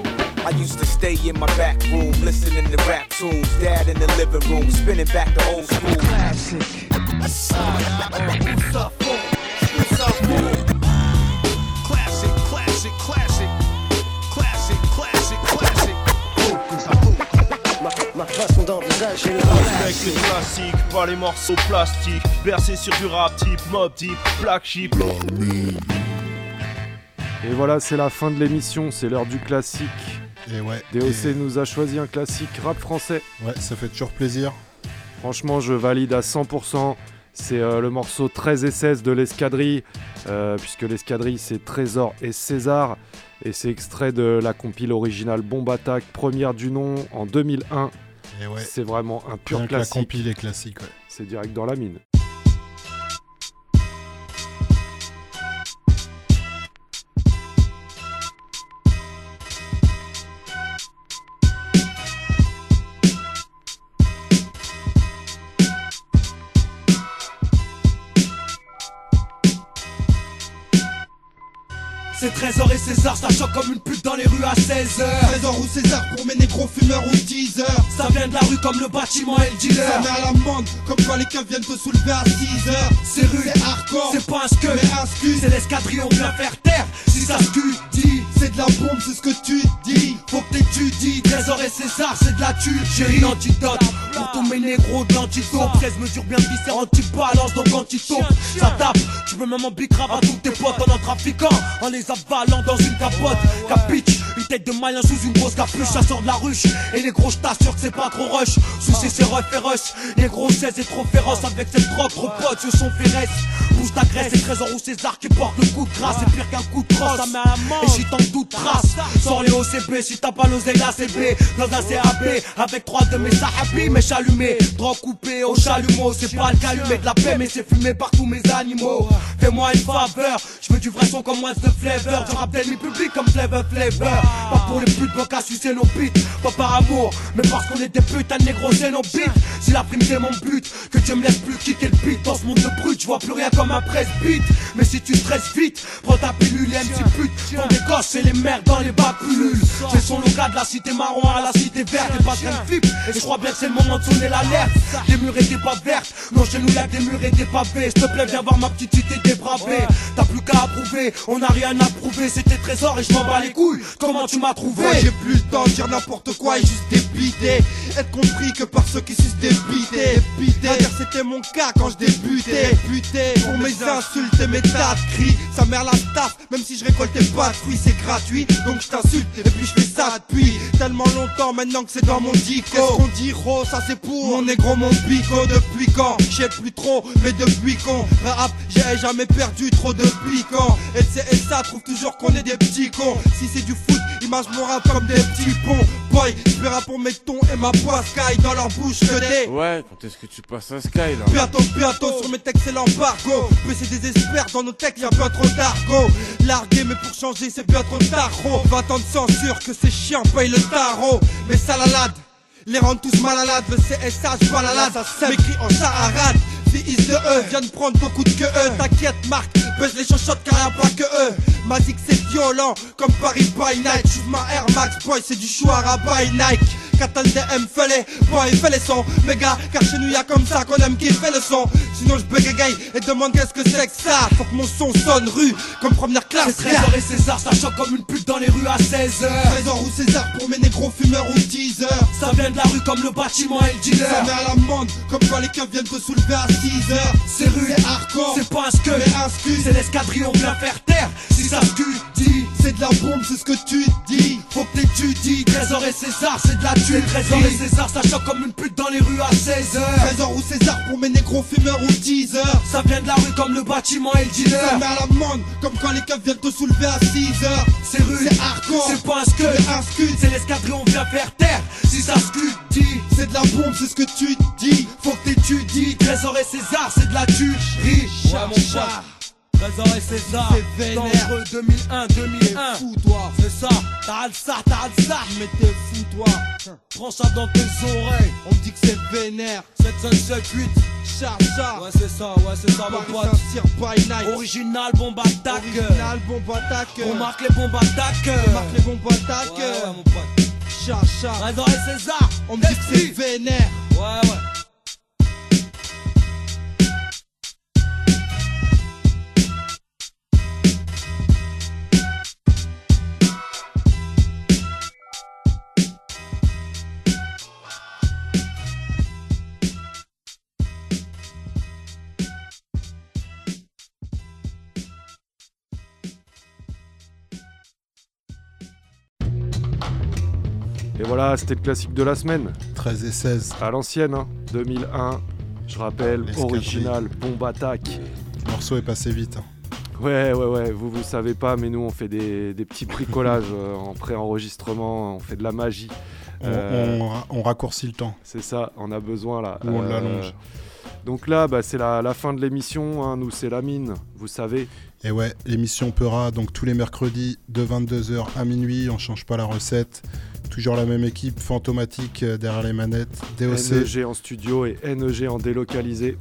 I used to stay in my back room, listening to rap tunes. Dad in the living room, spinning back the old school classic. Classic, classic, classic. Classic, classic, classic. Ma façon d'envisager le Avec les classiques, pas les morceaux plastiques. Bercé sur du rap type, mob type, black sheep. Et voilà, c'est la fin de l'émission, c'est l'heure du classique. Et ouais. DOC nous a choisi un classique rap français. Ouais, ça fait toujours plaisir. Franchement, je valide à 100%. C'est le morceau 13 et 16 de l'Escadrille, puisque l'Escadrille c'est Trésor et César. Et c'est extrait de la compile originale Bombe Attack, première du nom en 2001. Et ouais. C'est vraiment un pur Rien classique. Que la compile est classique, ouais. C'est direct dans la mine. C'est Trésor et César, ça choque comme une pute dans les rues à 16h. Trésor ou César pour mes négros fumeurs ou teasers. Ça vient de la rue comme le bâtiment et le dealer. Ça met à l'amende comme quand les keufs viennent te soulever à 6h. C'est rude, c'est hardcore, c'est pas un scud, mais un scud. C'est l'escadrille, on vient faire taire. Si ça scudit, c'est de la bombe, c'est ce que tu dis. Faut que t'étudies. Trésor et César, c'est de la tue. Chérie, l'antidote pour tous mes négros de l'antidote. 13 mesures bien viscères, anti-balance, donc anti-taupe. Ça tape, tu peux même en bicrave à tous tes potes en trafiquant, en les avalant dans une capote. Capiche, une tête de malin sous une grosse capuche. Ça sort de la ruche, et les gros, j't'assure que c'est pas trop rush. Soucis, c'est rough et rush. Les gros 16 est trop féroce avec cette drogue, gros potes, ce sont féresses. Bouge ta graisse, c'est Trésor ou César qui porte le coup de grâce. C'est pire qu'un coup de crosse, ça met à mort. Et j'y tente toute trace. Sors les OCB, si t'as pas l'oseille, la CB. Dans un CAB, avec 3 de mes sahabis, mes chalumés. Drogue coupée au chalumeau, c'est pas le calumet de la paix, mais c'est fumé par tous mes animaux. Fais-moi une faveur, je veux du vrai son comme What's the Flavor. Du rap demi-public comme Flavor. Pas pour les putes, pas qu'à sucer nos bites. Pas par amour, mais parce qu'on est des putains de négros, c'est nos bites. Si la prime c'est mon but, que Dieu me laisse plus kicker le beat. Dans ce monde de brut, je vois plus rien comme un presse-beat. Mais si tu stresses vite, prends ta pilule et MC pute. Font des gosses et les merdes dans les bas pullules. C'est son local de la cité marron à la cité verte. Et pas de flip, et je crois bien que c'est le moment de sonner l'alerte. Des murs et des pas vertes, non chez nous y'a des murs et des pavés. S'il te plaît viens voir ma petite cité débravée. T'as plus qu'à approuver, on n'a rien à prouver. C'était Trésor et je m'en bats les couilles. Comment tu m'as trouvé? Moi j'ai plus le temps de dire n'importe quoi et juste débiter. Être compris que par ceux qui sucent des bités. D'ailleurs c'était mon cas quand je débutais. Pour mes insultes et mes tas de cris. Ça mère la staff, même si je récoltais pas de fruits, c'est gratuit. Donc je t'insulte et puis je fais ça depuis tellement longtemps maintenant que c'est dans mon dico. Qu'est-ce qu'on dit gros, ça c'est pour mon négro, mon bico. Depuis quand? Je sais plus trop, mais depuis qu'on rap, j'ai jamais perdu trop de piquant. Et ça trouve toujours qu'on est des petits cons. Si c'est du foot, image mon rap comme des petits ponts. Boy, je rap pour mes tons et ma voix Sky dans leur bouche que des. Ouais, quand est-ce que tu passes à Sky là? Bientôt sur mes textes c'est l'embargo. PC désespère dans nos textes y'a bien trop d'argot. Largué mais pour changer c'est bien trop tard. 20 ans de censure que c'est chiant, paye le tarot. Mais salalade, les rendent tous malades. Le CSH balalade, ça m'écrit en charade. Fils de eux, viens de prendre beaucoup de que eux. T'inquiète Marc, baisse les chochottes car y'a pas que eux. M'a dit que c'est violent comme Paris by night. J'ouvre ma Air Max boy, c'est du Chouara by Nike. Katan DM fais-les, boy fais les sons. Méga, car chez nous y'a comme ça qu'on aime qui fait le son. Sinon je bégaye et demande qu'est-ce que c'est que ça. Faut que mon son sonne rue comme première classe. C'est Trésor et César, ça choque comme une pute dans les rues à 16h. Trésor ou César pour mes négros fumeurs ou teasers. Ça vient de la rue comme le bâtiment et le dealer. Ça met à l'amende comme quand les keufs viennent te soulever à 6h. C'est rude, c'est hardcore, c'est pas un scud, mais un scud. C'est l'escadrille, on vient faire taire. Si ça scudit, c'est de la bombe, c'est ce que tu dis. Faut que t'étudies. Trésor et César, c'est de la tue. Trésor et César, ça choque comme une pute dans les rues à 16h. Trésor ou César pour mes négros fumeurs ou teasers. Ça vient de la rue comme le bâtiment et le dealer. Ça met à l'amende comme quand les keufs viennent te soulever à 6h. C'est rude, c'est hardcore, c'est pas un scud, mais un scud. C'est l'escadrille, on vient faire taire. Si ça scudit, c'est de la bombe, c'est ce que tu dis. Faut que t'étudies. Trésor et César, c'est de la tue. Riche, ouais, mon chat. Trésor et César, c'est dangereux 2001. Fou toi, c'est ça, t'as le ça. Mais t'es fou toi. Prends ça dans tes oreilles. On me dit que c'est vénère. 7, 5, 7, 8. Chacha. Ouais c'est ça mon Paris pote. Saint-Cyr by night. Original bombe attaque. Original bombe attaque. On marque les bombes attaques. On marque les bombes attaques. Ouais mon pote. Chacha. Trésor et César. On me dit que c'est vénère. Ouais. Et voilà, c'était le classique de la semaine. 13 et 16. À l'ancienne, hein, 2001. Je rappelle, L'escadrille. original, bombe attaque. Le morceau est passé vite. Hein. Ouais, vous savez pas, mais nous on fait des petits bricolages en pré-enregistrement, on fait de la magie. On raccourcit le temps. C'est ça, on a besoin là. Ou on l'allonge. Donc là, c'est la fin de l'émission, hein. Nous c'est la mine, vous savez. Et ouais, l'émission Peura, donc tous les mercredis de 22h à minuit, on change pas la recette. Toujours la même équipe, Fantomatique derrière les manettes, DOC. NEG en studio et NEG en délocalisé.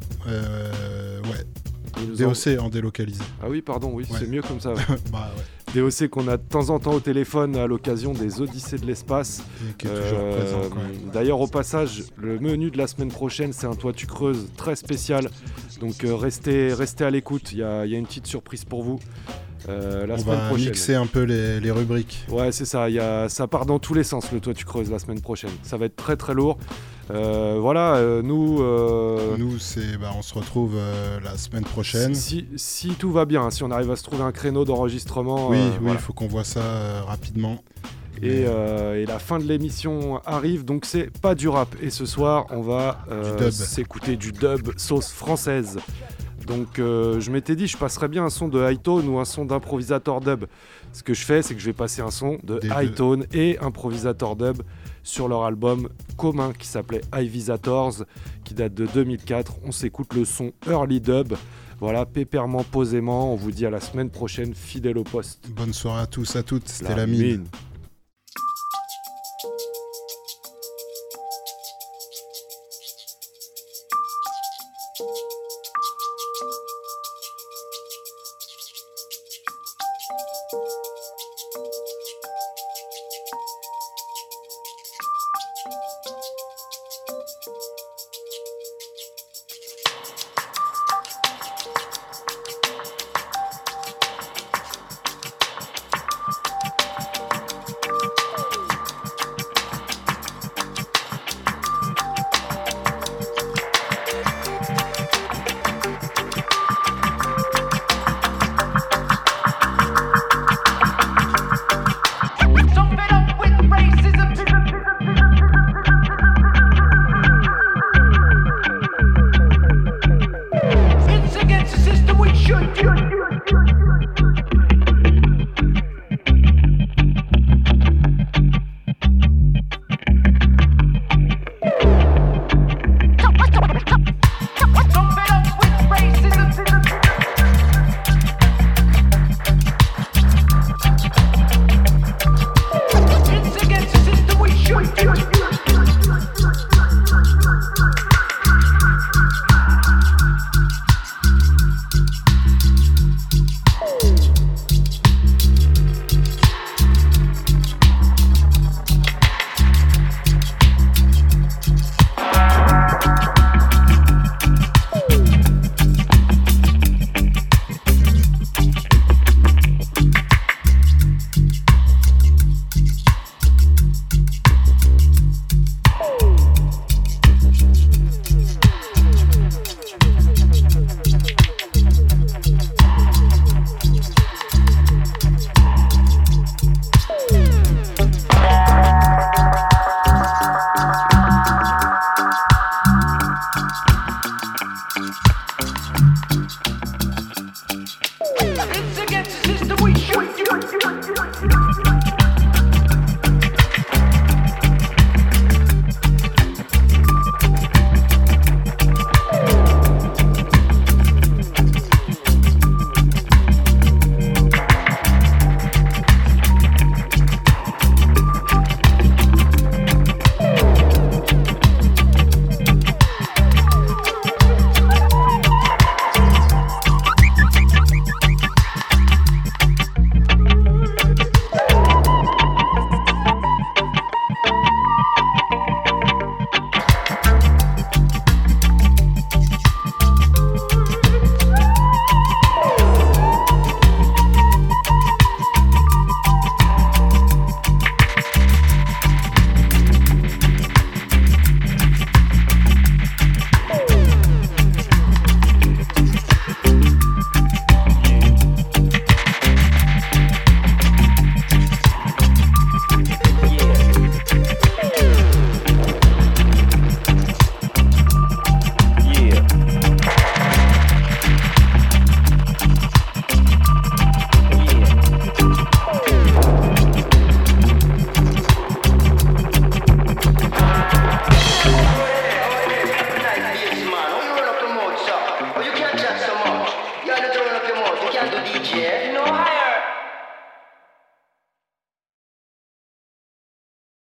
Ouais. DOC en délocalisé. Ah oui, pardon, oui, ouais. C'est mieux comme ça. Ouais. Bah ouais. DOC qu'on a de temps en temps au téléphone à l'occasion des Odyssées de l'espace. Et qui est toujours présent. Quoi. D'ailleurs, au passage, le menu de la semaine prochaine, c'est un Toi tu creuses très spécial. Donc restez à l'écoute, il y a une petite surprise pour vous. La semaine prochaine. On va mixer un peu les rubriques. Ouais, c'est ça. Ça part dans tous les sens, le Toi tu creuses la semaine prochaine. Ça va être très très lourd. Voilà, nous, on se retrouve la semaine prochaine. Si tout va bien, si on arrive à se trouver un créneau d'enregistrement. Oui, voilà. il faut qu'on voit ça rapidement. Et la fin de l'émission arrive, donc c'est pas du rap. Et ce soir, on va s'écouter du dub sauce française. Donc je m'étais dit, je passerais bien un son de Hightone ou un son d'improvisateur dub. Ce que je fais, c'est que je vais passer un son de Hightone et improvisateur dub sur leur album commun qui s'appelait Ivisators, qui date de 2004. On s'écoute le son Early Dub. Voilà, pépèrement, posément. On vous dit à la semaine prochaine, fidèle au poste. Bonne soirée à tous, à toutes. C'était la mine.